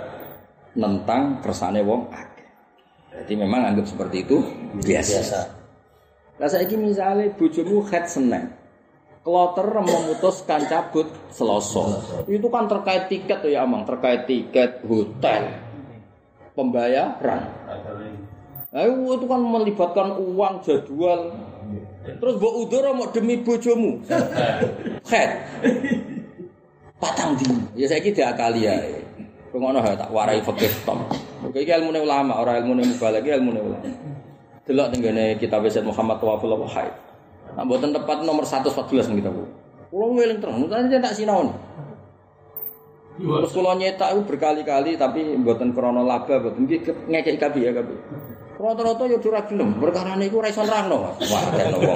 tentang kersane wong akeh. Jadi memang anggap seperti itu biasa. biasa. Lah saiki misale bojomu head Senin. Kloter memutuskan cabut Selasa. Itu kan terkait tiket ya Amang, terkait tiket hotel. Pembayaran. Nah, itu kan melibatkan uang jadwal. Terus mbok udara mau demi bojomu. Head. Patang dino. Ya saiki diakali ae. Ngono tak warai fikih tom. Iki ilmune ulama, ora ilmune mubalagh, ilmune ulama. Delok tenggene kitab Sayyid Muhammad Tawaful Wahid. Nah, mboten tepat nomor seratus empat belas kita Bu. Kulo ngeling terus, mutane tak sinaon. Terus kulo nyetak itu berkali-kali tapi mboten krana laba, mboten iki ngekeki kabeh ya kabeh. Rata-rata yo ora gelem, perkarane iku ora iso nerangno, Mas. Wah, kene wong.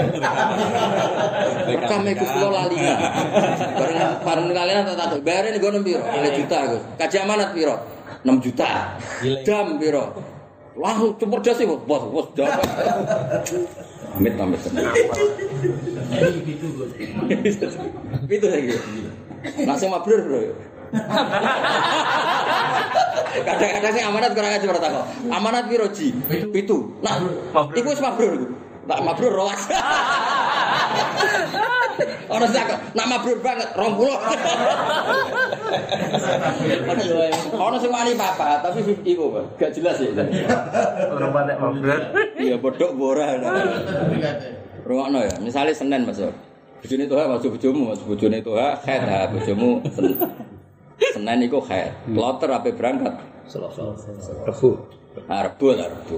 Rekam iku kulo lali. Bareng bareng kalian tak tak bayare nggo piro? lima juta, Gus. Kaji amanat piro? enam juta. Dam piro? Wah, cepet das iki, Bos. Bos dapat. Amit amit. Itu Gus. Itu lagi. Langsung mabrur, Bro. Kadang-kadang sing amanat kurang aja ora takok. Amanat piro ji? Pitu. Nah, iku wis mabrur iku. Tak mabrur rolas. Ora takok, nak mabrur banget dua puluh. Ono sing wani papa, tapi iku gak jelas ya. Ora patek mabrur. Iya bodhok ora. Rungokno ya, misale Senin Mas. Bojone Toha masuk bojomu, Mas. Bojone Toha khed ha bojomu. Senin iku khed. Kloter ape berangkat? Selasa. Rebu. Arbu lah Rebu.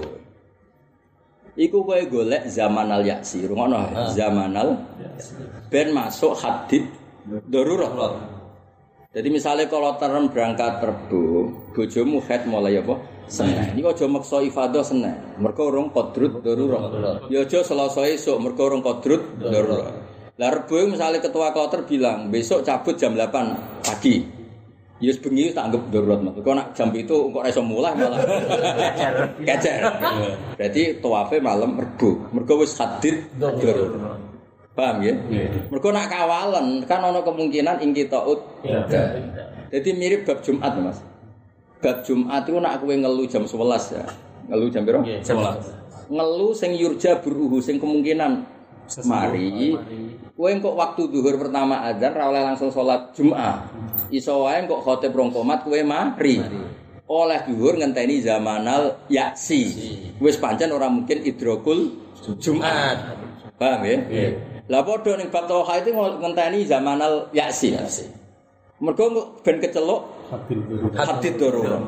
Iku kowe golek zamanal yaksi, rungono zamanal ben masuk hadid darurat. Jadi misalnya kalau terem berangkat Rebu, bojomu khed mulai apa? Senin. Iku aja maksa ifadah Senin. Mergo urung qadrut darurat. Ya aja Selasa esuk mergo urung qadrut darurat. Lah Rebu misalnya ketua kloter bilang, besok cabut jam delapan pagi. Yus bengi tak anggap darurat Mas. Kok nak jam itu kok ora iso mulai malah kecer. Kecer. Berarti tawafe malam Rebu. Mergo wis hadid darurat. Paham ya? Mergo nak kawalan kan ana kemungkinan ing kitaut. Jadi mirip bab Jumat Mas. Bab Jumat itu nak kowe ngelu jam sebelas ya. Ngelu jam piro? sebelas. Ngelu sing yurja buruhu sing kemungkinan mari kowe kok waktu zuhur pertama azan ra oleh langsung salat Jumat. Iso wae kok khotib rong komat kowe mari. Oleh zuhur ngenteni zamanal yaksi. Wis pancen ora mungkin idrokul Jumat. Paham ya? Nggih. Lah padha ning bab tauhid itu ngenteni zamanal yaksi. Mergo ben keceluk hadid darurat.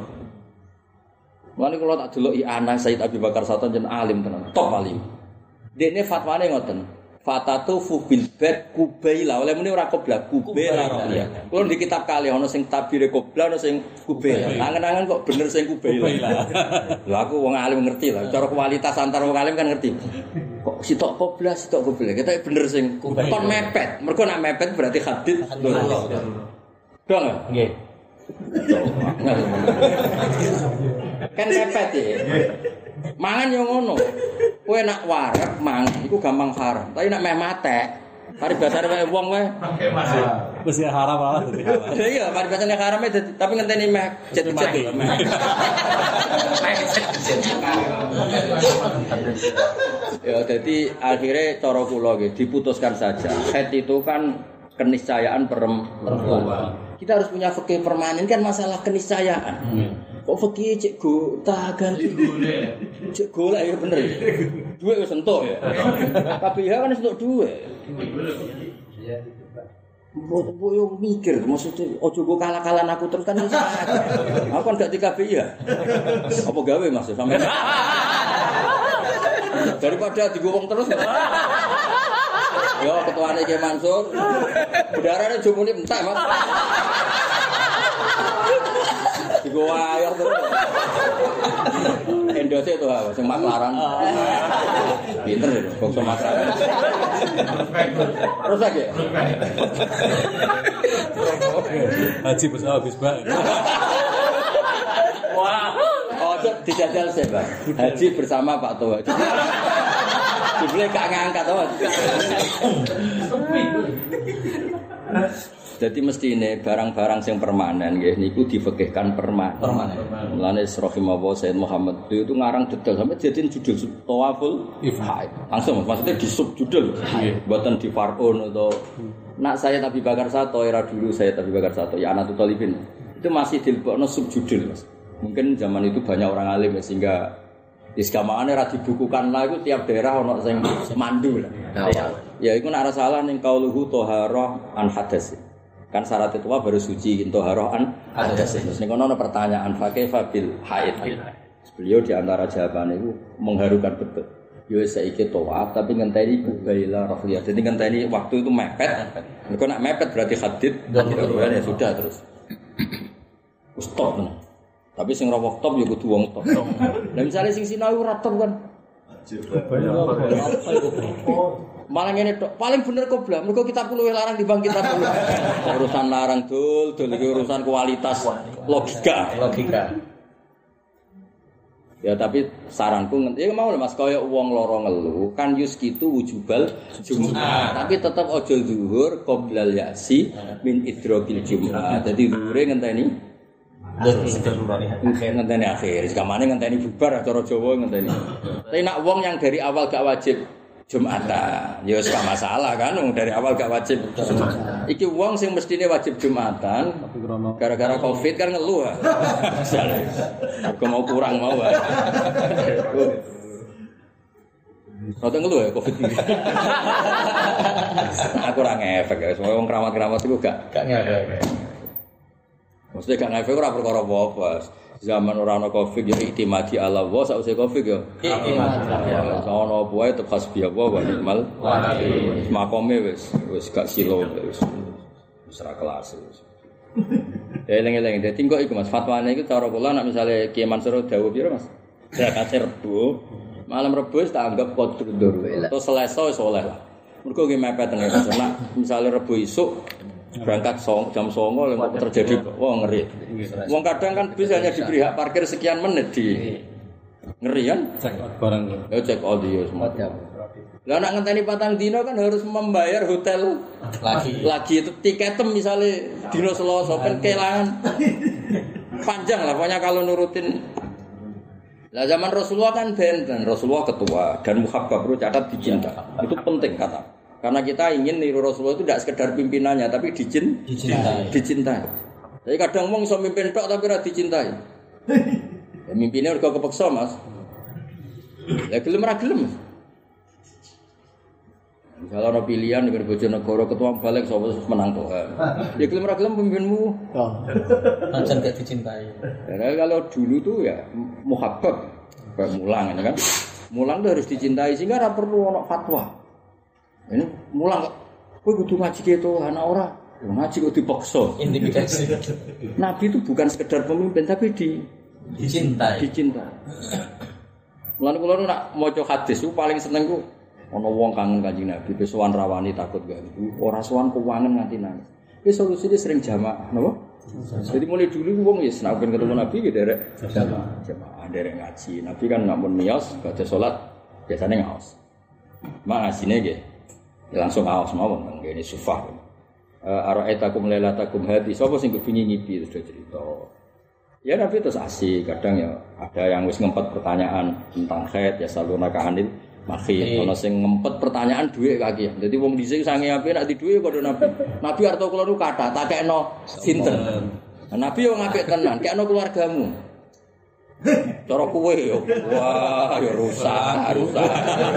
Mulane kula tak delok anak Sayyid Abi Bakar Saton jen alim tenan, top alim. Dene fatwane ngoten. Fatatu fu bil bad kubaila. Oleh muni ora qiblah, kubaila ya. Kulo di kitab kali ana sing tabire qiblah ana sing kubaila. Angen-angen kok bener sing kubaila. Lha aku wong alim ngerti lah. Cara kualitas antar wong alim kan ngerti. Kok sitok qiblah, sitok kubaila. Kita bener sing kon mepet. Mergo nek mepet berarti hadid darurat. Dong nggih. Kan mepet ya. Mangan yo ngono. Kowe nak wareg mangan iku gampang haram. Tapi nak meh matek, paribasane wae wong wae. Wis haram lah. Iya, paribasane haram tapi ngenteni meh cet-cet. Ya jadi akhirnya cara kula nggih diputuskan saja. Head itu kan keniscayaan perempuan. Kita harus punya fikih permanen kan masalah keniscayaan. Kok fikih cek go tak ganti golek. Cek golek ya bener. Duit wis entuk ya. Tapi ya kan wis entuk duit. Iya. Mbok yo mikir maksudnya ojo go kalah-kalan aku terus kan iso. Aku kan gak di K B I ya. Apa gawe Mas sampe. Daripada digowong terus. Yo ketuane Ki Mansur. Udarane jumune entek Mas. Digo ayo terus. Endose itu ha sing maklaran. Pinter lho bangsa maklaran. Terus lagi. Haji bos habis Pak. Wah, oh dijajal sih Pak. Haji bersama Pak Toha. Jebule gak ngangkat to. Jadi mesti ini barang-barang yang permanen nggih niku difikihkan permanen. Permanen. Mulane rahimahullah Sayyid Muhammad itu ngarang detail sampai jadiin judul Tawaful Ifhaid. Langsung maksudnya di sub judul. Mboten di far'un atau nak saya Nabi Bakar Sato era dulu saya Nabi Bakar Sato ya Anatul Talibin. Itu masih dilebokno sub judul Mas. Mungkin zaman itu banyak orang alim ya, sehingga iskamaane ra dibukukan lah itu tiap daerah ono sing mandu lah. Ya, ya iku nek ora salah ning qauluhu taharah an hadas. Kan syarat itu baru suci intoharoh an hadas. Terus ning kono ana pertanyaan fa kaifa bil haid. Beliau di antara jawabannya itu mengharukan betul. Yo saiki tawaf tapi ngenteni kubaila rafliyah. Jadi ngenteni waktu itu mepet. Nek nek mepet berarti hadid ya sudah terus. Stop. Tapi sing ra top ya kudu wong top. Lah misale sing sinau ora top kan. Malah ngene tok, paling bener koblah. Mergo kitab luwih larang dibanding kitab luwih. Urusan larang dul, dul iki urusan kualitas logika, logika. Ya tapi saranku ya mau lho Mas kaya wong lara ngelu kan yus kitu wujubal Jumat. Tapi tetep aja zuhur qoblal yasi min idrokil Jumat. Dadi dhuwure ngenteni ngenteni akhir. Sekamane ngenteni bubar cara Jawa ngenteni. Tapi nak wong yang dari awal gak wajib Jumatan, ya wis gak masalah kan, dari awal gak wajib. Iki wong sing mestine wajib Jumatan, gara-gara Covid kan ngeluh. Misale, aku mau kurang mau. Rada ngeluh ya Covid iki. Aku ora ngefek ya, semua wong keramat-keramat iku gak gak ngefek. Maksudnya gak ngefek ora perkara apa-apa. Zaman ora ana Covid ya iktimadi ala wa sausé Covid ya. Iktimadi. Ya ana apa wae tetep hasbi Allah wa ni'mal wakil. Makome wis wis gak silo wis. Wis ra kelas wis. Eleng-eleng dadi kok iku Mas fatwane iku cara kula nek misale Kiai Mansur dawuh piro Mas? Zakate Rebo. Malam Rebo wis tak anggap qadrul. Terus Selasa wis oleh lah. Mergo ki mepet teng nek misale Rebo isuk berangkat song, jam songo yang terjadi wah ngeri. Wong kadang kan bis hanya diberi hak parkir sekian menit di ngeri kan? Cek barang. Ya cek audio semua. Lah nak ngenteni patang dino kan harus membayar hotel lagi. Lagi itu tiketem misalnya dino Selasa kan kelangan. Panjang lah pokoknya kalau nurutin. Lah zaman Rasulullah kan benten, Rasulullah ketua dan muhabbab perlu catat dicinta. Itu penting kata. Karena kita ingin niru Rasulullah itu tidak sekedar pimpinannya tapi dicin, dicintai. Dicintai. Jadi kadang wong iso mimpin tok tapi ora dicintai. Ya mimpinnya udah kepeksa Mas. Ya gelem ra gelem. Misalnya ada pilihan dengan Bojonegoro ketua balik sapa menang tok. Ya gelem ra gelem pemimpinmu. Oh. Langsung gak dicintai. Ya kalau dulu tuh ya muhabbab kayak mulang ini kan. Mulang tuh harus dicintai sehingga ora perlu ono fatwa. Ini mulang kok, kowe kudu ngaji gitu, anak ora. Ngaji kok dipaksa. Intimidasi. Nabi itu bukan sekedar pemimpin tapi di dicintai. Dicintai. Mulane kula nak maca hadis ku paling seneng ku ana wong kangen Kanjeng Nabi, sowan rawani takut gak. Ora sowan kuwangen nganti nangis. Ki solusine sering jamaah, napa? Jadi mulai dulu wong wis nek ketemu Nabi ki derek jamaah. Jamaah derek ngaji. Nabi kan nek mun miyos baca salat biasane ngaos. Mak ngasine nggih langsung awas mawon ngene sufah. Eh araitakum lailatakum hadi sapa sing kepengin ngipi terus cerita. Ya Nabi terus asik kadang ya ada yang wis ngempet pertanyaan tentang haid ya saluna ka anil mahid. Ono sing ngempet pertanyaan dhuwit kaki. Dadi wong dhisik sange ape nek di dhuwit padha Nabi. Nabi arep kula nu kathah tak kekno sinten. Nabi yo ngapik tenan, kekno keluargamu. Cara kowe yo wah yo rusak, rusak.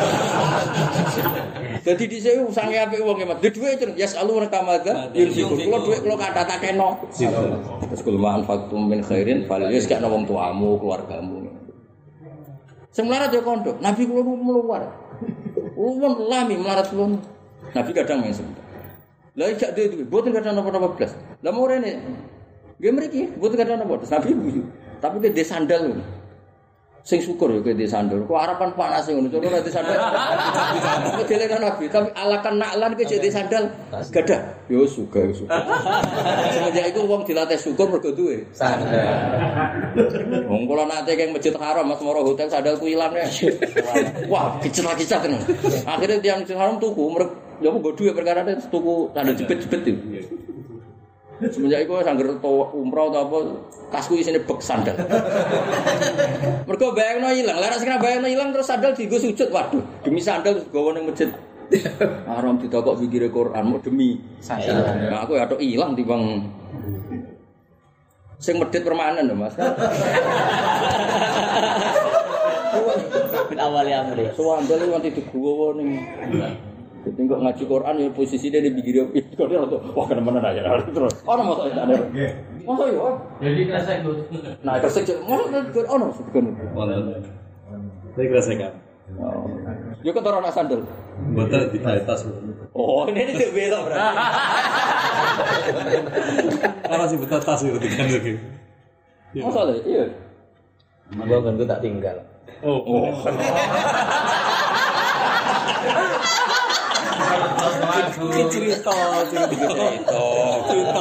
Dadi dhisik sange apik wong emat. Di dhuwit yes alu rekamadha yunsiku. Kula dhuwit kula kathah tak kekno. Terus kul ma'an faktum min khairin fal yusqa wong tuamu, keluargamu. Sing melarat yo kondo. Nabi kula meluar. Wong lami melarat kula. Nabi kadang men sebentar. Lah gak duwe, mboten kadang napa-napa blas. Lah mau rene. Nggih mriki, mboten kadang napa. Nabi guyu. Tapi ke sandal lho. Sing syukur ya ke sandal. Kok harapan panas ngono, cara ora sandal. Kok delekan Nabi, tapi alakan naklan ke jadi sandal gadah. Yo suga, yo suga. Semenjak iku wong dilatih syukur mergo duwe sandal. Wong kula nate keng Masjid Haram Mas Moro hotel sandalku ilang ya. Wah, kicet-kicet tenan. Akhire tiyang Masjid Haram tuku mergo yo nggo duwe perkara tuku sandal jepit-jepit itu. Semenjak iku sangger umroh atau apa tasku isine bek sandal. Mergo bayangno ilang, lha nek sing bayangno ilang terus sandal dienggo sujud. Waduh, demi sandal gowo ning masjid. Haram ditakok pikire Quran mau demi sandal. Nah, aku ya tok ilang timbang sing medhit permanen lho Mas. Min awali amri. Sandal iki nganti digowo ning Jadi kok ngaji Quran ya posisinya di pinggir itu kok dia tuh wah kena-kena aja terus. Ono mosok ada. Mosok yo. Jadi kresek itu. Nah, kresek mosok ono sebeken. Wonten. Saya kerasakan. Oh. Yo kok ora sandal. Mboten di tas. Oh, ini itu belok berarti. Ora sih betul tas itu kan lagi. Mosok lho, iya. Gua kan tak tinggal. Oh. Oh. Cerita, cerita, cerita, cerita.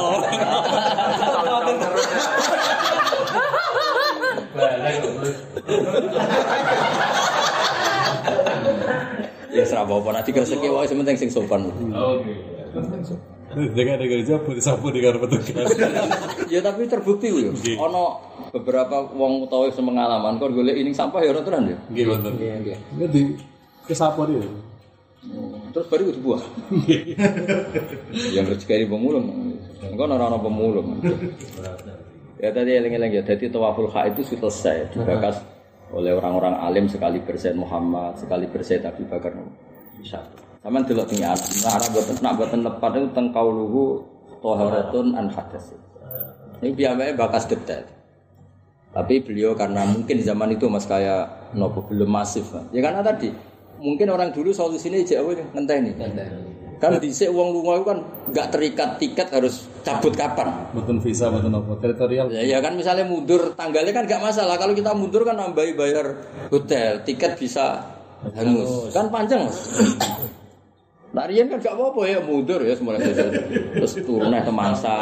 Ya serapa apa nanti rezeki wae sementing sing sopan. Oke. Dengan negara Jawa disapu di karep petugas. Ya tapi terbukti yo. Ono beberapa wong utawa sing pengalaman kok golek ini sampah ya ora tenan ya. Nggih wonten. Nggih. Nggih kesapu dia. Terus baru dibuang. Yang rezeki pemulung. Engko ora ana pemulung. Ya tadi eling-eling ya, jadi tawaful ha itu selesai dibakas oleh orang-orang alim sekali bersaid Muhammad, sekali bersaid Abu Bakar. Bisa. Sampeyan delok teng Arab, Arab boten nak boten lepat itu teng kauluhu taharatun an hadas. Ini biasanya bakas detail. Tapi beliau karena mungkin zaman itu Mas kayak nopo belum masif. Ya karena tadi mungkin orang dulu solusinya jek apa ngenteni. Kan dhisik wong lunga itu kan enggak terikat tiket harus cabut kapan. Mboten visa mboten apa teritorial. Ya, ya kan misalnya mundur tanggalnya kan enggak masalah. Kalau kita mundur kan nambahi bayar hotel, tiket bisa hangus. Kan panjang, Mas. Nah, riyen kan enggak apa-apa ya mundur ya semula terus turun nang Temangsa.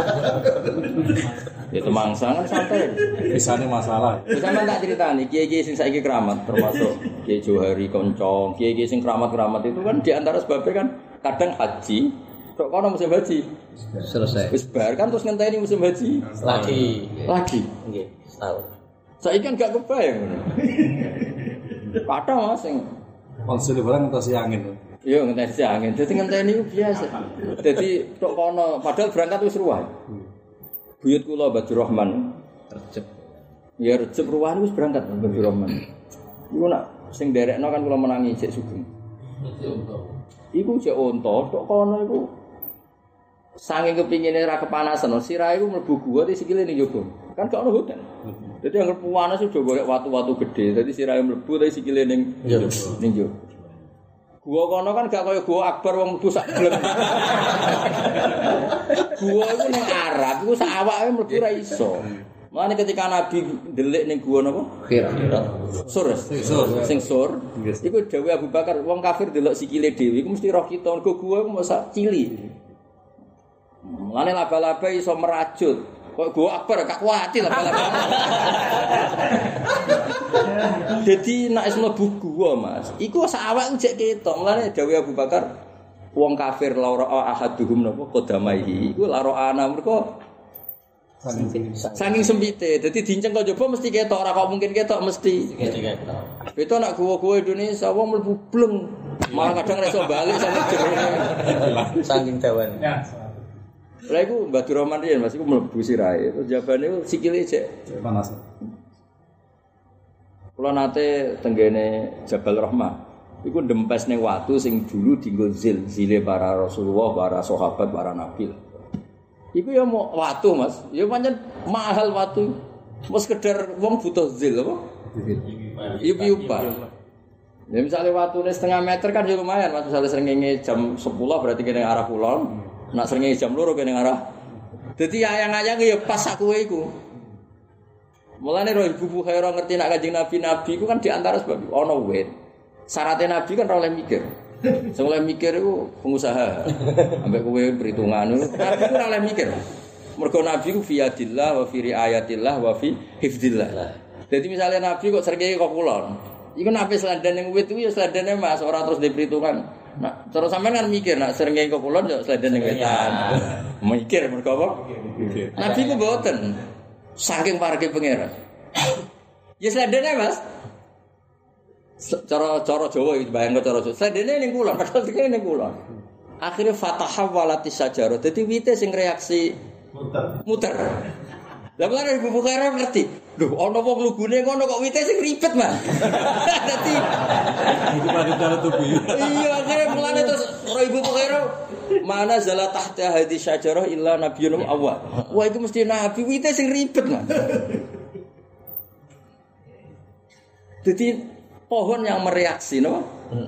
Ya Temangsa kan santai. Visane masalah. Wis sampean tak critani kiai-kiai sing saiki keramat termasuk Kiai Johari Koncong, kiai-kiai sing keramat-keramat itu kan di antara sebabnya kan kadang haji, kok kono musim haji Selesai. wis bar kan terus ngenteni musim haji Lagi. lagi. Nggih, setahun. Saiki kan gak kebayang ngono. Padha Mas sing Konsul barang entas angin. yo ngenteni si angin, dadi ngenteni ku biasa. Dadi tok kono padahal berangkat wis ruwah. Buyut kula Badur Rahman Recep. Ya Recep ruwahan wis berangkat Badur Rahman. Iku nak sing derekno kan kula menangi cek sugeng. Iku cek onto tok kono iku saking kepingine ra kepanasan, sirahe iku mlebu gua te sikile ning njaba. Kan gak ono hotel. Dadi anggere panas sudah golek watu-watu gede, dadi sirahe mlebu te sikile ning njaba. Ning njaba. Gua kono kan gak kaya gua Akbar wong mlebu sak gleng. Gua iku ning Arab iku sak awake mlebu ra iso. Mulane ketika Nabi ndelik ning gua napa? Kira. Sur. Sing sur. Iku dawuh Abu Bakar, wong kafir ndelok sikile dhewe iku mesti roh kita. Mergo gua iku mosok cili. Mulane laba-laba iso merajut. Kok gua Akbar gak kuwati laba-laba. Dadi nek wis mlebu gua, Mas, iku sak awak jek ketok. Mulane dawuh Abu Bakar, wong kafir lara ahaduhum napa qadamaihi. Iku lara ana mergo saking sempite, dadi dinceng kok njaba mesti ketok, ora kok mungkin ketok mesti. Ketok. Itu nak gua-gua Indonesia wong mlebu bleng. Malah kadang ora iso bali sampe jerone. Saking dawane. Lha iku Badur Rahman riyen Mas iku mlebu sirahe. Terus jabane iku sikile cek Panas. Kula nate tenggene Jabal Rahmah. Iku ndempes ning watu sing dulu dienggo zil, zile para Rasulullah, para sahabat, para nabi. Iku ya mau watu Mas, ya pancen mahal watu. Mas sekedar wong butuh zil apa? Iya piupa. Ya misalnya watune setengah meter kan ya lumayan Mas, misalnya srengenge jam sepuluh berarti kene arah kulon, nak srengenge jam dua kene arah. Dadi ayang-ayang ya pas sak kowe iku. Mulane ro Ibu Bukhaira ngerti nak Kanjeng Nabi-nabi iku kan di antara sebab ana wit. Syaratnya Nabi kan ora oleh mikir. Sing oleh mikir iku pengusaha. Ambek kowe perhitungan Nabi ku ora oleh mikir. Mergo Nabi ku fi yadillah wa fi riayatillah wa fi hifdzillah. Jadi misalnya Nabi kok srengenge kok kulon. Iku nape selandan ning wit iku ya selandane Mas, ora terus diperhitungan. Nah, terus sampean kan mikir nak srengenge kok kulon ya selandan ning wetan. Mikir mergo apa? Mikir. Nabi ku mboten. Saking pareke pangeran. Ya sledene Mas. Cara-cara Jawa iki bayangno cara Jawa. Sledene ning kulon, padahal iki ning kulon. Akhire fatahawalatis sajarah. Dadi wite sing reaksi muter. Muter. Lah mulane Ibu Bukhara ngerti. Lho ana wong lugune ngono kok wite sing ribet, Mas. Dadi Itu pada cara tubuh. iya akhire mulane terus Ibu Bukhara mana zala tahta hadis syajarah illa nabiyyun awwal. Wah itu mesti nabi wite sing ribet, Mas. Jadi pohon yang mereaksi, no?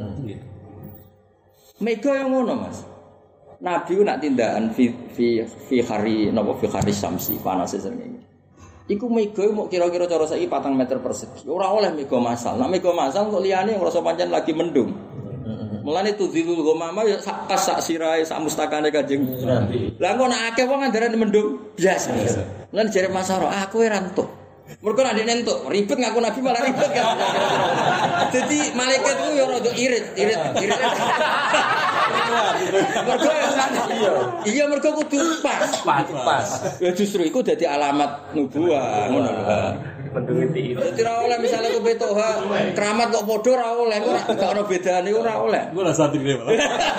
Mega yang ngono, Mas. Nabi ku nak tindakan fi fi fi hari napa fi hari samsi panase srengenge. Iku mega mau kira-kira cara saiki patang meter persegi. Ora oleh mega masal. Nek mega masal kok liyane ngrasa pancen lagi mendung. Mulane tudzilul ghamama ya sak kas sak sirahe sak mustakane Kanjeng Nabi. Lah kok nek akeh wong andarane mendung biasa. Lan jare Masaro, aku ora entuk. Mergo nek entuk ribet ngaku Nabi malah ribet kan. Dadi malaikat ku ya rada irit, irit, irit. Mergo iya mergo kudu pas, Pas, pas. ya justru iku dadi alamat nubuwah ngono lho. Mendung iki. Dadi ora oleh misale ku betok ha keramat kok padha ora oleh, ora gak ono bedane ora oleh. Gue rasa santri malah.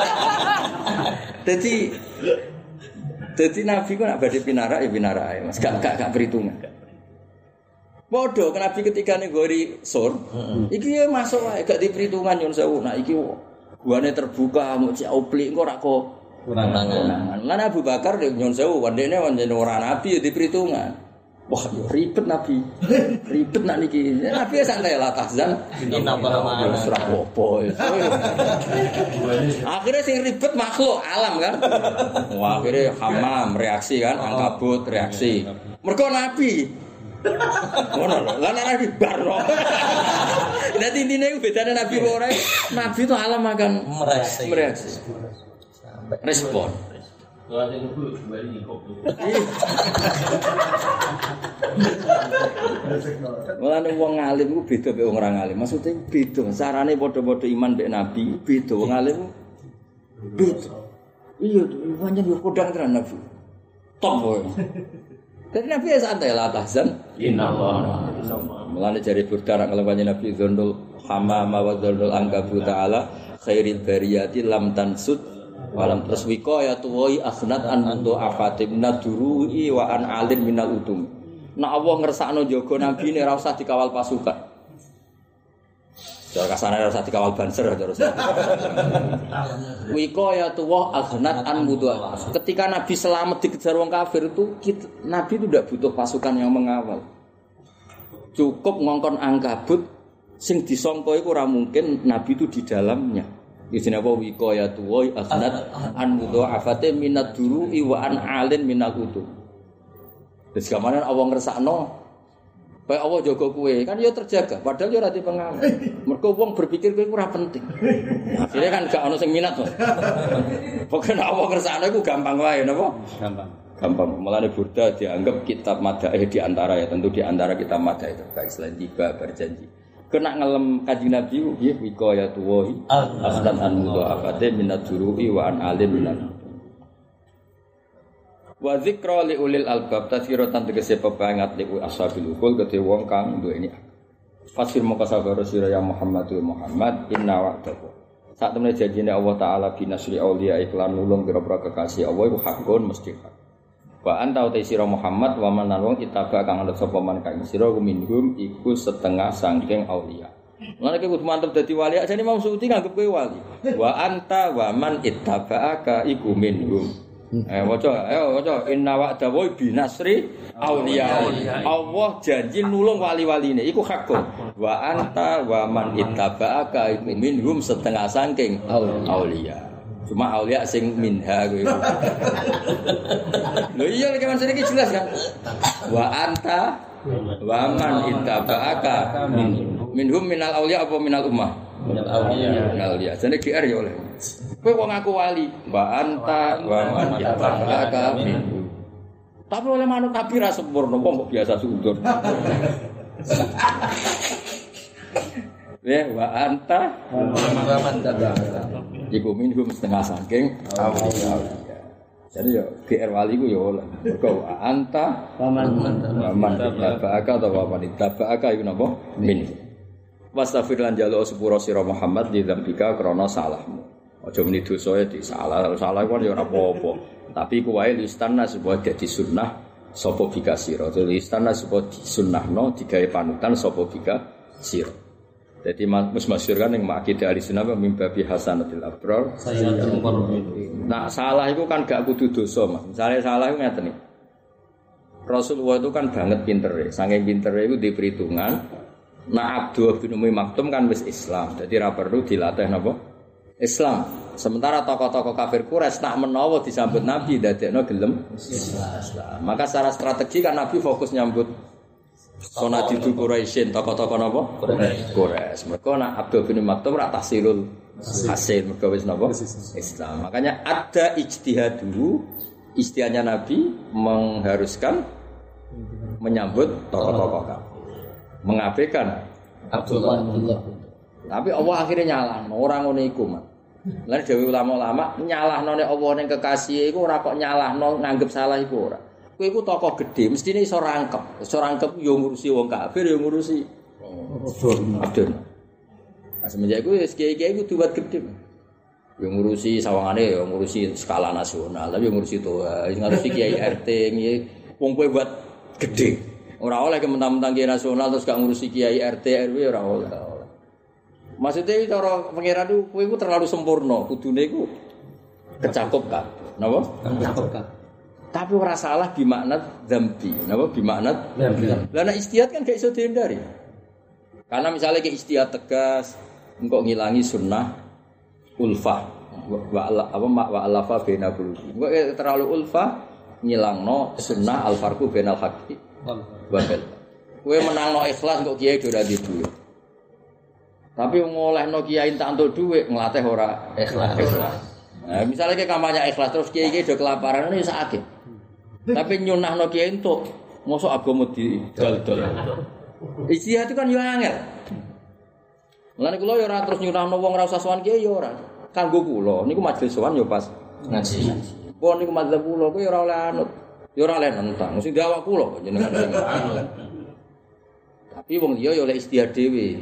Dadi dadi Nabi ku nak badhe pinarak ya pinarak ae Mas, gak gak gak perhitungan. Padha Nabi ketika ning gori sur, iki ya masuk wae gak diperhitungan nyun sewu. Nah iki guane terbuka mau cek oplik engko ora kok Kurangan. Lan Abu Bakar nyun sewu wandene wandene ora nabi ya diperhitungan. Wah, yo ribet Nabi. Ribet nak niki. Nabi santai lah tahzan. Inna Allaha ma'ana. Ora apa-apa. Akhirnya sing ribet makhluk alam kan. Wah, akhirnya hamam reaksi kan, angkabut reaksi. Mergo Nabi. Ngono lho. Lah Nabi barno. Dadi intine ku bedane Nabi karo ora. Nabi itu alam akan Mereaksi. mereaksi. Respon. Mulane wong alim ku beda mek wong ora alim. Maksudnya beda. Carane padha-padha iman mek Nabi, beda wong alim. Beda. Iya, pancen yo kodang tenan Nabi. Top wae. Dadi Nabi ya santai lah tahzan. Innallaha. Mulane jare Burda nek ngelewani Nabi Dzannul Hamama wa Dzannul Ankabut ta'ala khairil bariyati lam tansud walam terus wiqayatu wa akhnat an mundu afatim nadurui wa an alim minal utum. Nek Allah ngersakno jaga Nabi nek ora usah dikawal pasukan. Cara kasane ora usah dikawal banser terus. Wiqayatu wa akhnat an mundu. Ketika Nabi selamat dikejar wong kafir itu kita, Nabi itu tidak butuh pasukan yang mengawal. Cukup ngongkon angkabut sing disangka iku ora mungkin Nabi itu di dalamnya. Isine apa wiqayatu wa akhnat an mudha'afati minad duru'i wa an alin minal utum. Wis gamane Allah ngersakno kaya Allah jaga kowe kan ya terjaga padahal ya ora di pengawal. Mergo wong berpikir kowe ora penting. Akhire kan gak ono sing minat to. Pokoke Allah ngersakno iku gampang wae napa? Gampang. Gampang. Mulane Burda dianggap kitab madaih di antara ya tentu di antara kitab madaih terbaik selain tiba berjanji. Kena ngelem Kanjeng Nabi nggih wiqayatu wa aslan an mudha'afati minad duru'i wa an alim minal. Wa dzikra li ulil albab tazkiratan tegese pepangat li ashabil ukul kedhe wong kang duweni. Fasir mongko sabar sira ya Muhammad wa Muhammad inna wa'dahu. Sak temene janjine Allah taala binasri auliya iklan nulung pira-pira kekasih Allah iku hakun mesti hak. Wa anta uta sira Muhammad wa man wong kitaba kang anut sapa man kae sira minhum iku setengah saking auliya. Lan iki kudu mantep dadi wali ajane Imam Suyuti nganggep kowe wali. Wa anta wa man ittaba'aka iku minhum. Eh waca ayo waca inna wa'da wa binasri auliya. Allah janji nulung wali-waline iku hakun. Wa anta wa man ittaba'aka iku minhum setengah saking auliya. Cuma aulia sing minha kowe. Lho iya lek kan iki jelas kan. Wa anta wa man ittaba'aka minhum minal aulia apa minal ummah? Minal auliya. Minal aulia. Jane G R ya oleh. Kowe wong aku wali, wa anta wa man ittaba'aka minhum. Tapi oleh manut tapi ra sempurna wong kok biasa suudon. Ya wa anta Wa man tabaka. iku minhum setengah saking auliya. Jadi ya G R wali ku ya oleh. Mergo anta Paman man tabaka atau waman tabaka iku napa? Min. Wastaghfir lan jaluk sepuro sira Muhammad di dzambika krana salahmu. Aja muni dosae disalah, salah iku ya ora apa-apa. Tapi ku wae istana supaya dadi sunnah sapa bika sira. Dadi istana supaya disunnahno digawe panutan sapa bika sira. Jadi mas masyhur kan yang makidah ahli sunnah mimba bi hasanatil abrar. Nah, salah itu kan gak kudu dosa, Mas. Misalnya salah itu ngeten iki. Rasulullah itu kan banget pintere, saking pintere itu di perhitungan. Nah, Abdul bin Umi Maktum kan wis Islam. Jadi ra perlu dilatih napa? Islam. Sementara tokoh-tokoh kafir Quraisy tak menawa disambut Nabi dadekno gelem Islam. Maka secara strategi kan Nabi fokus nyambut Sonadidu Quraisyin, tokoh-tokoh napa? Quraisy. Mergo nak Abdul bin Maktum ra tahsilul hasil mergo wis napa? Islam. Makanya ada ijtihad dulu, ijtihadnya Nabi mengharuskan menyambut tokoh-tokoh kafir. Mengabaikan Abdullah. Tapi Allah akhirnya nyalahno, ora ngono iku, Mas. Lan dhewe ulama-ulama nyalahno nek Allah ning kekasih iku ora kok nyalahno nganggep salah iku ora. Kowe iku tokoh gedhe, mestine iso rangkep. Iso rangkep yo ngurusi wong kafir, yo ngurusi Abdul. Nah, semenjak iku wis kiai-kiai kudu buat gedhe. Yo ngurusi sawangane, yo ngurusi skala nasional, tapi yo ngurusi to, ngurusi kiai R T nggih. Wong kowe buat gedhe. Ora oleh kementang-mentang kiai nasional terus gak ngurusi kiai R T R W ora oleh. Maksudnya cara pangeran itu kowe iku terlalu sempurna, kudune iku kecakup kan. Napa? Kecakup kan. Tapi ora salah bimakna dzambi. Napa bimakna dzambi? Lah nek istihad kan gak iso dihindari. Karena misalnya ke istihad tegas engko ngilangi sunnah ulfah wa apa wa alafa baina qulubi. Engko terlalu ulfah ngilangno sunnah al farqu bainal haqqi wa batil. Kowe menangno ikhlas kok kiai ora di duwe. Tapi ngolehno kiai tak entuk dhuwit nglatih ora ikhlas. Nah, misalnya ke kampanye ikhlas terus kiai-kiai do kelaparan ini sakit. Tapi nyunahno kiai entuk mosok agama didol-dol. Ijtihad itu kan yo angel. Mulane kula yo ora terus nyunahno wong ora usah sowan kiai yo ora. Kanggo kula niku majelis sowan yo pas ngaji. Pon niku mazhab kula kuwi ora oleh anut. Yo ora oleh nentang. Mesti dawak kula jenengan sing anut. Tapi wong liya yo oleh ijtihad dhewe.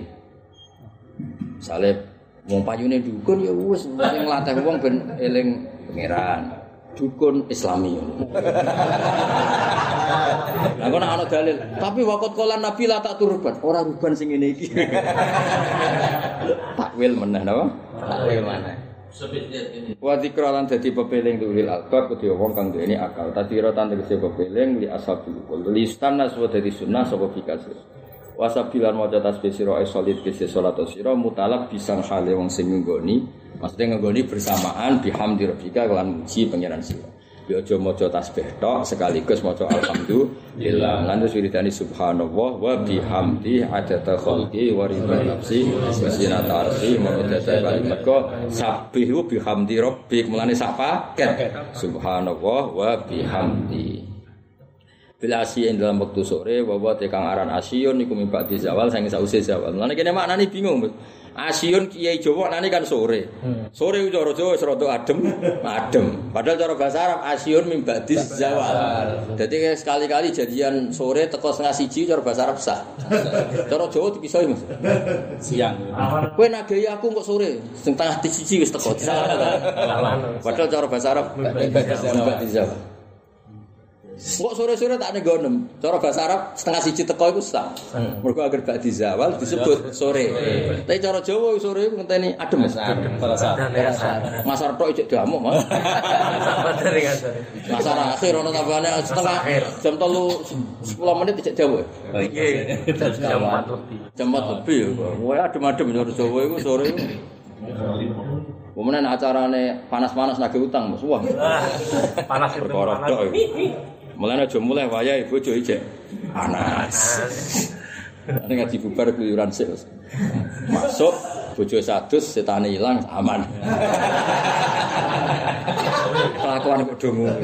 Misale wong payune dukun ya wis sing nglatih wong ben eling pangeran. Dukun Islami. Lah kok ana dalil, tapi waqt kala Nabi la tak turban, ora ruban sing ngene iki. Takwil meneh napa? Takwil meneh. Wa dzikra lan dadi pepeling ulil albab kedhe wong kang duweni akal. Tadira tan tegese pepeling li ashabil qul. Li istana suwa dadi sunnah sapa bikasir. Wasabilan maca tasbih sira solid kese salat sira mutalab bisang hale wong sing nggoni. Maksudnya nggoni bersamaan bihamdi rabbika lan muji pangeran sira. Ya aja maca tasbih tok sekaligus maca alhamdulillah. Lan wiridane subhanallah wa bihamdi adada khalqi wa ridha nafsi wa zinata arsi mawadata kalimat ko sabbihu bihamdi rabbik. Mulane sak paket subhanallah wa bihamdi. Bila asyin dalam waktu sore bahwa tekang aran asyun niku mimpak di zawal saking sause zawal. Mulane kene maknane bingung. Asyun kiai Jawa nane kan sore. Sore ku cara Jawa wis rada adem, adem. Padahal cara bahasa Arab asyun mimpak di zawal. Dadi sekali-kali jadian sore teko setengah siji cara bahasa Arab sah. Cara Jawa dipisahi Mas. Siang. Kowe nagih aku kok sore, sing tengah siji wis teko. Padahal cara bahasa Arab mimpak di zawal. Kok sore-sore tak negonem. Cara bahasa Arab setengah siji teko iku sah. Mergo agar bak dijawal disebut sore. Tapi cara Jawa sore iku ngenteni adem. Adem terasa. Ngasar tok ijek damuk, Mas. Ngasar akhir ono tambahane setengah jam tiga sepuluh menit ijek dawa. Nggih. Jam empat lebih. Jam empat lebih. Kowe adem-adem cara Jawa iku sore iku. Kemudian acarane panas-panas nagih utang, Mas. Wah. Panas itu panas. Mulane aja mulai wayahe bojo ijek panas. Nek ngaji bubar keluyuran sik. Masuk bojo sadus setane ilang aman. Kelakuan kok do ngono.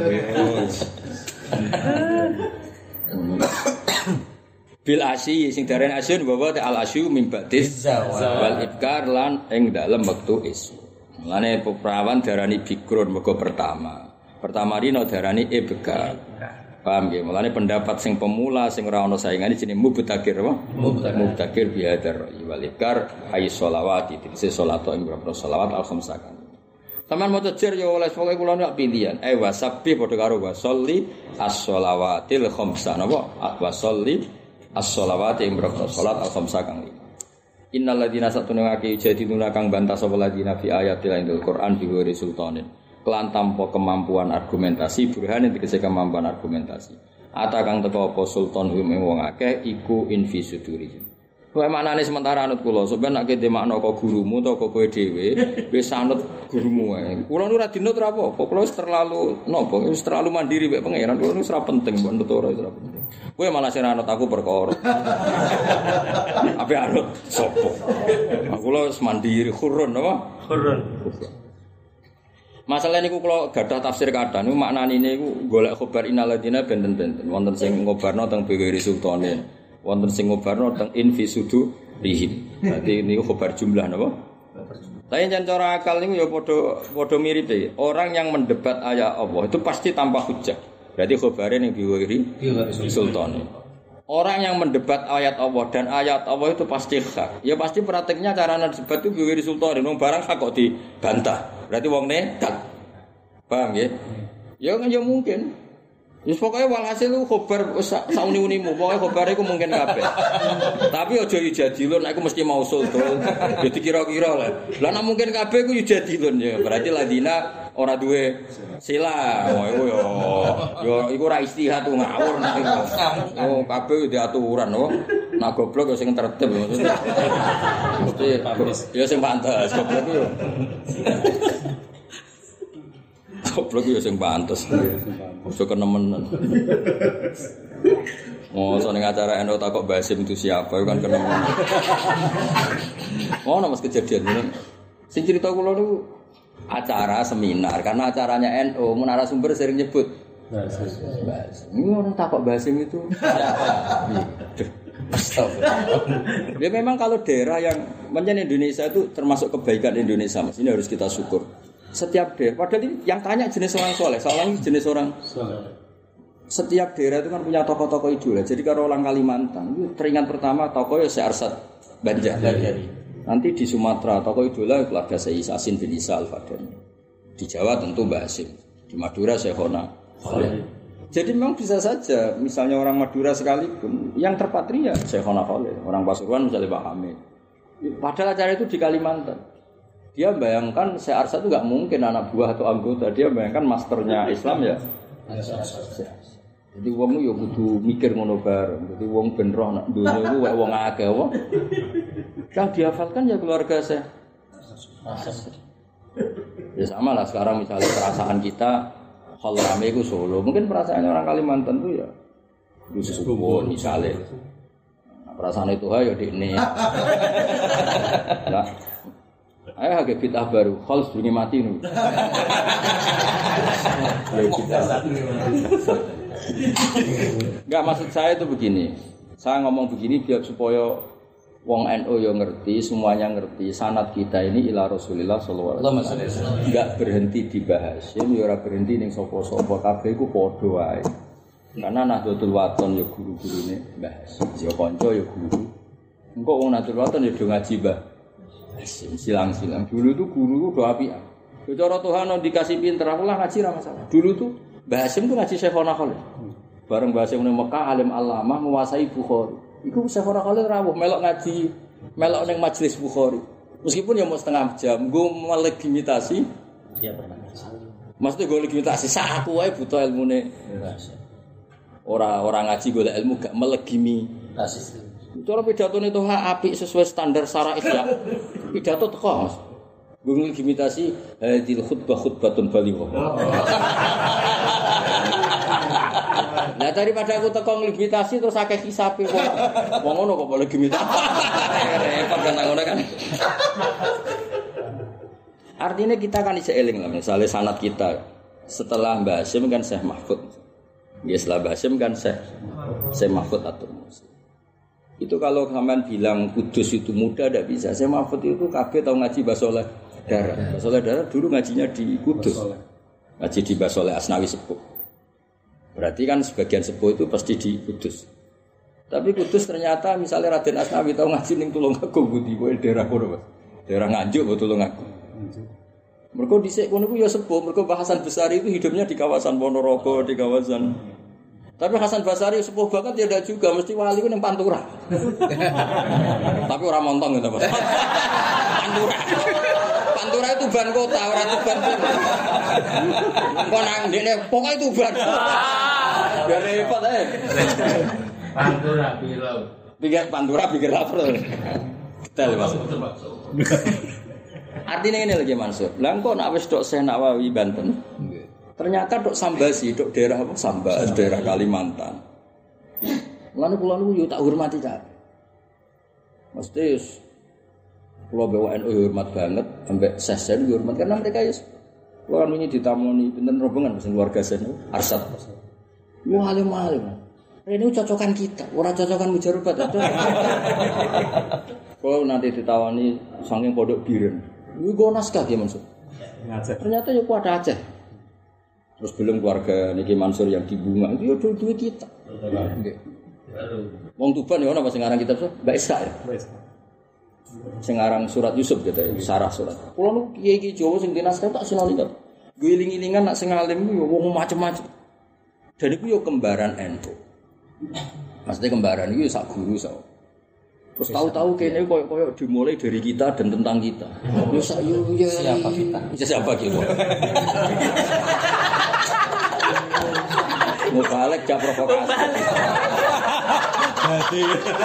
Bil asyi sing darane asyun bahwa al asyu mim ba'dis wal ibkar lan ing dalem wektu isu. Mulane perawan darani bikrun mergo pertama. Pertama rino darani ibka. Paham nggih? Mulane pendapat sing pemula sing ora ana saingane jenenge mubtakir apa? Mubtakir biadar wal ibkar ay sholawati. Dise salat ing berapa sholawat al khamsakan. Taman maca jer ya oleh pokoke kula nek pilihan. Eh wasabi padha karo wasolli as-sholawatil khamsa napa? Wasolli as-sholawati ing berapa salat al khamsa kang lima. Innal ladzina satuna ngake jadiluna kang bantah sapa ladzina fi ayatil indul Quran bi ghairi sultanin. Kelan tanpa kemampuan argumentasi, burhan tegese kemampuan argumentasi. Ata kang teko apa sultan hum ing wong akeh iku infi sudurihim. Kowe maknane sementara anut kula, sampeyan nek dhe makna kok gurumu utawa kok kowe dhewe wis anut gurumu wae. Kula nu ora dinut ora apa-apa, kula wis terlalu napa, wis terlalu mandiri mek pangeran, kula wis ora penting mbok nut ora ora penting. Kowe malah sing anut aku perkara. Apa anut sapa? Kula wis mandiri khurun apa? Khurun. Masalah niku kula gadah tafsir kathah niku maknane niku golek khabar inaladina benten-benten wonten sing ngobarno teng Bewiri Sultanin. Wonten sing ngobarno teng infisudu rihim. Berarti niku khabar jumlah napa? Tapi jan cara akal niku ya padha padha miripe. Orang yang mendebat ayat Allah itu pasti tanpa hujjah. Berarti khabare ning Bewiri Sultanin. Orang yang mendebat ayat Allah dan ayat Allah itu pasti hak. Ya pasti prakteknya cara debat itu Bewiri Sultanin. Wong barang hak kok dibantah. Berarti wong nekat. Paham nggih? Ya kan ya mungkin. Wis pokoke walhasil lu khobar sauni-unimu, pokoke khobare iku mungkin kabeh. Tapi aja yujadilun, aku mesti mausul dol. Ya dikira-kira lah. Lah nek mungkin kabeh ku yujadilun ya. Berarti ladina ora duwe sila. Oh iku yo yo iku ora istihad ku ngawur nek iku. Oh kabeh di aturan oh. Nak goblok yo sing tertib maksudnya. Mesti ya sing pantes goblok yo. Goblok yo sing pantes. Ojo kenemenan. Oh, soalnya acara Endo takok Basim itu siapa? Kan kenemenan. Oh, nama kejadian ini. Sing cerita kula niku acara seminar karena acaranya N U, Menara Sumber sering nyebut Basim. Ini orang takok Basim itu siapa? Astagfirullah. Ya memang kalau daerah yang menjadi Indonesia itu termasuk kebaikan Indonesia, Mas. Ini harus kita syukur. Setiap daerah, padahal ini yang tanya jenis orang soleh, soalnya jenis orang soleh. Setiap daerah itu kan punya tokoh-tokoh idola. Jadi kalau orang Kalimantan, itu teringat pertama tokoh ya Syekh Arsad Banjar. Nanti di Sumatera tokoh idola keluarga Syekh Yasin bin Isa Al-Fadani. Di Jawa tentu Mbah Hasyim. Di Madura Syekhona Khalil. Jadi memang bisa saja, misalnya orang Madura sekalipun, yang terpatria Syekhona Khalil. Orang Pasuruan misalnya Pak Hamid. Padahal acara itu di Kalimantan. Dia bayangkan Syekh Arsad itu enggak mungkin anak buah atau anggota. Dia bayangkan masternya Islam ya. Jadi wong yo kudu mikir ngono bareng. Jadi wong ben roh nak dunya iku wong akeh wong. Yang dihafalkan ya keluarga Syekh Arsad. Ya sama lah sekarang misalnya perasaan kita hal rame itu Solo. Mungkin perasaannya orang Kalimantan itu ya di Susuwon misalnya. Nah, perasaan itu ya di ini. Nah, ayo agak bid'ah baru, khol sedurunge mati nu. Enggak, maksud saya itu begini. Saya ngomong begini biar supaya wong N U yo ngerti, semuanya ngerti sanad kita ini ila Rasulillah sallallahu alaihi wasallam. Enggak berhenti dibahas, ya ora berhenti ning sapa-sapa kabeh iku padha wae. Karena Nahdlatul Wathon yo guru-gurune bahas. Yo kanca yo guru. Engko wong Nahdlatul Wathon yo do ngaji Mbah. Silang-silang. Dulu itu guru itu apian. Cara Tuhan dikasih pinter, aku lah ngaji ra masalah. Dulu tuh Mbah Hasyim tuh ngaji Syekhona Khalil. Bareng Mbah Hasyim nang Mekah alim alamah menguasai Bukhari. Iku Syekhona Khalil rawuh melok ngaji, melok ning majelis Bukhari. Meskipun ya mau setengah jam, gue melegitimasi. Dia pernah ngaji. Maksudnya gue legitimasi saku wae buta ilmune. Ora ora ngaji golek ilmu gak melegitimasi. Cara pidatone itu apik sesuai standar syara'ih ya. Pidato teko Mas. Gue imitasi hadil khutbah khutbatun balighah. Nah daripada aku teko nglimitasi terus akeh hisabe wong. Wong ngono kok boleh gimitasi. Repot kan ngono kan. Artinya kita kan iso eling lah misalnya sanad kita setelah Mbah Hasyim kan Syekh Mahfud. Ya setelah Mbah Hasyim kan Syekh Syekh Mahfud Atur Musi. Itu kalau sampean bilang Kudus itu mudah tidak bisa. Syekh Mahfud itu kabeh tau ngaji Basoleh Darah. Basoleh Darah dulu ngajinya di Kudus. Ngaji di Mbah Saleh Asnawi sepuh. Berarti kan sebagian sepuh itu pasti di Kudus. Tapi Kudus ternyata misalnya Raden Asnawi tahu ngaji ning Tulungagung budi kowe daerah kono, Mas. Daerah Nganjuk apa Tulungagung. Mergo dhisik kono ku ya sepuh, mergo Mbah Hasan Basari itu hidupnya di kawasan Ponorogo, di kawasan. Tapi Hasan Basari sepuh banget ya ndak juga, mesti wali ku ning Pantura. Tapi ora montong gitu, Mas. Pantura. Pantura itu ban kota, ora Tuban. Kok nang ndekne pokoke Tuban. Biar repot ae. Pantura bilau. Pikir Pantura pikir lapar. Detail Mas. Artinya ini lagi Mansur. Lah kok nek wis tok Syekh Nawawi Banten. Ternyata tok Sambasi, tok daerah apa Sambas, daerah Kalimantan. Lan kula niku yo tak hormati ta. Mesti kula B W N U hormat banget, sampai Sesen hormat karena mereka ya kula kan wingi ditamoni pinten rombongan sing keluarga Sen Arsad. Wah alim-alim. Ini cocokan kita, ora cocokan mujarubat itu. Kalau nanti ditawani saking pondok biren, ini gue naskah ya Mansur. Ternyata ya kuat Aceh. Terus belum keluarga Niki Mansur yang di Bunga itu ya dua-dua kita. Wong Tuban ya, apa sengarang kitab so? Mbak Isa ya. Sengarang surat Yusuf gitu ya, sarah surat. Kalau lu kiai-kiai Jawa sing di naskah tak sinali kan. Gue iling-ilingan nak sing alim yo wong macam-macam. Dan itu yo kembaran N U. Maksudnya kembaran itu sak guru sak. Terus tahu-tahu kene koyo-koyo dimulai dari kita dan tentang kita. Yo sak yo ya siapa kita? Siapa kita? Mau balik jak provokasi. Jadi.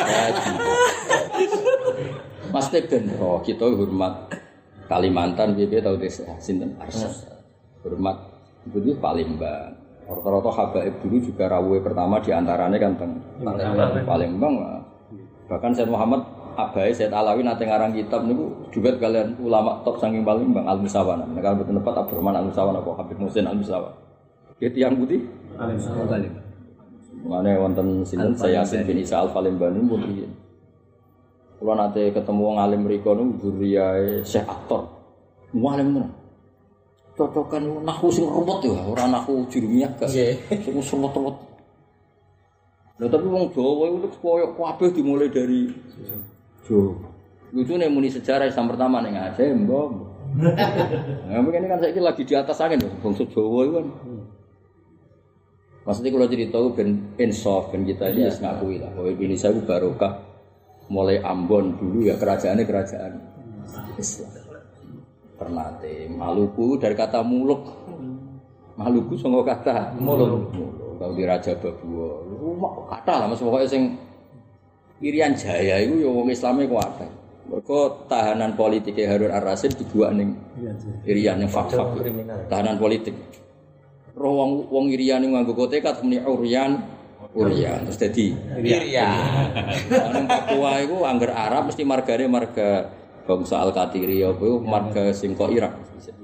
Mas Teben, oh kita hormat Kalimantan, B B tahu desa sinten Arsad. Hormat itu Palembang. Rata-rata habaib dulu juga rawuh pertama diantaranya kan teng Palembang. Bahkan Said Muhammad Abai Said Alawi nate ngarang kitab niku juga kalian ulama top saking Palembang Al-Musawana. Nek kalau betul tepat Abdurrahman Al-Musawana apa Habib Musin Al-Musawana. Ki tiyang putih Al-Musawana. Mane wonten sinten saya Yasin bin Isa Al-Palembang niku piye. Kula nate ketemu wong alim mriku niku zuriyae Syekh Aktor. Mualim tenan. Cocokan nahwu sing ruwet ya, ora nahwu jurumiyah gak. Sing ruwet-ruwet. Lha tapi wong Jawa iku koyo kabeh dimulai dari Jawa. Lucune muni sejarah Islam pertama ning Aceh, mbok. Nah, begini kan saiki lagi di atas angin lho, bangsa Jawa iku kan. Maksudnya kalau cerita ben insaf ben kita ini wis ngakui lah bahwa Indonesia itu barokah mulai Ambon dulu ya kerajaannya kerajaan Islam. Ternate Maluku dari kata muluk. Maluku saka kata muluk. Kalau di Raja Babua, rumah kata lah mas pokoknya sing Irian Jaya itu ya wong Islame kuat. Mergo tahanan politik Harun Ar-Rasyid dibuat ning Irian yang fak-fak. Tahanan politik. Roh wong wong Irian nganggo kotekat muni Urian, Urian terus dadi Irian. Nang Papua iku angger Arab mesti margane marga bangsa Al-Qatiri apa iku marga sing kok Irak.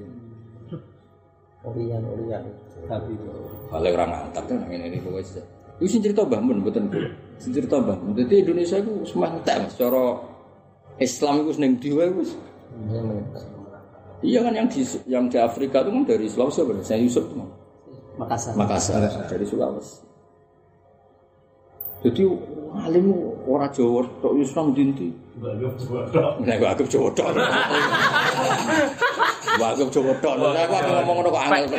Urian, Urian. Tapi balik orang antar kan ngene iki pokoke. Iku sing cerita Mbah Mun mboten kula. Sing cerita Mbah Mun. Dadi Indonesia iku semah entek Mas cara Islam iku ning ndi wae wis. Iya kan yang di yang di Afrika itu kan dari Sulawesi bener. Saya Yusuf itu. Makassar. Makassar dari Sulawesi. Jadi alim ora Jawa tok Islam dinti. Nek aku Jawa tok. Aku Jawa tok. Aku ngomong ngono kok angel.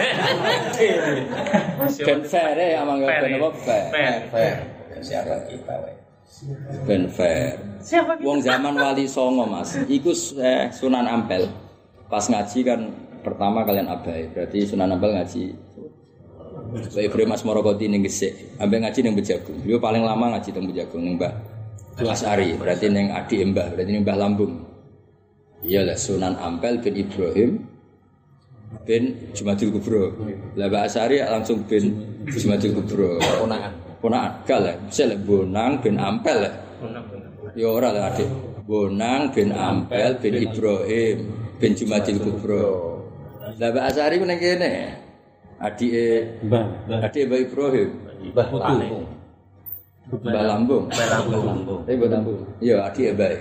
Ben fair ya amang ben apa fair. Fair. Siapa kita wae. Ben fair. Siapa kita? Wong zaman Wali Songo Mas. Iku eh, Sunan Ampel. Pas ngaji kan pertama kalian abai. Berarti Sunan Ampel ngaji Baik Ibrahim Asmorokoti ning Gesik, ambek ngaji ning Bejagung. Beliau paling lama ngaji teng Bejagung ning Mbah Asari, berarti ning adik Mbah, berarti ning Mbah Lambung. Iyalah Sunan Ampel bin Ibrahim bin Jumadil Kubro. Lah Mbah Asari langsung bin Jumadil Kubro. Ponakan. Ponakan gale, misale Bonang bin Ampel. Ya ora lah adik. Bonang bin Ampel bin Ibrahim bin Jumadil Kubro. Lah Mbah Asari ku ning kene. Adike Mbah, adike Mbah Ibrahim, Mbah Lambung. Mbah Lambung. Mbah Lambung. Eh Mbah Lambung. Iya, adike Mbah.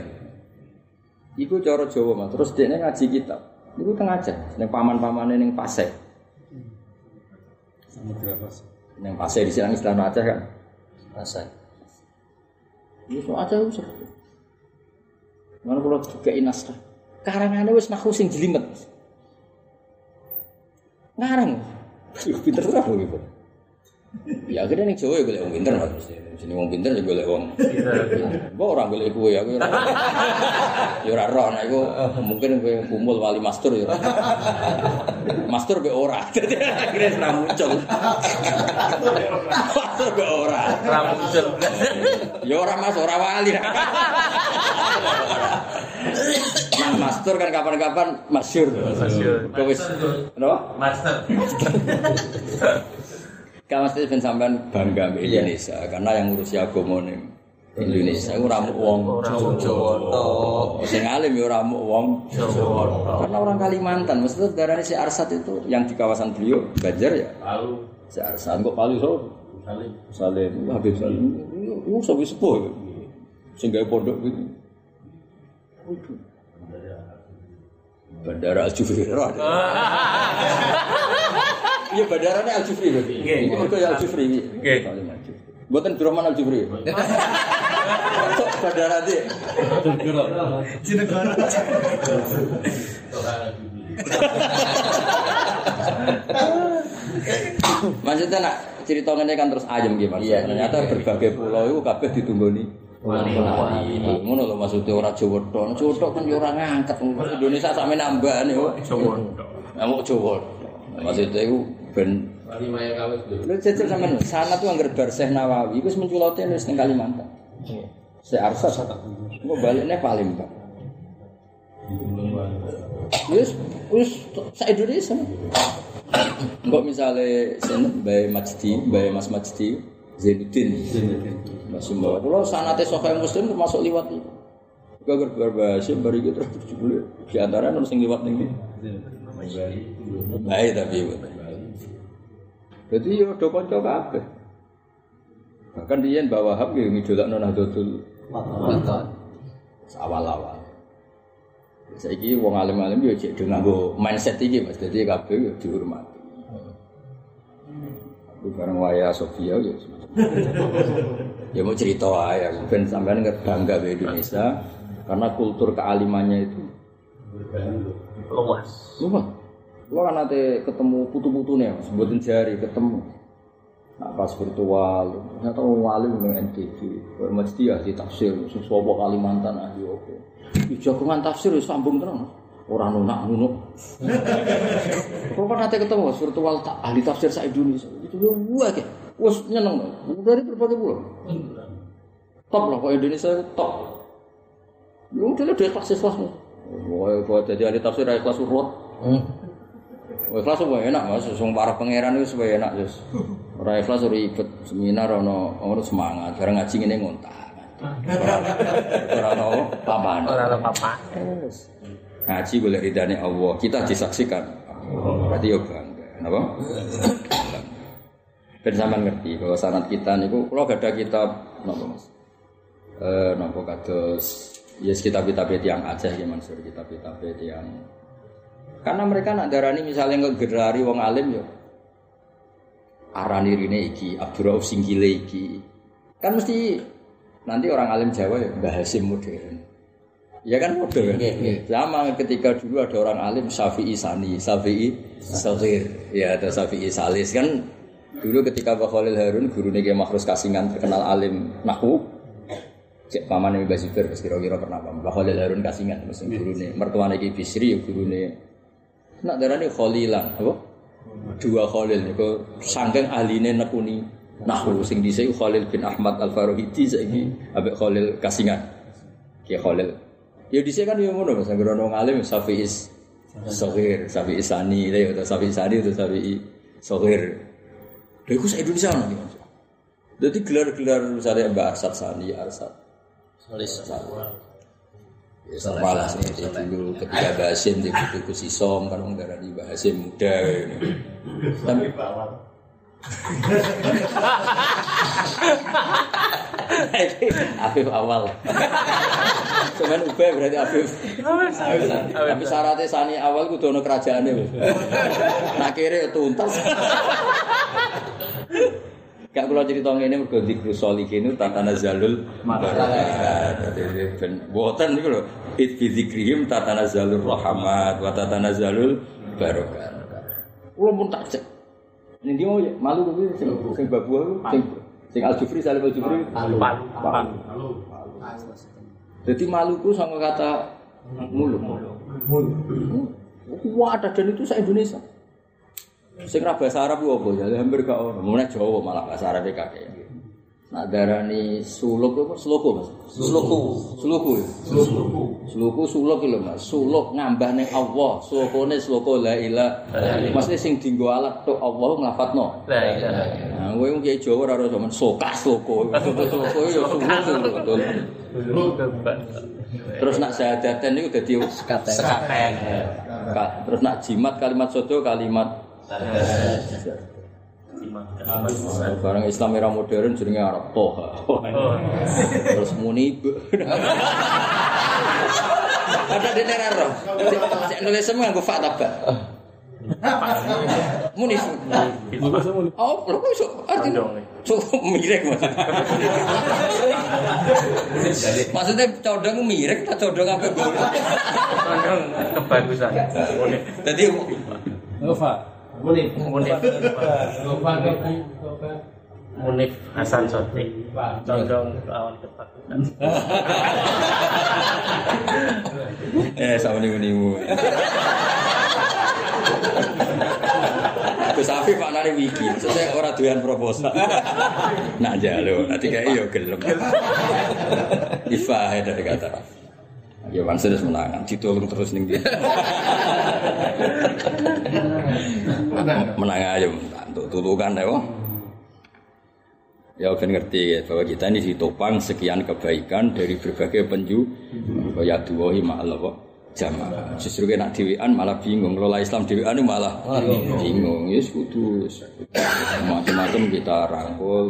Iku cara Jawa, Mas. Terus dekne ngaji kitab. Iku teng Aceh, ning paman-pamane ning Pasek. Samudra Pasai. Yang Pasai di sini istilah Aceh kan. Pasai. Ini so Aceh wis. Mana kalau juga inas kan. Karangane wis nahu sing jelimet. Ngarang. Yo pinter ora lho gitu. Ya akhirnya ning Jawa ya golek wong pinter Mas. Jenenge wong pinter ya golek wong. Kok ora golek kowe ya kowe ora. Ya ora roh nek iku mungkin kowe kumpul wali master ya. Master be ora. Dadi akhirnya ora muncul. Master be ora. Ora muncul. Ya ora Mas, ora wali. Nah, master kan kapan-kapan masyhur. Masyhur. Kok wis napa? Master. Kalau mesti ben sampean bangga mbek Indonesia karena yang ngurusi agama ning Indonesia ora mung wong Jawa tok. Sing alim ya ora mung wong Jawa. Karena orang Kalimantan mesti darane si Arsat itu yang di kawasan beliau Banjar ya. Palu. Si Arsat kok Palu so? Salim. Salim. Habib Salim. Itu sepuh sepuh. Sing gawe pondok gitu. Bandara Al-Jufri. Iya bandarane Al-Jufri berarti. Nggih. Iku ya Al-Jufri. Nggih. Mboten Abdurrahman Al-Jufri. Kok bandara iki? Jenegara. Maksudnya nak cerita ngene kan terus ayem nggih Mas. Ternyata berbagai pulau itu kabeh ditunggoni wali. Ngono lho maksudnya ora Jawa tok. Jawa tok kan yo ora ngangkat. Indonesia sampe nambah nih Jawa tok. Amuk Jawa. Maksudnya itu ben wali maya kawis lho. Lho jajal sampean sanad tuh anggar bar Syekh Nawawi wis menculote wis ning Kalimantan. Syekh Arsat kok balikne Palembang. Wis wis sak Indonesia. Kok misale Mbah Majdi, Mbah Mas Majdi Zainuddin. Mas Mbah kula sanate Sahih Muslim termasuk liwat iki. Gagar berbahasa bari iki terus jebule di antara ono sing liwat ning iki. Baik tapi jadi yo do kanca kabeh. Bahkan diyen bawa Wahab yo ngidolakno Nahdlatul Ulama. Awal-awal. Saiki wong alim-alim yo cek do nganggo mindset iki Mas. Dadi kabeh yo dihormati. Bareng waya Sofia yo. Ya mau cerita ae ben sampean bangga be Indonesia karena kultur kealimannya itu luas. Luas. Gua kan nanti ketemu putu-putune, sebutin jari ketemu. Nah, pas virtual, ternyata wali ning N T V. Kok mesti ya ditafsir sapa Kalimantan ahli opo. Iki jagongan tafsir wis sambung terus. Ora nunak-nunuk. Kok kan nanti ketemu virtual tak ahli tafsir sak Indonesia. Itu gua akeh. Wes nyeneng dari berbagai pulau. Top lah kok Indonesia itu top. Yo dhewe dhewe kelas-kelas. Wah, kok dadi ahli tafsir ra kelas urut. Wah, kelas wae enak Mas, sing para pangeran wis wae enak wis. Ora ikhlas ribet seminar ono ono semangat, bareng ngaji ngene ngontak. Ora ono papan. Ora ono papan. Wis. Ngaji golek ridane Allah, kita disaksikan. Berarti yo bangga. Napa? Ben sampean ngerti bahwa sanad kita niku kula gadah kitab napa Mas? Eh napa kados yes kitab-kitab yang Aceh iki Mansur, kitab-kitab yang karena mereka nak darani misalnya ngegerari wong alim yo arani rine iki Abdurrauf Singkile iki kan mesti nanti orang alim Jawa ya Mbah Hasim modern ya kan modern kan sama ketika dulu ada orang alim Syafi'i Sani Syafi'i Saghir ya ada Syafi'i Salis kan dulu ketika Mbah Khalil Harun gurune Ki Makhrus Kasingan terkenal alim nahwu cek pamane Mbah Zubair kira-kira pernah Mbah Khalil Harun Kasingan mesti gurune mertuane Ki Bisri gurune nak darane Khalilan apa? Dua Khalil niku saking ahline nekuni nahwu sing dhisik Khalil bin Ahmad Al-Farahidi saiki ambek Khalil Kasingan. Ki Khalil. Ya dhisik kan yo ngono Mas, anggere wong alim Syafi'i Saghir, Syafi'i Sani, lha yo Syafi'i Sani itu Syafi'i Saghir. Lha iku sak Indonesia ono iki Mas. Dadi gelar-gelar misalnya Mbak Arsat Sani, Arsat Salis ya salah seperti dulu ketika Basim di buku Sisom kan orang darah di Basim muda ini. Tapi Afif awal. Cuman ubah berarti Afif. Tapi syaratnya Sani awal kudu ono kerajaane. Nah kira tuntas. Gak kula crita ngene mergo zikru sholihin tatanazalul malaikat. Dadi ben boten niku lho. It fi zikrihim tatanazalur rahmat wa tatanazalul barakat. Kula pun tak cek. Ning ndi mau malu kuwi sing sing babu sing sing Al-Jufri Salim Al-Jufri Palu. Palu. Jadi Maluku sama kata mulu. Wah, ada dan itu se-Indonesia. Sing ra bahasa Arab ku apa ya? Hampir gak ono. Mulai Jawa malah bahasa Arab kakek. Nak darani suluk apa? Sluku, Mas. Sluku. Sluku. Sluku. Sluku suluk lho, Mas. Suluk ngambah ning Allah. Sulukune sluku la ilaha. Maksudnya sing dienggo alat tok Allah nglafatno. La ilaha. Nah, kowe wong kiai Jawa ora ono sokas sluku. Sluku ya suluk betul. Terus nak syahadaten niku dadi sekaten. Terus nak jimat kalimat sodo kalimat barang Islam era modern jenenge Arab Toha. Terus muni ada di neraro. Cek nulis semua nggo fa tabak. Muni. Oh, lho kok iso artine. Cukup mirek Mas. Maksudnya condong mirek ta condong apa gol? Condong kebagusan. Dadi Nova. Munif. Munif. Munif Hasan Sotik. Condong lawan kebagusan. Eh, sawuni-unimu. Gus Afif maknane wiki, maksudnya ora doyan proposal. Nak jalo, nanti kayak yo gelem. Ifah dari kata. Ya bangsa wis menangan, ditolong terus ning dia. Menang aja, untuk tulukan ya. Ya kan ngerti ya, bahwa kita ini ditopang sekian kebaikan dari berbagai penju. Ya duwahi ma'al apa? Jamaah. Justru kena dhewean malah bingung. Lola Islam dhewean malah bingung. Ya kudu macam-macam kita rangkul.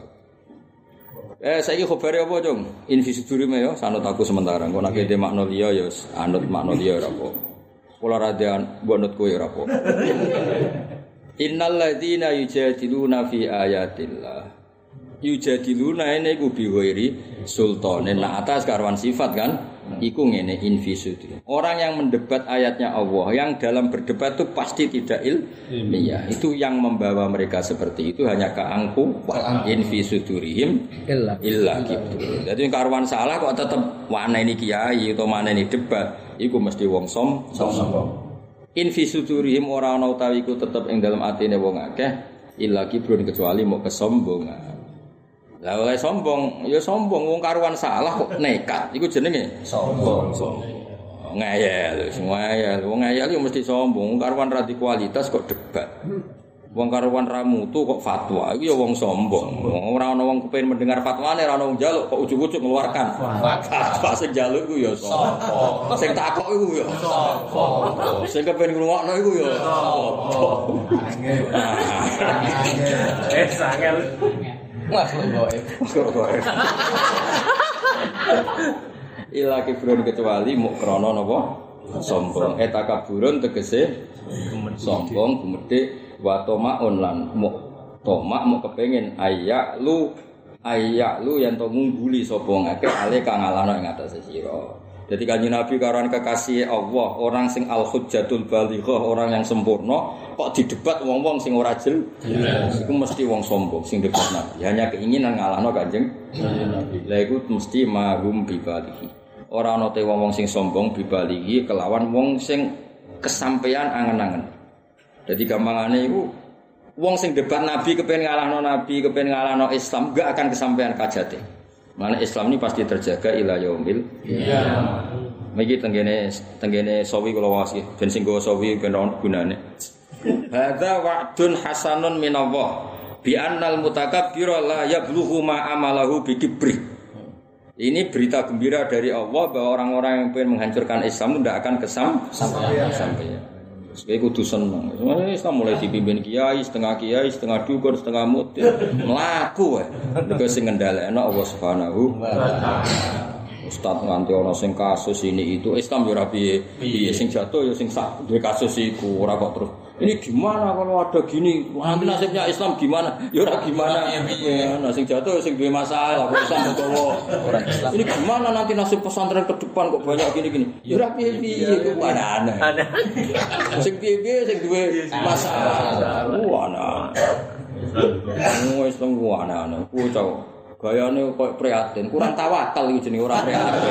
Eh saiki khabare apa, Cung? Invisudurime ya sanut aku sementara. Engko nek de makna liya ya anut makna liya ora apa. Kula radian mbok anut kowe ora apa. Innal ladzina yujadiluna fi ayatillah. Yujadiluna ini ku biwairi sultanin. Nah atas karwan sifat kan. Iku ngene infisudri. Orang yang mendebat ayatnya Allah, yang dalam berdebat itu pasti tidak ilmiah. Itu yang membawa mereka seperti itu hanya keangku infisudurihim illa illa gitu. Jadi karuan salah kok tetap mana ini kiai atau mana ini debat, iku mesti wong som sombong. Infisudurihim ora ana utawi iku tetep ing dalam atine wong akeh illa kibrun kecuali mau kesombongan. Lah oleh sombong, ya sombong wong karuan salah kok nekat. Iku jenenge sombong. Ngayal, ngayal. Wong ngayal yo mesti sombong. Wong karuan ra di kualitas kok debat. Wong karuan ra mutu kok fatwa. Iku ya wong sombong. Ora ana wong kepengin mendengar fatwane, ora ana wong njaluk kok ujug-ujug ngeluarkan. Fatwa sing njaluk iku ya sombong. Sing takok iku ya sombong. Sing kepengin ngrungokno iku ya sombong. Eh, sangel. Makhluk gaib. Gaib. Ila kibrun kecuali muk krana napa? Sombong. Eta kaburun tegese sombong gumedhe wa tomaun lan muk tomak muk kepengin ayak lu ayak lu yen to ngungguli sapa ngake ale kang ngalahno ing atase sira. Jadi kanjeng Nabi karuan kekasih Allah, orang sing al-hujjatul balighah, orang yang sempurna, kok didebat wong-wong sing ora jelas. Iku mesti wong sombong sing debat Nabi. Hanya keinginan ngalahno kanjeng Nabi. Lah iku mesti mahum bibalighi. Ora ana te wong-wong sing sombong bibalighi kelawan wong sing kesampean angen-angen. Jadi gampangane iku wong sing debat Nabi kepen ngalahno Nabi, kepen ngalahno Islam, gak akan kesampean kajate. Mana Islam ini pasti terjaga ila yaumil. Iya. Miki tenggene tenggene sawi kula wasi ben sing go sawi ben ono gunane. Hadza wa'dun hasanun minallah bi annal mutakabbira la yablughu ma amalahu bi kibri. Ini berita gembira dari Allah bahwa orang-orang yang ingin menghancurkan Islam tidak akan kesam sampai. Sebagai kudu seneng. Semuanya Islam mulai dipimpin kiai, setengah kiai, setengah dukun, setengah mutin, melaku ya. Juga sing ngendhalekno Allah Subhanahu wa taala. Ustaz nganti ana sing kasus ini itu Islam yo ora piye. Piye sing jatuh yo sing sak duwe kasus iku ora kok terus Ini gimana kalau ada gini? Nanti nasibnya Islam gimana? Ya ora gimana. Ya, nah sing jatuh sing duwe masalah kok Islam utawa orang Islam. Ini gimana nanti nasib pesantren ke depan kok banyak gini-gini? Ya ora piye-piye kok aneh. Aneh. Sing piye-piye sing duwe masalah. Wah, aneh. Oh, Islam ku aneh-aneh. Ku cowok. Gayane koyo prihatin, kurang tawakal iki jenenge ora prihatin.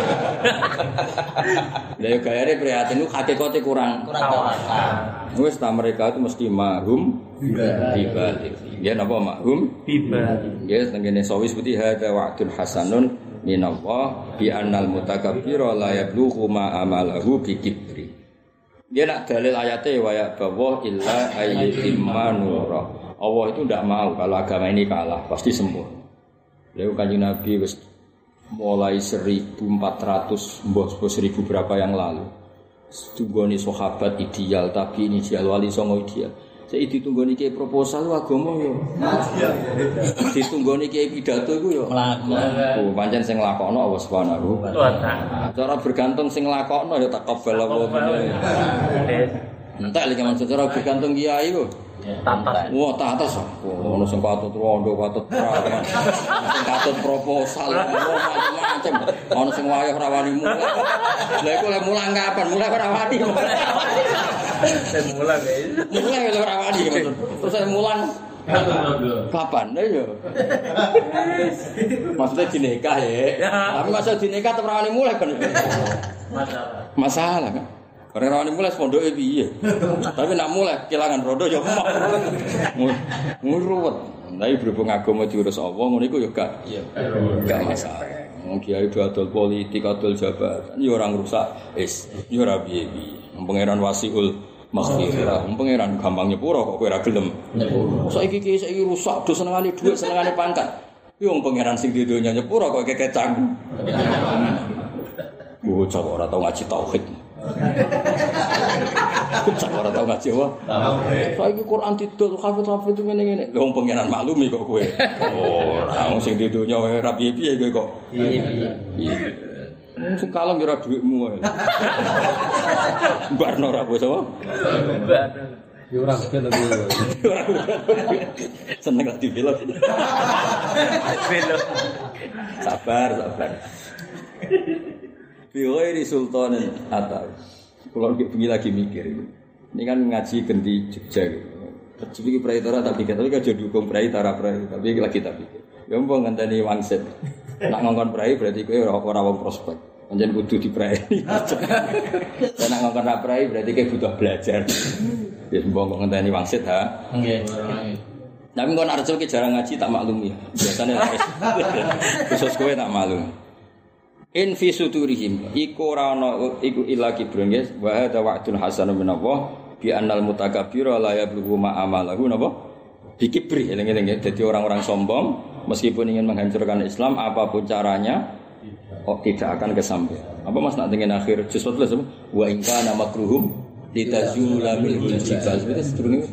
Lah gayane prihatin ku hakikate kurang kurang tawakal. Wis ta mereka itu mesti mahum bibalik. Nggih napa mahum bibalik. Nggih tengene sawis putih hada wa'dun hasanun minallah bi annal mutakabbira la yablughu ma amalahu bi kibri. Dia nak dalil ayate wa ya bawa illa ayyitimma nura. Allah itu ndak mau kalau agama ini kalah, pasti sempurna. Lalu Kanjeng Nabi wis mulai seribu empat ratus mbah seribu berapa yang lalu. Tunggone sahabat ideal, tapi ini ideal wali songo ideal. Saya ditunggone iki proposal agama yo. Ditunggone iki pidato iku yo mlaku. Pancen sing nglakokno Allah Subhanahu wa taala. Cara bergantung sing nglakokno ya takabal Allah. Entek lek men cara bergantung kiai ku. Tatas. Wah, tatas. Ono sing patut rondo, patut prawan. Sing patut proposal, macam-macam. Ono sing wayah rawani mulang. Lah iku lek mulang kapan? Mulang ora wani. Sing mulang guys. Mulang ora rawani maksud. Terus sing mulang kapan? Lah yo. Maksudnya dinikah ya. Tapi masa dinikah terus rawani mulai kan. Masalah. Masalah kan. Karena rawani mulai pondoke piye. Tapi nak mulai kelangan rondo ya emok. Ngruwet. Tapi berhubung agama diurus Allah ngono iku ya gak gak masalah. Wong kiai adol politik, adol jabatan, ya ora ngrusak is, ya ora piye-piye. Pangeran Wasiul Maghfirah, pangeran gampang nyepuro kok kowe ora gelem. Saiki iki saiki rusak, do senengane dhuwit, senengane pangkat. Yo wong pangeran sing di donya nyepuro kok kekecang. Bocah ora tau ngaji tauhid. Bocah ora tau ngaji apa? Tauhid. Saiki Quran didol hafid-hafid ngene-ngene. Lha wong pangeran maklumi kok kowe. Ora wong sing di donya ora piye-piye kowe kok. Piye. Sing kalem ora dhuwitmu ae. Barno ora bos apa? Ya ora ben aku. Seneng lagi film. Film. Sabar, sabar. Biwai di Sultanin Atta. Kalau begini lagi mikir, ini kan ngaji ganti Jogja. Jadi praitara tak pikir, tapi kan jadi dukung praitara prai, tapi lagi tak pikir. Ya umpam ngenteni wangsit. Nak ngongkon prai berarti kowe ora ora wong prospek. Pancen kudu diprai. Dan nak ngongkon ra prai berarti kowe butuh belajar. Ya umpam ngenteni wangsit ha. Nggih. Tapi kon arep ki jarang ngaji tak maklumi. Biasane khusus kowe tak maklum. In fi suturihim iku ora ana iku ila kibrun guys wa hadza wa'dun hasanun min Allah bi annal mutakabbira la yablughu ma amalahu napa dikibri eling-eling ya dadi orang-orang sombong meskipun ingin menghancurkan Islam apapun caranya oh tidak akan kesampaian apa Mas nak dengan akhir juz sebelas wa in kana makruhum litazula bil jibal itu sedurunge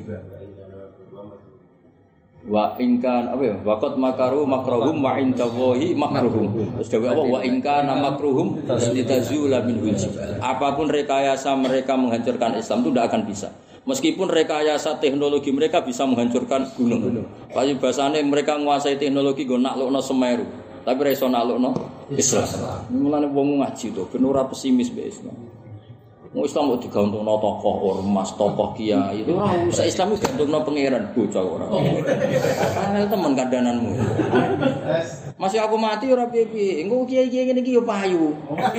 wa ingkan apa ya waqat makaru makruhum wa indallahi makruhum terus dewe apa wa ingkan makruhum litazula minhul jibal apapun rekayasa mereka menghancurkan Islam itu tidak akan bisa meskipun rekayasa teknologi mereka bisa menghancurkan gunung payu basane mereka menguasai teknologi nggo naklukno Semeru tapi ra iso naklukno Islam mulane wong ngaji to ben ora pesimis mbek Islam. Mau Islam mau digantungno tokoh ormas, tokoh kiai. Itu ora usah Islam wis gantungno pangeran bocah ora. Angel temen kandananmu. Masih aku mati ora piye-piye. Engko kiai-kiai ngene iki yo payu.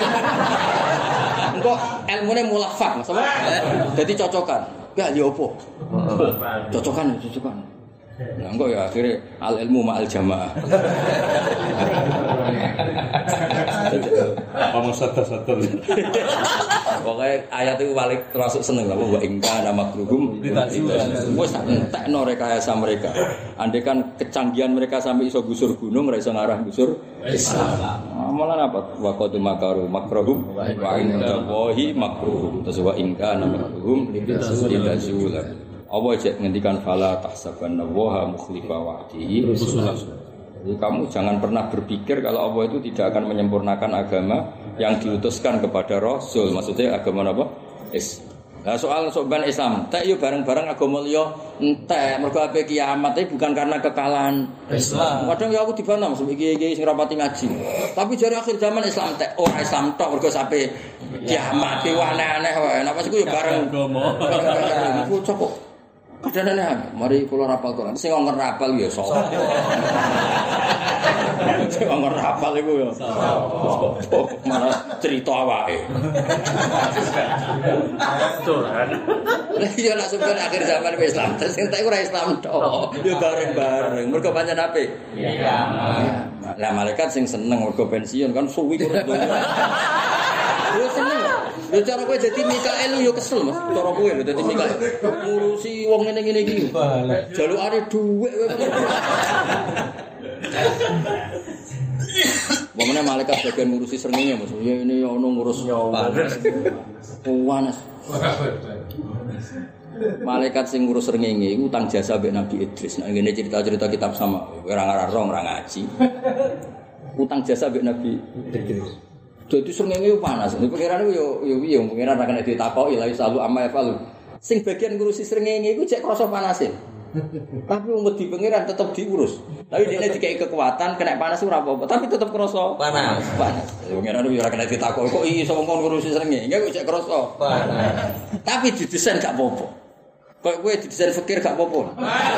Engko ilmune mulafak, sama. Dadi cocokan. Gak yo opo. Cocokan, cocokan. Nah, enggak ya akhirnya al ilmu ma'al jamaah. Ngomong satu-satu. Pokoknya ayat itu paling termasuk seneng lah. Wa ingka nama makruhum. Wes tak entekno rekayasa mereka. Andai kan kecanggihan mereka sampai iso gusur gunung, ra iso ngarah gusur Islam. Amalan apa? Wa qad makaru makruhum wa inda wahi makruhum. Terus wa ingka nama makruhum litazula. Allah cek ngendikan fala tahsabanna wa mukhlifa wa'dihi rusulah. Jadi kamu jangan pernah berpikir kalau Allah itu tidak akan menyempurnakan agama yang diutuskan kepada Rasul. Maksudnya agama apa? Is Lah soal soban Islam, entek yo bareng-bareng agama liya entek, mergo ape kiamat iki bukan karena kekalahan Islam. Kadang ya aku dibantah Mas iki-iki sing rapati ngaji. Tapi jare akhir zaman Islam entek, ora Islam tok mergo sampe kiamat iki aneh-aneh wae. Napa iku yo bareng agama. Iku cocok. Kadang-kadang mari kula rapal Quran. Sing ngonger rapal ya sapa? Sing ngonger rapal iku ya sapa? Mana cerita awake. Tuhan. Lah iya nak sampeyan akhir zaman Islam, sing tak ora Islam tok. Ya bareng-bareng. Mergo pancen apik. Iya. Lah malaikat sing seneng mergo pensiun kan suwi kok. Yo seneng. Yo cara kowe dadi Mikael yo kesel Mas. Cara kowe lho dadi Mikael. Ngurusi wong ngene-ngene iki. Jalukane dhuwit kowe. Bagaimana malaikat bagian ngurusi srengenge Mas. Ya ini ono ngurus panas. Panas. Malaikat sing ngurus srengenge iku utang jasa mbek Nabi Idris. Nah ngene cerita-cerita kitab sama ora ngarang ora ngaji. Utang jasa mbek Nabi Idris. Dadi srengenge panas. Pikirane yo yo piye pengiran ra kena ditakoki la isalu amma yafalu. Sing bagian ngurusi srengenge iku cek krasa panase. Tapi wong wedi pengiran tetep diurus. Tapi dene dikai kekuatan kena panas ora apa-apa, tapi tetep krasa panas. Panas. Pengiran yo ora kena ditakoki kok iso ngomong ngurusi srengenge, kok cek krasa panas. Tapi didesain gak apa-apa. Kok kowe didesain fikir gak apa-apa.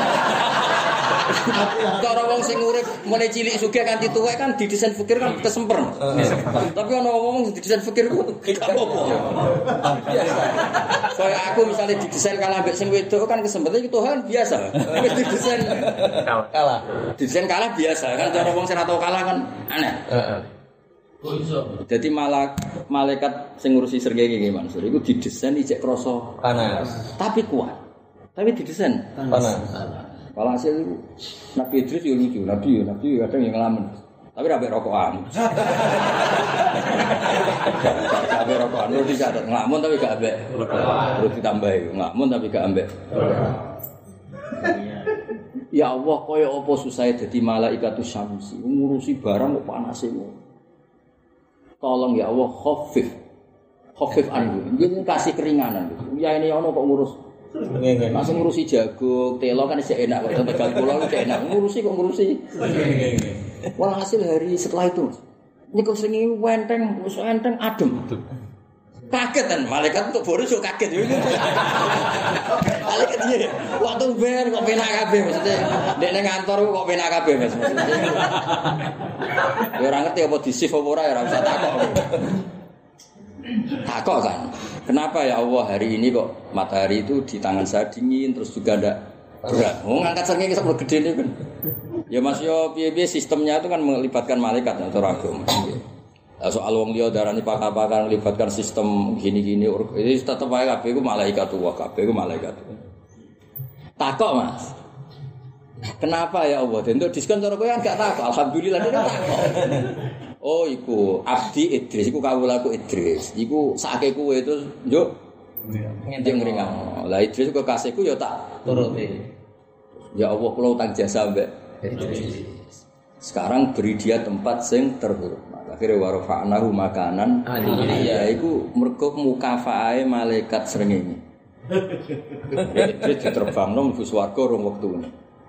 Cara wong sing urip mulai cilik sugih kanthi tuwek kan didesain fikir kan kesemper. Tapi ana wong sing didesain fikir gak apa-apa. Biasa. Kaya aku misalnya didesain kalah mbek sing wedok kan kesempatan iki Tuhan biasa. Wis didesain kalah. Didesain kalah biasa kan cara wong sing ora tau kalah kan aneh. Heeh. Kok iso? Dadi malak malaikat sing ngurusi srengenge iki Mansur iku didesain ijek krasa panas. Tapi kuat. Tapi didesain panas. Kalau hasil itu Nabi Idris ya lucu, Nabi ya, Nabi ya kadang yang ngelamun. Tapi rabe rokokan. Rabe rokokan, lu dicatat ngelamun tapi gak ambek. Terus ditambahi ngelamun tapi gak ambek. Ya Allah, kaya apa susah dadi malaikatus syamsi, ngurusi barang kok panas iku. Tolong ya Allah khafif. Khafif anhu. Nggih kasih keringanan. Ya ini ono kok ngurus. Nggih, langsung ngurusi jagung, telo kan isih enak kok Tegal Pulau itu enak. Ngurusi kok ngurusi. Nggih. Walhasil hari setelah itu, niku sing wenteng, wis enteng adem. Kaget kan malaikat untuk boros yo kaget yo. Malaikat iki waktu ber kok penak kabeh maksudnya. Nek ning kantor kok penak kabeh Mas. Yo ora ngerti apa di-shift apa ora ya ora usah takok. Takok kan. Kenapa ya Allah hari ini kok matahari itu di tangan saya dingin terus juga ndak berat. Oh ngangkat srengenge sak gede ini kan. Ya Mas yo piye-piye sistemnya itu kan melibatkan malaikat atau agama. Nah, soal wong liya darani pakar-pakar melibatkan sistem gini-gini ini tetep wae kabeh iku malaikat wa kabeh iku malaikat. Takok Mas. Kenapa ya Allah? Untuk diskon cara kowe kan gak takok. Alhamdulillah dia takok. Oh iku abdi Idris iku kawulaku Idris. Iku sakake kowe itu njuk ngendeng ngringam. Lah Idris kok kasihku ya tak turuti. Ya Allah kula utang jasa mbek Idris. Sekarang beri dia tempat sing terhormat. Akhire warfa'nahu makanan aliyya iku mergo mukafae malaikat srengenge. Idris diterbangno mlebu swarga rong wektune.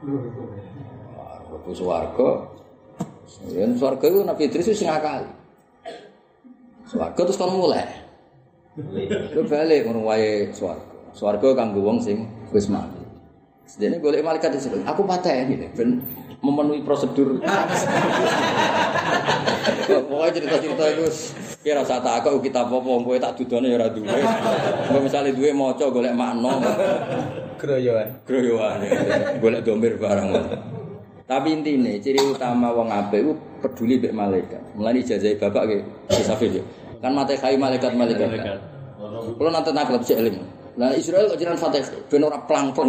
Mlebu swarga yen swarga iku Nabi Idris wis ngakali. Swarga terus kon mulai. Lu balik ngono wae swarga. Swarga kanggo wong sing wis mati. Sedene golek malaikat disitu. Aku pateni ben memenuhi prosedur. Pokoknya cerita-cerita itu kira rasa takok kita apa kowe tak dudone ya ora duwe. Kowe misale duwe maca golek makna. Groyoan. Groyoan. Golek domir barang. Tapi intine ciri utama wong apik iku peduli mek malaikat. Mulane ijazah bapak nggih Safir. Kan mate kai malaikat-malaikat. Kulo nanti naklep sik eling. Lah Israel kok jenengan Fatih ben ora plang-plang.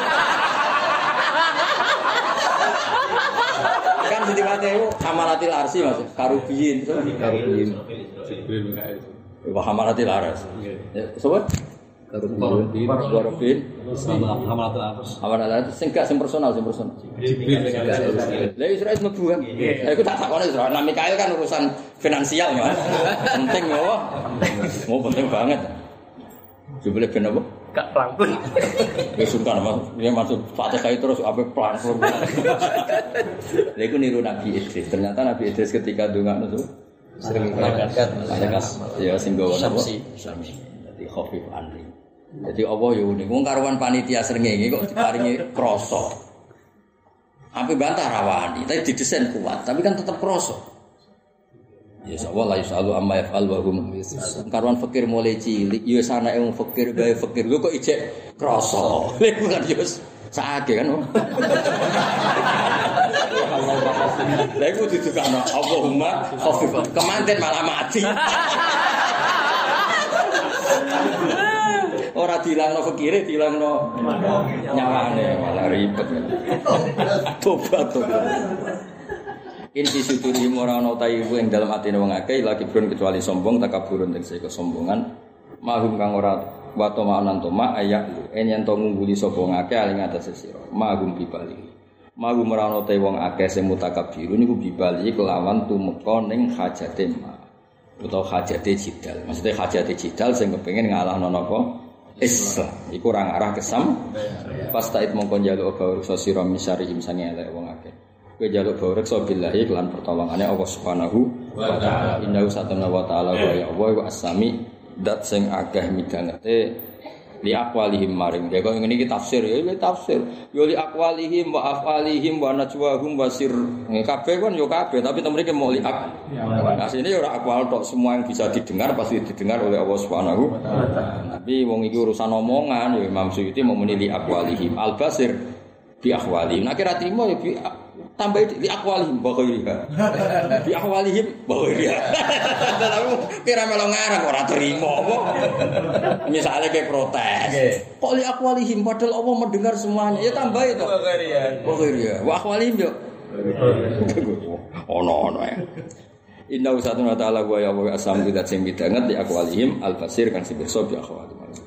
Kan di mate iku hamalatil arsi Mas, karubiyin, karubiyin. Jibril Mikael. Wa hamalatil ars. Nggih. Sopo? Karubiyin, karubiyin. Hamalatil ars. Hamalatil ars sing gak sing personal, sing personal. Jibril Mikael. Lah Israel mlebu kan. Lah iku tak takone Israel. Nah Mikael kan urusan finansial Mas. Penting yo. Mau penting banget. Jebule ben apa? Gak rangkul. Ya sungkan Mas, dia masuk Fatihah terus ape plan. Lha iku niru Nabi Idris. Ternyata Nabi Idris ketika ndongakno tuh Sering malaikat. malaikat ya sing gawa napa? Sami. Dadi khafif anli. Jadi Allah ya unik. Wong karuan panitia srengenge kok diparingi krasa. Ape bantah rawani, tapi didesain kuat, tapi kan tetap krasa. Ya Allah la yusalu amma yaf'al wa hum karuan fakir mulai cilik ya sanake wong fakir gawe fakir lho kok ijek krasa. Lha kan yo sakake kan. Lha iku didukakno Allahumma khafif kemanten malah mati. Ora dilangno fakire dilangno nyawane malah ribet. Tobat tobat. Inti suduri ora ana ta iku ing dalem atine wong akeh lagi brun kecuali sombong takaburun tegese kesombongan mahum kang ora wato manan toma ayak en yen to ngungguli sapa wong akeh aling atase sira mahum bibali mahum ora ana ta wong akeh sing mutakabirun niku bibali kelawan tumeka ning hajate ma utawa hajate jidal maksudnya hajate jidal sing kepengin ngalahno napa Islam iku ora ngarah kesam pas taid mongko njaluk baur sira misarihim sange elek wong akeh kowe njaluk baurek billahi kelan pertolongane Allah Subhanahu wa taala. Innahu satana wa taala wa ya Allah wa asami dat sing akeh midhangete li aqwalihim maring. Ya kok ngene iki tafsir ya iki tafsir. Ya li aqwalihim wa afalihim wa najwahum wa sir. Kabeh kan yo kabeh tapi temen iki mau li ak. Nah sini ora aqwal tok semua yang bisa didengar pasti didengar oleh Allah Subhanahu wa taala. Tapi wong iki urusan omongan ya Imam Suyuti mau muni li aqwalihim al basir bi ahwalihim. Nek ora trimo ya bi tambah di akwalihim bakhiriha di akwalihim bakhiriha lalu kira melo ngarang ora terima apa misalnya kayak protes kok li akwalihim padahal Allah mendengar semuanya ya tambah itu bakhiriha bakhiriha wa akwalihim yo ono-ono ya inna usatun wa ta'ala wa ya wa asam bidat sing bidanget di akwalihim al-basir kan sing pirsa bi akwalihim